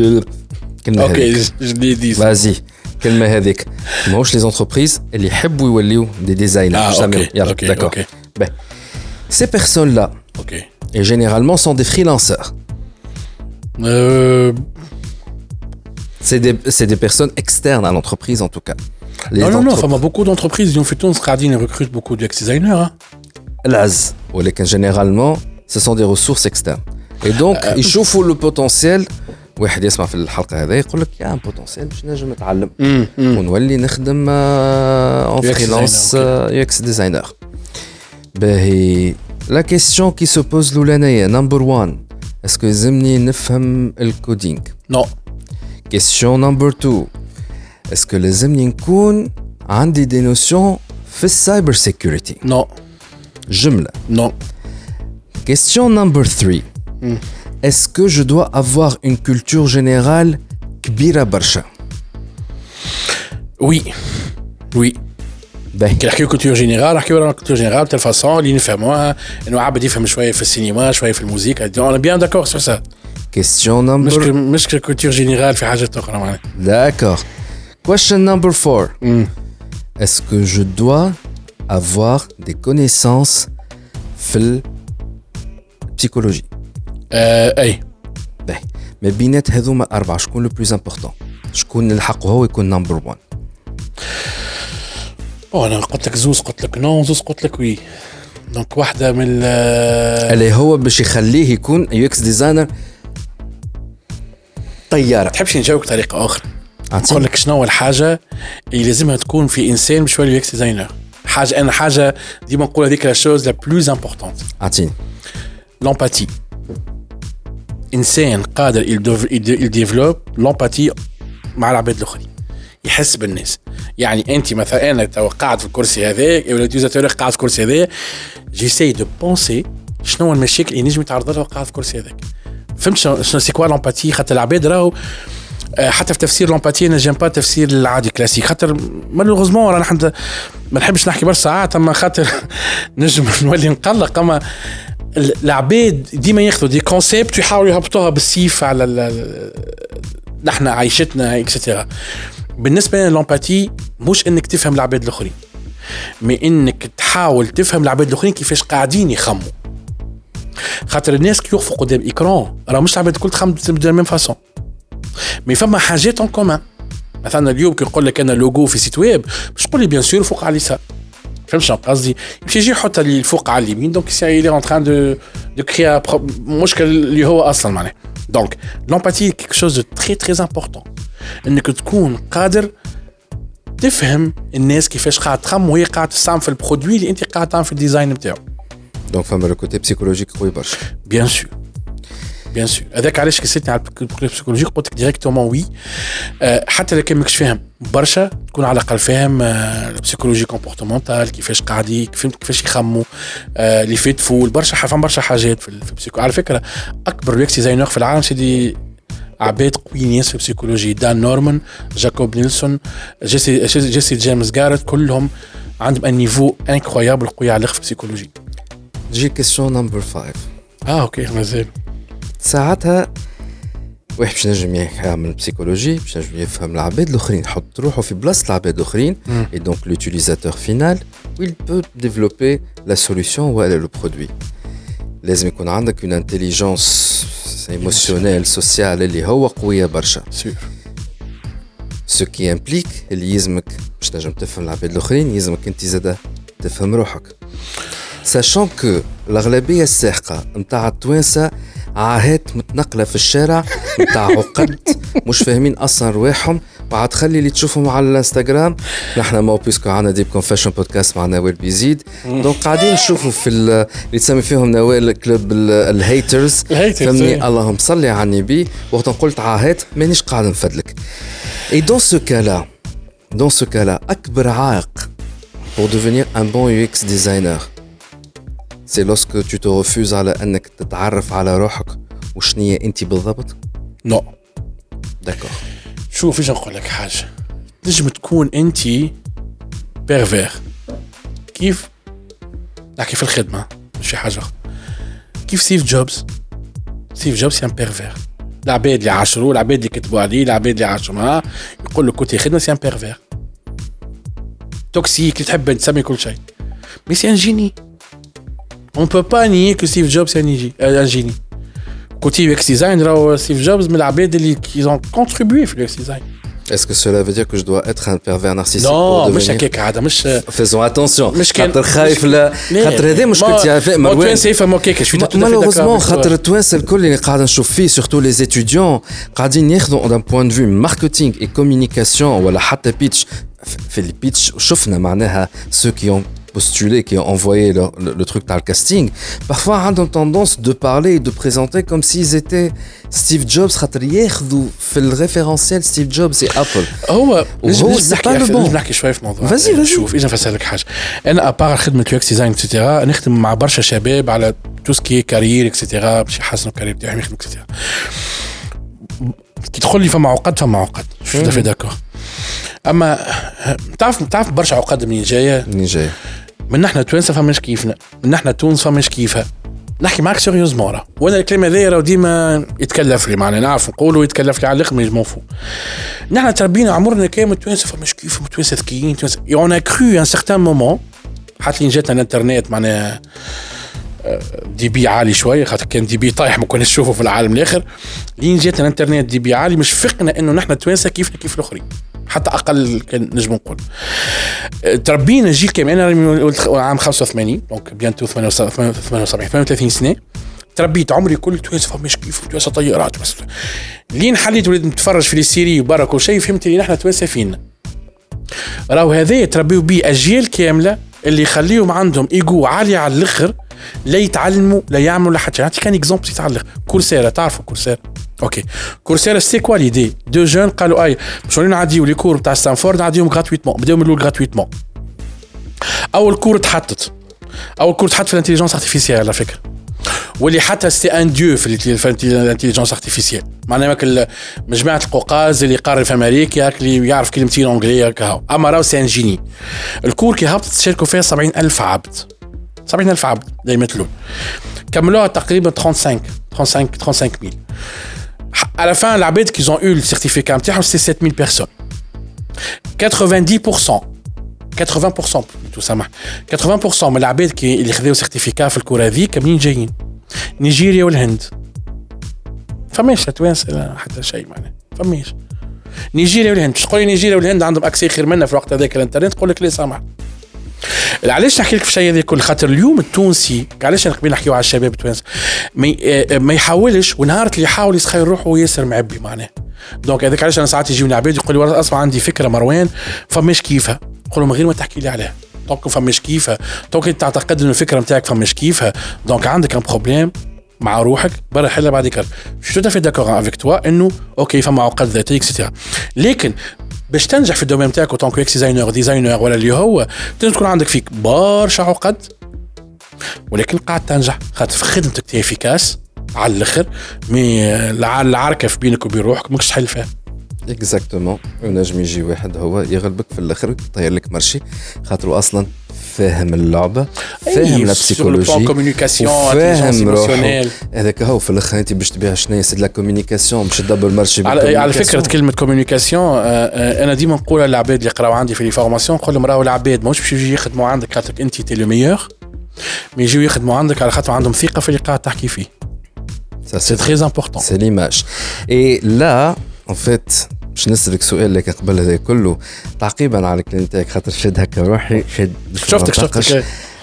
اوكي je l'ai dit. vas-y كلمه هذيك ماهوش les entreprises اللي يحبوا يوليو des designers. ah, okay. يلا okay, d'accord. okay. Ben, ces personnes là okay. et généralement sont des freelanceurs. Euh... C'est des, c'est des personnes externes à l'entreprise en tout cas. Les non, non, non, enfin, beaucoup d'entreprises, ils ont fait tout, ils recrutent beaucoup de U X designers. Hein. L'A Z, généralement, ce sont des ressources externes. Et donc, euh... ils chauffent le potentiel. واحد يسمع في الحلقة هذا يقول لك يا بوتنسيال باش نجم نتعلم ونولي نخدم en freelance U X designer. باهي la question qui se pose l'oulanaye number one, est-ce que يلزمني نفهم الكودينغ؟ Non. Question number two, est-ce que لازمني نكون عندي des notions في السايبر سيكوريتي؟ Non. جملة. Non. Question number three, mm. est-ce que je dois avoir une culture générale كبيرة برشا؟ Oui. Oui. باهي كي نحكيو كولتور جينيرال نحكيو على كولتور جينيرال بتاع الفاسون اللي نفهموها انه عبد يفهم شويه في السينما شويه في الموسيقى. انا بيان داكور سو سا. Question number مش مش كولتور جينيرال في حاجه اخرى معناها. D'accord. Question number four. Mm. Est-ce que je dois avoir des connaissances في البسيكولوجي؟ آه اي. باهي ما بينات هذوما أربعة شكون لو بلوز امبورطون؟ شكون نلحقه هو يكون نمبر وان؟ أو أنا قلت لك زوز قلت لك نو زوز قلت لك وي. دونك واحدة من اللي هو باش يخليه يكون يو اكس ديزاينر طيارة. تحبش نجاوبك بطريقة أخرى؟ نقول لك شنو الحاجة اللي لازمها تكون في إنسان باش يولي يو اكس ديزاينر. حاجة أنا حاجة ديما نقول هذيك لا شوز لا بلوز امبورطونت. أعطيني. لومباتي. إنسان قادر يديفلوب لومباتي مع العباد الآخرين. يحس بالناس. يعني انت مثلا انا تو قاعد في الكرسي هذاك ولا اليوزاتور قاعد في الكرسي هذا جيساي دو بونسي شنو المشاكل اللي نجم يتعرض لها قاعد في الكرسي هذاك. فهمت شنو سي كوا لومباتي؟ خاطر العباد راهو حتى في تفسير لومباتي انا جيم با تفسير العادي كلاسيك خاطر مالوغوزمون رانا حد ما نحبش نحكي برشا ساعات اما خاطر نجم نولي نقلق. اما العباد ديما ياخذوا دي كونسيبت ويحاولوا يهبطوها بالسيف على نحن عايشتنا اكسترا. بالنسبه لنا لومباتي مش انك تفهم العباد الاخرين مي انك تحاول تفهم العباد الاخرين كيفاش قاعدين يخموا. خاطر الناس كي يوقفوا قدام ايكران راه مش العباد الكل تخمم دو ميم فاسون، مي فما حاجات اون كومان. مثلا اليوم كي نقول لك انا لوجو في سيت ويب باش تقول لي بيان سور فوق على اليسار، فهمت شنو قصدي؟ يمشي يجي يحط لي الفوق على اليمين، دونك سي لي اون تران دو دو كريا مشكل اللي هو اصلا معناه. دونك لومباتي كيك شوز دو تري تري امبورطون، انك تكون قادر تفهم الناس كيفاش قاعد تخمم وهي قاعد تستعمل في البرودوي اللي انت قاعد تعمل في الديزاين نتاعو. دونك فما لو كوتي بسيكولوجيك قوي برشا. بيان سور بيان سور هذاك علاش كسيتني على البسيكولوجي قلت لك ديريكتومون وي. أه حتى لو كان ماكش فاهم برشا تكون على الاقل فاهم أه البسيكولوجي كومبورتمونتال كيفاش قاعد فهمت كيفاش يخموا أه اللي فيت فول برشا فهم برشا حاجات في البسيكو. على فكره اكبر يو ديزاينر في العالم سيدي عباد قويين ياسر في البسيكولوجي، دان نورمان، جاكوب نيلسون، جيسي جيسي جيمس جارت، كلهم عندهم ان نيفو انكرويابل قوي على الاخر في البسيكولوجي. تجي كيسيون نمبر خمسة. اه اوكي مازال ساعتها واحد باش نجم يعمل بسيكولوجي باش نجم يفهم العباد الاخرين، يحط روحه في بلاصه العباد الاخرين et donc l'utilisateur final où il peut développer la solution ولا le produit. لازم يكون عندك une intelligence émotionnelle sociale اللي هو قويه برشا. سور ce qui implique اللي يلزمك باش تنجم تفهم العباد الاخرين يلزمك انت زاده تفهم روحك. sachant que الأغلبية الساحقة متاع التوانسة عاهات متنقلة في الشارع متاع عقد مش فاهمين أصلا رواحهم، وعاد خلي اللي تشوفهم على الانستغرام. نحن ما بيسكو عنا ديب كونفيشن بودكاست مع نوال بيزيد، دونك قاعدين نشوفوا في اللي تسمي فيهم نوال كلوب الهيترز فهمني. اللهم صلي على النبي. وقت قلت عاهات مانيش قاعد نفدلك. Et dans ce cas-là, dans ce cas-là, أكبر عائق pour devenir un bon U X designer c'est lorsque tu te refuses على أنك تتعرف على روحك وشنية أنت بالضبط. نو داكور. شوف ايش نقول لك حاجه، تنجم تكون انت بيرفير كيف نحكي في الخدمه مش في حاجه كيف ستيف جوبز. ستيف جوبز سي ان بيرفير. العباد اللي عاشروه العباد اللي كتبوا عليه العباد اللي عاشوا معاه يقول له كنت خدمه سي ان بيرفير توكسيك اللي تحب تسمي كل شيء، مي سي ان جيني. On ne peut pas nier que Steve Jobs est un génie. Côté U X design, Steve Jobs, mais la bête qui ont contribué au U X design. Est-ce que cela veut dire que je dois être un pervers narcissique non, pour devenir... مش هكاك عادة مش. Faisons attention. خاطر خايف لا خاطر هذا مش كنت يعرف مروان. التوانسة يفهموا هكاك شوية. malheureusement خاطر التوانسة الكل اللي قاعد نشوف فيه surtout les étudiants قاعدين ياخذوا d'un point de vue marketing et communication ولا حتى pitch. في البيتش شفنا معناها ceux qui ont postulé, qui ont envoyé le, le, le truc dans le casting, parfois ont tendance de parler et de présenter comme s'ils étaient Steve Jobs. في le référentiel Steve Jobs et Apple. هو هو c'est pas le bon. نحكي شوية في موضوع. Vas-y, vas-y. شوف إذا نفسر حاجة. أنا أبار خدمة يو إكس ديزاين إكسترا نخدم مع برشا شباب على tout ce qui est carrière إكسترا باش يحسنوا الكارير تاعهم يخدموا إكسترا. كي تدخل لي فما عقد فما عقد. شو ده في داكور. أما تعرف تعرف برشا عقد منين جاية؟ منين جاية؟ من نحن توانسة فماش كيفنا، من نحن تونس فماش كيفها. نحكي معك سيريوزمون راه، وانا الكلمة هذيا راه ديما يتكلف لي معناها نعرف نقولوا يتكلف لي على الآخر ما يجموفو. نحن تربينا عمرنا كامل توانسة فماش كيف توانسة ذكيين توانسة. et on a cru un certain moment حتى لين جاتنا الانترنت معناها دي بي عالي شويه خاطر كان دي بي طايح ما كناش نشوفه في العالم الاخر. لين جاتنا الانترنت دي بي عالي مش فقنا انه نحن توانسة كيفنا كيف الاخرين حتى اقل كان نجم نقول. تربينا جيل كامل انا عام خمسة وثمانين دونك بيانتو ثمانية وسبعين ثمانية وثلاثين سنه تربيت عمري كل توانسة فماش كيف توانسة طيارات بس. لين حليت وليت نتفرج في السيري وبرك وشيء فهمت لي نحن توانسة فينا. راهو هذا يتربيوا بيه اجيال كامله اللي يخليهم عندهم ايجو عالي على الاخر لا يتعلموا لا يعملوا لا حتى. نعطيك كان اكزومبل يتعلق كورسيرا. تعرفوا كورسيرا؟ اوكي كورسيرا سي كوا ليدي دو جون قالوا اي باش نعديو لي كور تاع ستانفورد نعديهم غراتويتمون. بداو من الاول غراتويتمون. اول كور تحطت اول كور تحط في الانتيليجنس ارتيفيسيال على فكره واللي حتى سي ان ديو في الانتيليجنس ارتيفيسيال معناها ماك مجموعه القوقاز اللي قارن في امريكا اللي يعرف كلمتين انجليه كهو. اما راهو سي ان جيني. الكور كي هبطت تشاركوا فيها سبعين ألف عبد سبعين ألف عبد لا يمثلون. كملوها تقريبا خمسة وثلاثين خمسة وثلاثين مية. على فان العباد كي زون يو السيرتيفيكا نتاعهم سي سبعة مية بيرسون. quatre-vingt-dix pour cent ثمانين بالمئة تو سامح ثمانين بالمئة من العباد كي اللي خذوا سيرتيفيكا في الكره هذيك منين جايين؟ نيجيريا والهند. فماش توانسه حتى شيء معناه فماش نيجيريا والهند. تقول لي نيجيريا والهند عندهم اكسي خير منا في الوقت هذاك الانترنت، تقول لك لا سامح. علاش نحكي لك في الشيء هذا كل خاطر اليوم التونسي علاش قبل نحكيو على الشباب التوانسه ما ما يحاولش، ونهار اللي يحاول يسخر روحه ياسر معبي معناه. دونك هذاك علاش انا ساعات يجيوني عباد يقول لي والله اسمع عندي فكره مروان فماش كيفها، نقول من غير ما تحكي لي عليها. دونك فماش كيفها، دونك تعتقد ان الفكره نتاعك فماش كيفها، دونك عندك ان بروبليم مع روحك برا حل بعد كده. شو تفي داكور افيك توا انه اوكي فما عقد ذاتيه اكسترا، لكن باش تنجح في الدومين نتاعك وطونك اكس ديزاينر ديزاينر ولا اللي هو لازم تكون عندك فيك برشا عقد، ولكن قاعد تنجح خاطر في خدمتك تي افيكاس على الاخر. مي العركه في بينك وبين روحك ماكش تحل فيها. اكزاكتومون. ونجم يجي واحد هو يغلبك في الاخر يطير لك مرشي خاطر اصلا فاهم اللعبه، فاهم لا بسيكولوجي، فاهم روحه. هذاك هو في الاخر انت باش تبيع شنو سي لا كومونيكاسيون باش تدبر مرشي. على, على فكره كلمه كومونيكاسيون انا ديما نقولها للعباد اللي يقراو عندي في لي فورماسيون، نقول لهم راهو العباد ماهوش باش يجي يخدموا عندك خاطر انت تي لو ميور، مي يجيو يخدموا عندك على خاطر عندهم ثقه في اللي قاعد تحكي فيه. سي تري امبورطون، سي ليماج. اي لا ان فيت باش نسألك سؤال لك قبل هذا كله تعقيبا على الكلام تاعك خاطر شد هكا روحي شد شفتك شفتك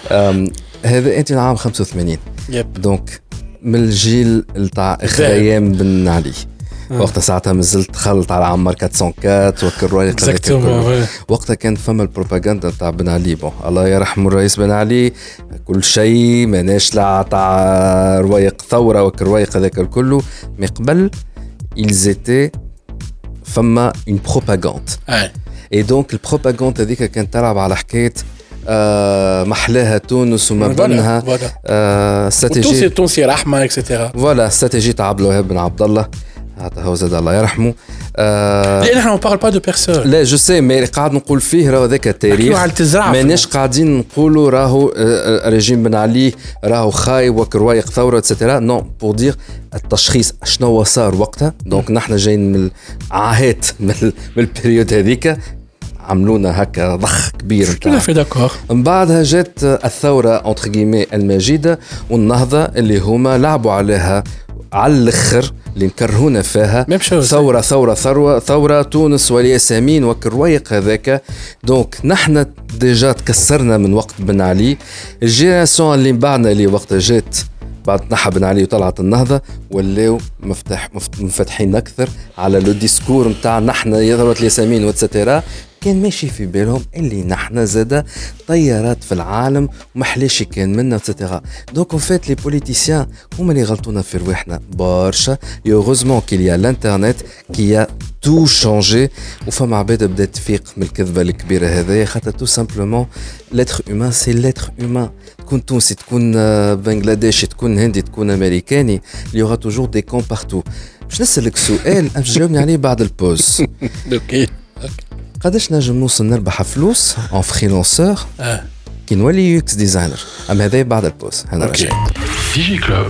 هذا انت عام خمسة وثمانين يب. دونك من الجيل تاع اخريام بن علي وقتها ساعتها مازلت خلط على عمر أربعمية وأربعة وكل رواية وقتها كانت فما البروباغندا تاع بن علي. بون الله يرحمه الرئيس بن علي كل شيء ماناش لا تاع روايق ثورة وكل روايق هذاك الكله من قبل ils étaient فما une propagande. et donc البروباغندا هذيك كانت تلعب على حكايه آه محلاها تونس وما بينها آه استراتيجيه تونسي تونسي رحمه اكسترا فوالا استراتيجيه تاع عبد الوهاب بن عبد الله هذا هو زاد الله يرحمه. آه لا نحن ما بارل با دو بيرسون لا جو سي مي قاعد نقول فيه راهو ذاك التاريخ ماناش قاعدين نقولوا راهو ريجيم بن علي راهو خايب وكروايق ثوره اتسيتيرا نو بور دير التشخيص شنو صار وقتها. دونك نحن جايين من عاهات من البريود هذيك عملونا هكا ضخ كبير نتاع في داكور. من بعدها جات الثوره اونتر غيمي المجيده والنهضه اللي هما لعبوا عليها على الاخر اللي نكرهونا فيها ثوره ثوره ثوره ثوره تونس والياسمين وكرويق هذاك. دونك نحن ديجا تكسرنا من وقت بن علي. الجينيراسيون اللي بعدنا اللي وقت جات بعد نحى بن علي وطلعت النهضه ولاو مفتح مفتحين اكثر على لو ديسكور نتاع نحن ثوره الياسمين واتسيتيرا. كان ماشي في بالهم اللي نحن زاده طيارات في العالم ومحلاش كان منا اتسيتيرا. دونك اون فيت لي بوليتيسيان هما اللي غلطونا في رواحنا برشا. يوغوزمون كيليا الانترنت كي تو شانجي وفما عباد بدات تفيق من الكذبه الكبيره هذايا خاطر تو سامبلومون لاتر هيومان سي لاتر هيومان. تكون تونسي تكون بنغلاديشي تكون هندي تكون امريكاني ليوغا توجور دي كون بارتو. باش نسالك سؤال باش تجاوبني عليه بعد البوز. اوكي قداش نجم نوصل نربح فلوس ان فريلانسور اه كي نولي يو اكس ديزاينر؟ اما هذا بعد البوز. انا راجع ديجي كلوب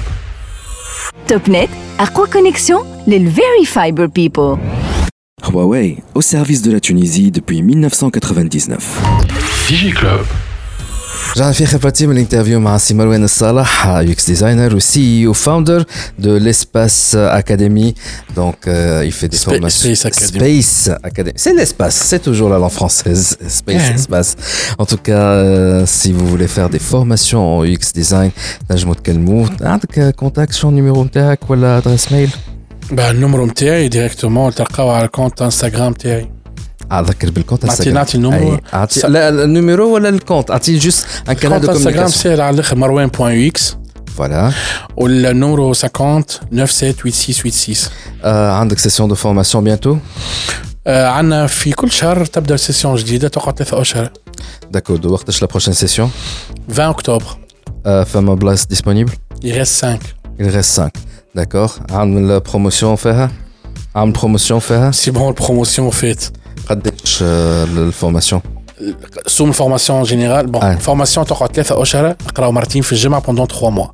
توب نت اقوى كونيكسيون للفيري فايبر بيبل. Huawei, au service de la Tunisie depuis mille neuf cent quatre-vingt-dix-neuf. ديجي كلوب رجعنا في خبرتي من الانترفيو مع سي مروان الصالح يو اكس ديزاينر و سي او فاوندر دو ليسباس اكاديمي. دونك il fait des formations Space Academy. C'est l'espace, c'est toujours la langue française. Space espace. En tout cas, euh, si vous voulez faire des formations en U X design, نجموا تكلموا. عندك كونتاكت شو النيميرو نتاعك ولا ادريس ميل؟ با النمرو نتاعي ديريكتومون تلقاو على الكونت انستغرام تاعي. اذكر بالكونت انستغرام. نعطي النمرو. لا النيميرو ولا الكونت؟ اعطي جوست ان كانال دو كومونيكاسيون. انستغرام سير على الاخر مروان بوين يو اكس. فوالا. والنمرو خمسين تسعة سبعة ثمانية ستة ثمانية ستة. آه عندك سيسيون دو فورماسيون بيانتو؟ آه عندنا في كل شهر تبدا سيسيون جديده تقعد ثلاثة اشهر. داكور. وقتاش لا بروشين سيسيون؟ عشرين اكتوبر. آه فما بلاص ديسپونيبل؟ il reste cinq. il reste cinq. داكور. عامل بروموسيون فيها؟ عامل بروموسيون فيها؟ سي بون البروموسيون فات. قداش الفورماسيون؟ سوم الفورماسيون جينيرال بون الفورماسيون تقعد ثلاثة اشهر نقراو مرتين في الجمعه بوندون ثلاثة موا.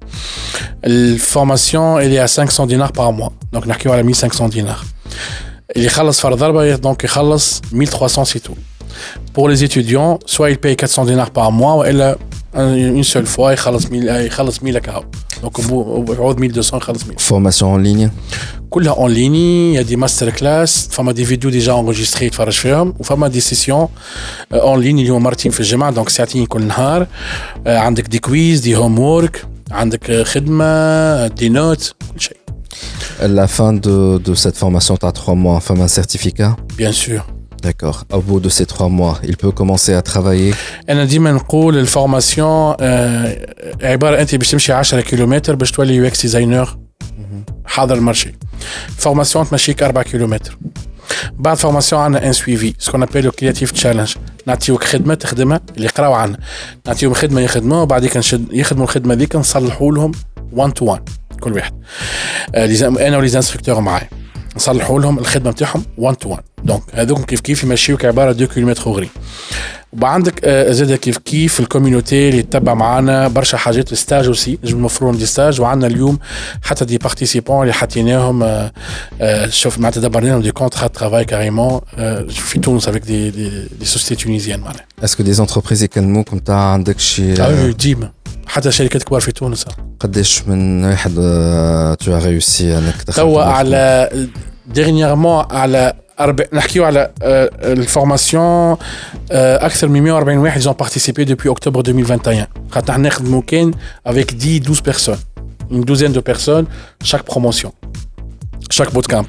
الفورماسيون اللي خمسمية دينار بار موا دونك نحكيو على مية وخمسمية دينار. اللي يخلص فرض ضربه دونك يخلص مية وثلاثمية سي تو. Pour les étudiants, soit ils payent quatre cents dinars par mois, ou elle une seule fois, ils خلص mille, ils خلص mille كهو. Donc au bout, au mille deux cents, ils خلص mille. Formation en ligne. كلها en ligne, il y a des masterclass, فما des vidéos déjà enregistrées تفرج فيهم, وفما des sessions en ligne اللي هما مرتين في الجمعة, donc ساعتين كل نهار. عندك des quiz, des homework, عندك خدمة, des notes, كل شيء. La fin de, de cette formation, tu as trois mois, enfin un certificat. Bien sûr. D'accord. Au bout de ces trois mois, il peut commencer à travailler. أنا ديما نقول الفورماسيون عبارة أنت باش تمشي عشرة كيلومتر باش تولي يو اكس ديزاينر حاضر المارشي. فورماسيون تمشيك أربعة كيلومتر. بعد فورماسيون عندنا ان سويفي سكون ابيل لو كرياتيف تشالنج. نعطيوك خدمة تخدمها اللي يقراو عنا. نعطيوهم خدمة يخدموها وبعديك نشد يخدموا الخدمة ذيك نصلحوا لهم وان تو وان كل واحد. أنا ولي انستركتور معايا. نصلحوا لهم الخدمه نتاعهم وان تو وان. دونك هذوك كيف كيف يمشيوك عباره دو كيلومتر غري. وعندك زاد كيف كيف الكوميونيتي اللي تتبع معنا برشا حاجات ستاج اوسي نجم نوفروا دي ستاج. وعندنا اليوم حتى دي بارتيسيبون اللي حطيناهم شوف معناتها دبرنا لهم دي كونترا ترافاي كاريمون في تونس افيك دي دي دي سوسيتي تونيزيان معناها. اسكو دي زونتربريز يكلموكم تاع عندك شي اه ديما حتى شركات كبار في تونس. قداش من واحد تو ريوسي انك تدخل توا على ديرنييرمون على أربع نحكيو على الفورماسيون اكثر من مية وأربعين واحد ont participé depuis octobre deux mille vingt et un. خاطر نخدمو كان avec dix douze personnes, une douzaine de personnes chaque promotion chaque bootcamp.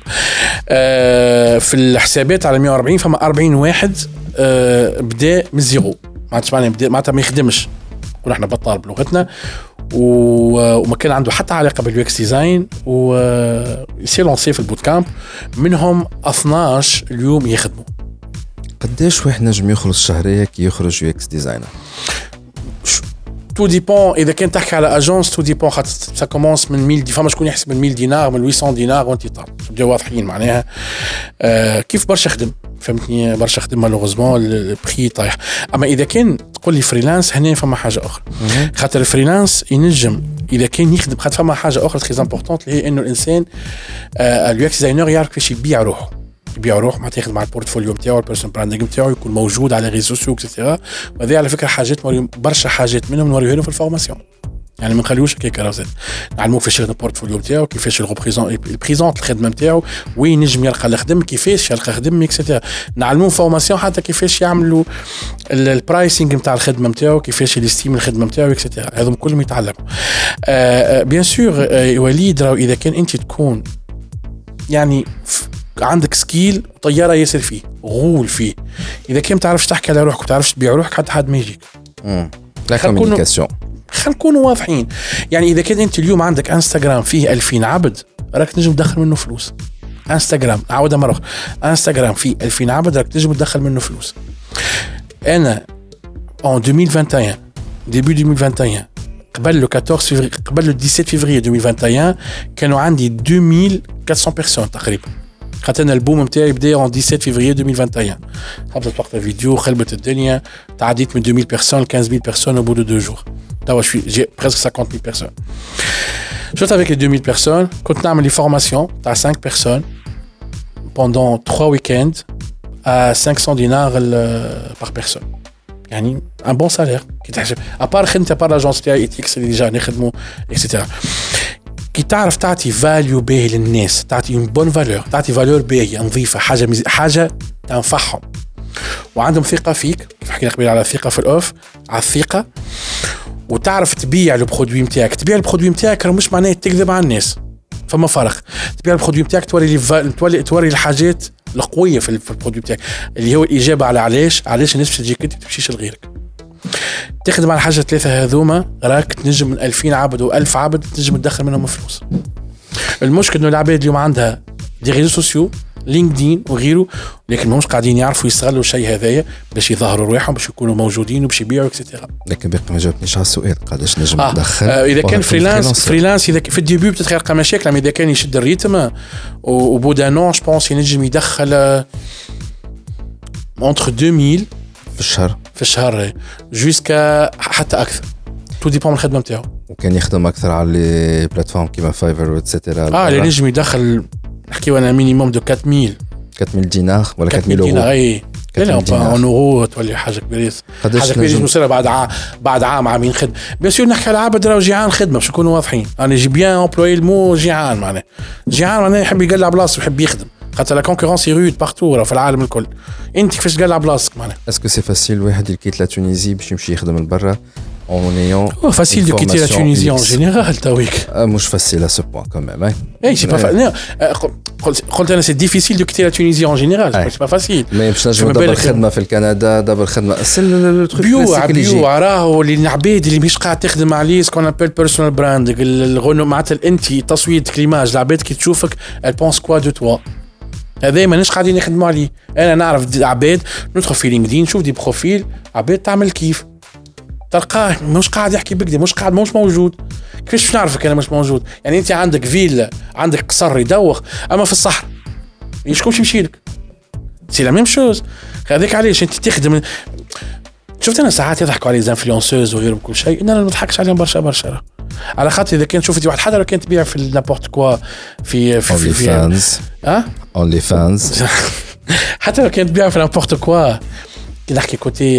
في الحسابات على مية وأربعين فما أربعين واحد بدا من زيرو معناتها بدا معناتها ما يخدمش كنا احنا بطال بلغتنا وما كان عنده حتى علاقه باليو اكس ديزاين ويصير لونسي في البوت كامب. منهم اثناش اليوم يخدموا. قداش واحد نجم يخرج شهريه كي يخرج يو اكس ديزاينر؟ تو ديبون اذا كان تحكي على اجونس تو ديبون خاطر سا كومونس من مية دي فما شكون يحسب من مية دينار من ثمانمية دينار وانت طالع نبداو واضحين معناها آه كيف برشا خدم فهمتني برشا خدم مالوغوزمون البري طايح. اما اذا كان تقول لي فريلانس هنا فما حاجه اخرى خاطر الفريلانس ينجم اذا كان يخدم خاطر فما حاجه اخرى تري امبورطونت اللي هي انه الانسان آه اليو اكس ديزاينر يعرف كيفاش يبيع روحه يبيع روح ما تاخذ مع البورتفوليو نتاعو البيرسون براندينغ نتاعو يكون موجود على ريزو سوسيو اكسترا. وهذه على فكره حاجات برشا حاجات منهم نوريوها له في الفورماسيون يعني ما نخليوش هكاك راه نعلموه كيفاش يخدم البورتفوليو نتاعو كيفاش الريبريزون البريزونت الخدمه نتاعو وين نجم يلقى الخدم كيفاش يلقى خدم اكسترا. نعلموه فورماسيون حتى كيفاش يعملوا البرايسينغ نتاع الخدمه نتاعو كيفاش يستيم الخدمه نتاعو اكسترا. هذوم كلهم يتعلموا آه بيان سور آه وليد راه اذا كان انت تكون يعني عندك سكيل طياره ياسر فيه غول فيه اذا كان تعرفش تحكي على روحك وتعرفش تبيع روحك حتى حد ما يجيك. امم لا كوميونيكاسيون خلينا نكونوا واضحين. يعني اذا كان انت اليوم عندك انستغرام فيه ألفين عبد راك تنجم تدخل منه فلوس. انستغرام عاودها مره اخرى انستغرام فيه ألفين عبد راك تنجم تدخل منه فلوس. انا en deux mille vingt et un début deux mille vingt et un قبل le quatorze février قبل le dix-sept février deux mille vingt et un كانوا عندي deux mille quatre cents personnes تقريبا. خاطرنا البوم نتاعي بدا en dix-sept février deux mille vingt et un. حبيت وقت الفيديو خلبت الدنيا تعديت من deux mille personnes quinze mille personnes au bout de deux jours. توا شوي j'ai presque cinquante mille personnes. Juste avec les deux mille personnes كنت نعمل لي فورماسيون تاع cinq personnes pendant trois week-ends à cinq cents dinars par personne. يعني un bon salaire كي تحسب ابار خدمتي ابار لاجونس تاعي اكس اللي جا نخدموا اكسترا. كي تعرف تعطي فاليو باهي للناس تعطي اون بون فالور تعطي فالور باهيه نظيفه حاجه مز... حاجه تنفعهم وعندهم ثقه فيك كيف حكينا قبل على الثقه في الاوف على الثقه وتعرف تبيع البرودوي نتاعك. تبيع البرودوي نتاعك راه مش معناه تكذب على الناس فما فرق. تبيع البرودوي نتاعك توري لي توري توري الحاجات القويه في البرودوي نتاعك اللي هو الاجابه على علاش علاش الناس تجيك انت تمشيش لغيرك. تخدم على حاجه ثلاثه هذوما راك تنجم من ألفين عبد وألف عبد تنجم تدخل منهم فلوس. المشكل انه العباد اليوم عندها دي ريزو سوسيو لينكدين وغيره لكن ماهمش قاعدين يعرفوا يستغلوا الشيء هذايا باش يظهروا رواحهم باش يكونوا موجودين وباش يبيعوا اكسترا. لكن باقي ما جاوبتنيش على السؤال قداش نجم آه. ندخل آه اذا كان فريلانس فريلانس اذا في الديبي بتتلقى مشاكل اما اذا كان يشد الريتم وبودا نون جو بونس ينجم يدخل entre deux mille في الشهر في الشهر جوسكا حتى اكثر تو ديبون من الخدمه نتاعو. وكان يخدم اكثر على لي بلاتفورم كيما فايفر واتسيتيرا اه اللي نجم يدخل نحكيو انا مينيموم دو quatre mille quatre mille دينار ولا quatre mille دينار اي لا لا اون اورو تولي حاجه كبيره حاجه كبيره مصيره بعد عام بعد عام عامين خدمه بيان سور نحكي على عبد راهو جيعان خدمه باش نكونوا واضحين انا جي بيان امبلوي المو جيعان معناه جيعان معناه يحب يقلع بلاصه ويحب يخدم خاطر لا كونكورونس رود بارتو في العالم الكل انت كيفاش تقلع بلاصتك معناه اسكو سي فاسيل واحد يكيت لا تونيزي باش يمشي يخدم لبرا en ayant oh, facile de quitter la Tunisie en général Tawik ah moi je facile à ce point quand même hein hey, c'est pas facile قلت انا c'est difficile de quitter la Tunisie en général c'est pas facile mais باش نجم دبر خدمه في الكندا دبر خدمه سل التروك بيو بيو راهو اللي العباد اللي مش قاعد تخدم عليه سكون ابل بيرسونال براندنج الغنو معناتها انت تصويتك ليماج العباد كي تشوفك elle pense quoi de toi هذا ماناش قاعدين نخدموا عليه انا نعرف عباد ندخل في لينكدين نشوف دي بروفيل عباد تعمل كيف تلقاه مش قاعد يحكي بكدي مش قاعد مش موجود كيفاش نعرفك انا مش موجود يعني انت عندك فيلا عندك قصر يدوخ اما في الصحراء يشكون يمشي لك سي لا ميم شوز هذاك علاش انت تخدم شفت انا ساعات يضحكوا على الانفلونسوز وغيرهم كل شيء انا ما نضحكش عليهم برشا برشا على خاطر اذا كان شفت واحد حدا لو كان تبيع في نابورت كوا في في في فانز اه اونلي فانز حتى لو كان تبيع في نابورت كوا كي نحكي كوتي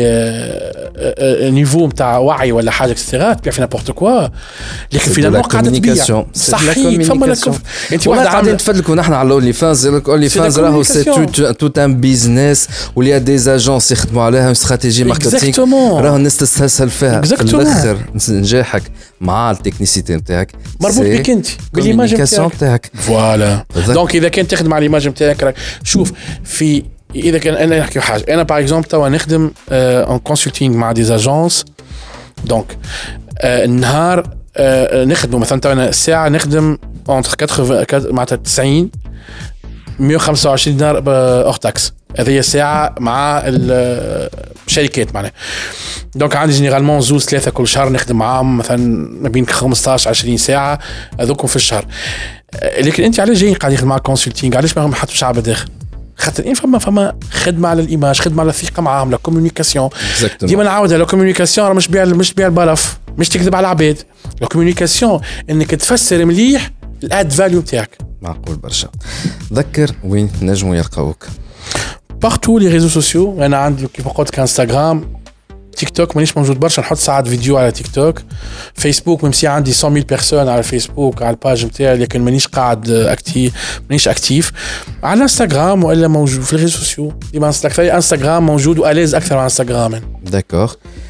نيفو نتاع وعي ولا حاجه اكسترا تبيع في نابورت كوا لكن فينالمون قاعده تبيع صحيح فما لك انت واحد قاعدين نتفدلكوا نحن على اونلي فانز اونلي فانز راهو سي توت ان بيزنس ولي دي زاجونس يخدموا عليها استراتيجي ماركتينغ راهو الناس تستسهل فيها في الاخر نجاحك مع التكنيسيتي نتاعك مربوط بك انت بالايماج نتاعك فوالا دونك اذا كنت تخدم على الايماج نتاعك شوف في اذا كان انا نحكي حاجه انا باغ اكزومبل توا نخدم ان كونسلتينغ مع دي اجونس دونك النهار نخدم مثلا توا انا ساعه نخدم اونتر ثمانين معناتها تسعين مية وخمسة وعشرين دينار اور تاكس هذه ساعه مع الشركات معناها دونك عندي جينيرالمون زوز ثلاثه كل شهر نخدم معاهم مثلا ما بين خمسطاش عشرين ساعه هذوكم في الشهر لكن انت علاش جاي قاعد يخدم مع كونسلتينغ علاش ما حطوش شعب داخل خاطر إن فما فما خدمة على الإيماج خدمة على الثقة معاهم لا كومونيكاسيون ديما نعاودها لا كومونيكاسيون راه مش بيع مش بيع البلف مش تكذب على العباد لا كومونيكاسيون إنك تفسر مليح الاد فاليو تاعك معقول برشا ذكر وين نجموا يلقاوك بارتو لي ريزو سوسيو أنا عندي كيف قلت كانستغرام تيك توك مانيش موجود برشا نحط ساعات فيديو على تيك توك فيسبوك ميمسي عندي مية ألف بيرسون على الفيسبوك على الباج نتاعي لكن مانيش قاعد اكتيف مانيش اكتيف على انستغرام والا موجود في الريزو سوسيو ديما انستغرام موجود واليز اكثر على انستغرام داكور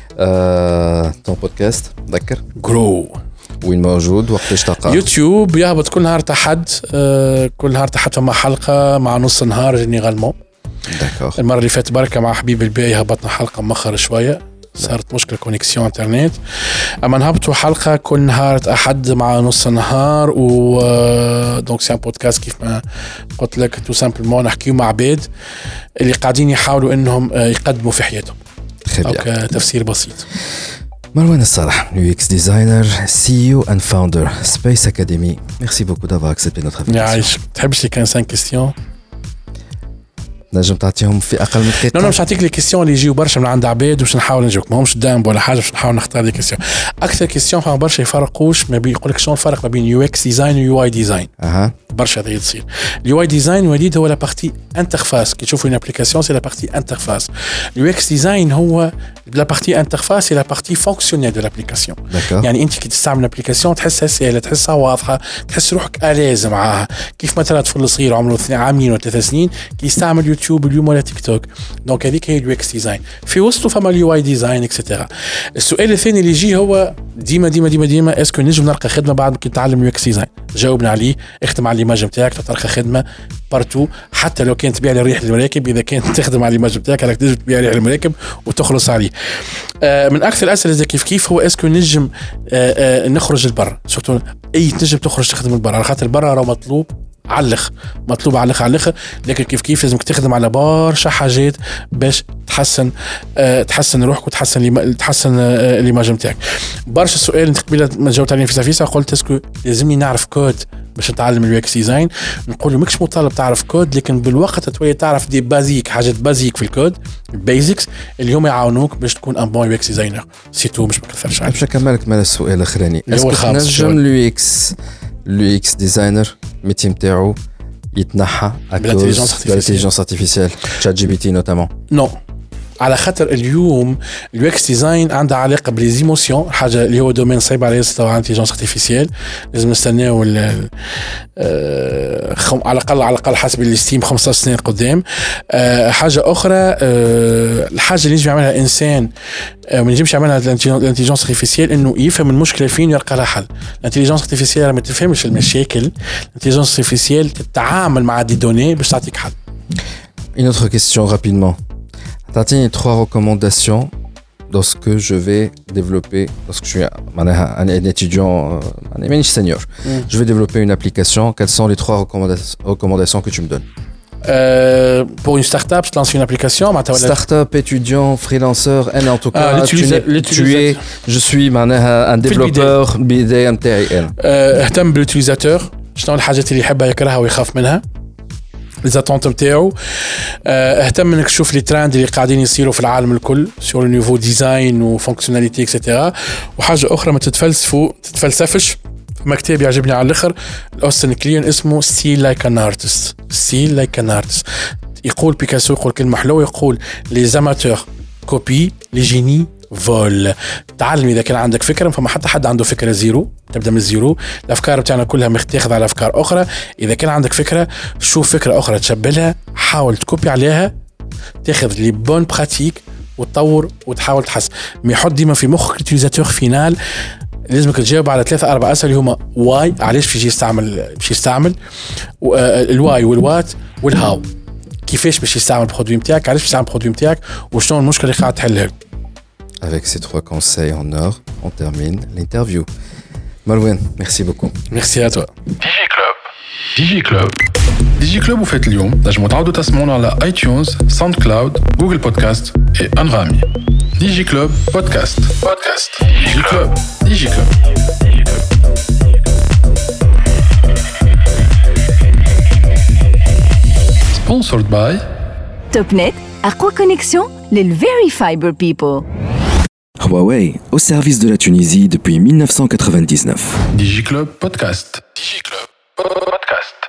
آه، طون بودكاست ذكر جرو وين موجود وقتاش تلقاه يوتيوب يهبط كل نهار تحد آه، كل نهار تحت مع حلقه مع نص نهار جينيرالمون داكور المره اللي فاتت بركه مع حبيب الباقي هبطنا حلقه مؤخر شويه صارت مشكله كونيكسيون انترنت اما نهبطوا حلقه كل نهار احد مع نص نهار و دونك سي ان بودكاست كيف ما قلت لك تو سامبلمون نحكيو مع عباد اللي قاعدين يحاولوا انهم يقدموا في حياتهم اوكي تفسير بسيط مروان الصالح يو اكس ديزاينر سي او اند فاوندر سبيس اكاديمي ميرسي بوكو دافوار اكسبتي نوتر انفيتاسيون يعيش تحبش لي كان خمسة كيستيون نجم تعطيهم في اقل من دقيقه؟ لا مش نعطيك لي كيستيون اللي يجيو برشا من عند عباد باش نحاول نجاوبك ماهمش دامب ولا حاجه باش نحاول نختار لي كيستيون اكثر كيستيون فما برشا يفرقوش ما بين يقول لك شنو الفرق ما بين يو اكس ديزاين ويو اي ديزاين اها برشا هذا تصير اليو اي ديزاين وليد هو لا بارتي انترفاس كي تشوفوا اون ابليكاسيون سي لا بارتي انترفاس اليو اكس ديزاين هو لا بارتي انترفاس سي لا بارتي فونكسيونيل دو لابليكاسيون يعني انت كي تستعمل الابليكاسيون تحسها سهله تحسها واضحه تحس روحك اليز معاها كيف مثلا طفل صغير عمره عامين ولا ثلاث سنين كي يستعمل يوتيوب اليوم ولا تيك توك دونك هذيك هي اليو اكس ديزاين في وسطه فما اليو اي ديزاين اكسترا السؤال الثاني اللي يجي هو ديما ديما ديما ديما اسكو نجم نلقى خدمه بعد كي نتعلم اليو اكس ديزاين جاوبنا عليه اختم على الايماج نتاعك تلقى خدمه بارتو حتى لو كانت تبيع لي ريح المراكب اذا كانت تخدم على الايماج نتاعك راك تنجم تبيع ريح المراكب وتخلص عليه آه من اكثر الاسئله كيف كيف هو اسكو نجم آه آه نخرج للبر سورتو اي تنجم تخرج تخدم للبر على خاطر البر راه مطلوب علخ مطلوب علخ علخ لكن كيف كيف لازمك تخدم على برشا حاجات باش تحسن أه تحسن روحك وتحسن لي تحسن أه الايماج نتاعك برشا سؤال انت قبيله ما جاوبت عليه في سافيسا قلت اسكو لازمني نعرف كود باش نتعلم اليو اكس ديزاين نقول ماكش مطالب تعرف كود لكن بالوقت تولي تعرف دي بازيك حاجات بازيك في الكود البيزكس اللي هم يعاونوك باش تكون ان بون يو اكس ديزاينر سيتو مش بكثرش عليك باش نكملك مال السؤال الاخراني اسكو نجم اليو اكس اليو اكس ديزاينر ميتي نتاعو يتنحى à بالintelligence cause de l'intelligence artificielle, ChatGPT notamment. Non. على خاطر اليوم اليو اكس ديزاين عندها علاقه بالليزيموسيون، حاجه اللي هو دومين صعيب على ياسر تبع انتيجنس ارتيفيسيال. لازم نستناو آه خم... على الاقل على الاقل حسب الاستيم خمسة عشر سنه قدام. آه حاجه اخرى، آه الحاجه اللي يجب يعملها انسان آه ما ينجمش يعملها الانتيجنس ارتيفيسيال، انه يفهم المشكله فين ويلقى لها حل. الانتيجنس ارتيفيسيال ما تفهمش المشاكل، الانتيجنس ارتيفيسيال تتعامل مع دي دوني باش تعطيك حل. Une autre question rapidement. T'as trois recommandations dans ce que je vais développer lorsque je suis un, un, un étudiant, un senior. Mm. Je vais développer une application. Quelles sont les trois recommanda- recommandations que tu me donnes? Euh, pour une start-up, je te lance une application. Start-up, étudiant, freelancer, and en tout cas, ah, tu, tu es, je suis un développeur B D M T I N. اهتم بالutilisateur. شنو الحاجات اللي يحبها يكرهها ويخاف منها؟ ليزاتونت نتاعو. اهتم انك تشوف لي ترند اللي قاعدين يصيروا في العالم الكل سور نيفو ديزاين وفونكسيوناليتي اكسيتيرا. وحاجه اخرى ما تتفلسفوا تتفلسفش. في كتاب يعجبني على الاخر الاوستن كلين اسمه ستيل لايك ان ارتست. ستيل لايك ان ارتست. يقول بيكاسو يقول كلمه حلوه، يقول لي زاماتور كوبي لي جيني فول. تعلم اذا كان عندك فكره، فما حتى حد عنده فكره زيرو، تبدا من الزيرو. الافكار بتاعنا كلها متاخذه على افكار اخرى. اذا كان عندك فكره شوف فكره اخرى تشبلها، حاول تكوبي عليها، تاخذ لي بون براتيك وتطور وتحاول تحسن. ما يحط ديما في مخك اليوزاتور فينال. لازمك تجاوب على ثلاثة أربعة أسئلة اللي هما واي، علاش باش يستعمل باش يستعمل الواي والوات والهاو، كيفاش باش يستعمل البرودوي نتاعك، علاش باش يستعمل البرودوي نتاعك، وشنو المشكله اللي قاعد تحلها. Avec ces trois conseils en or, on termine l'interview. Malouane, merci beaucoup. Merci à toi. DigiClub. DigiClub. DigiClub وفات اليوم نجموا تعاودوا تسمعونا على iTunes, SoundCloud, Google Podcast et Anghami. DigiClub Podcast. Podcast. DigiClub. DigiClub. Sponsored by TopNet, أقوى كونيكسيون للفيري فايبر بيبل. Huawei, au service de la Tunisie depuis mille neuf cent quatre-vingt-dix-neuf. DigiClub Podcast. DigiClub. Podcast.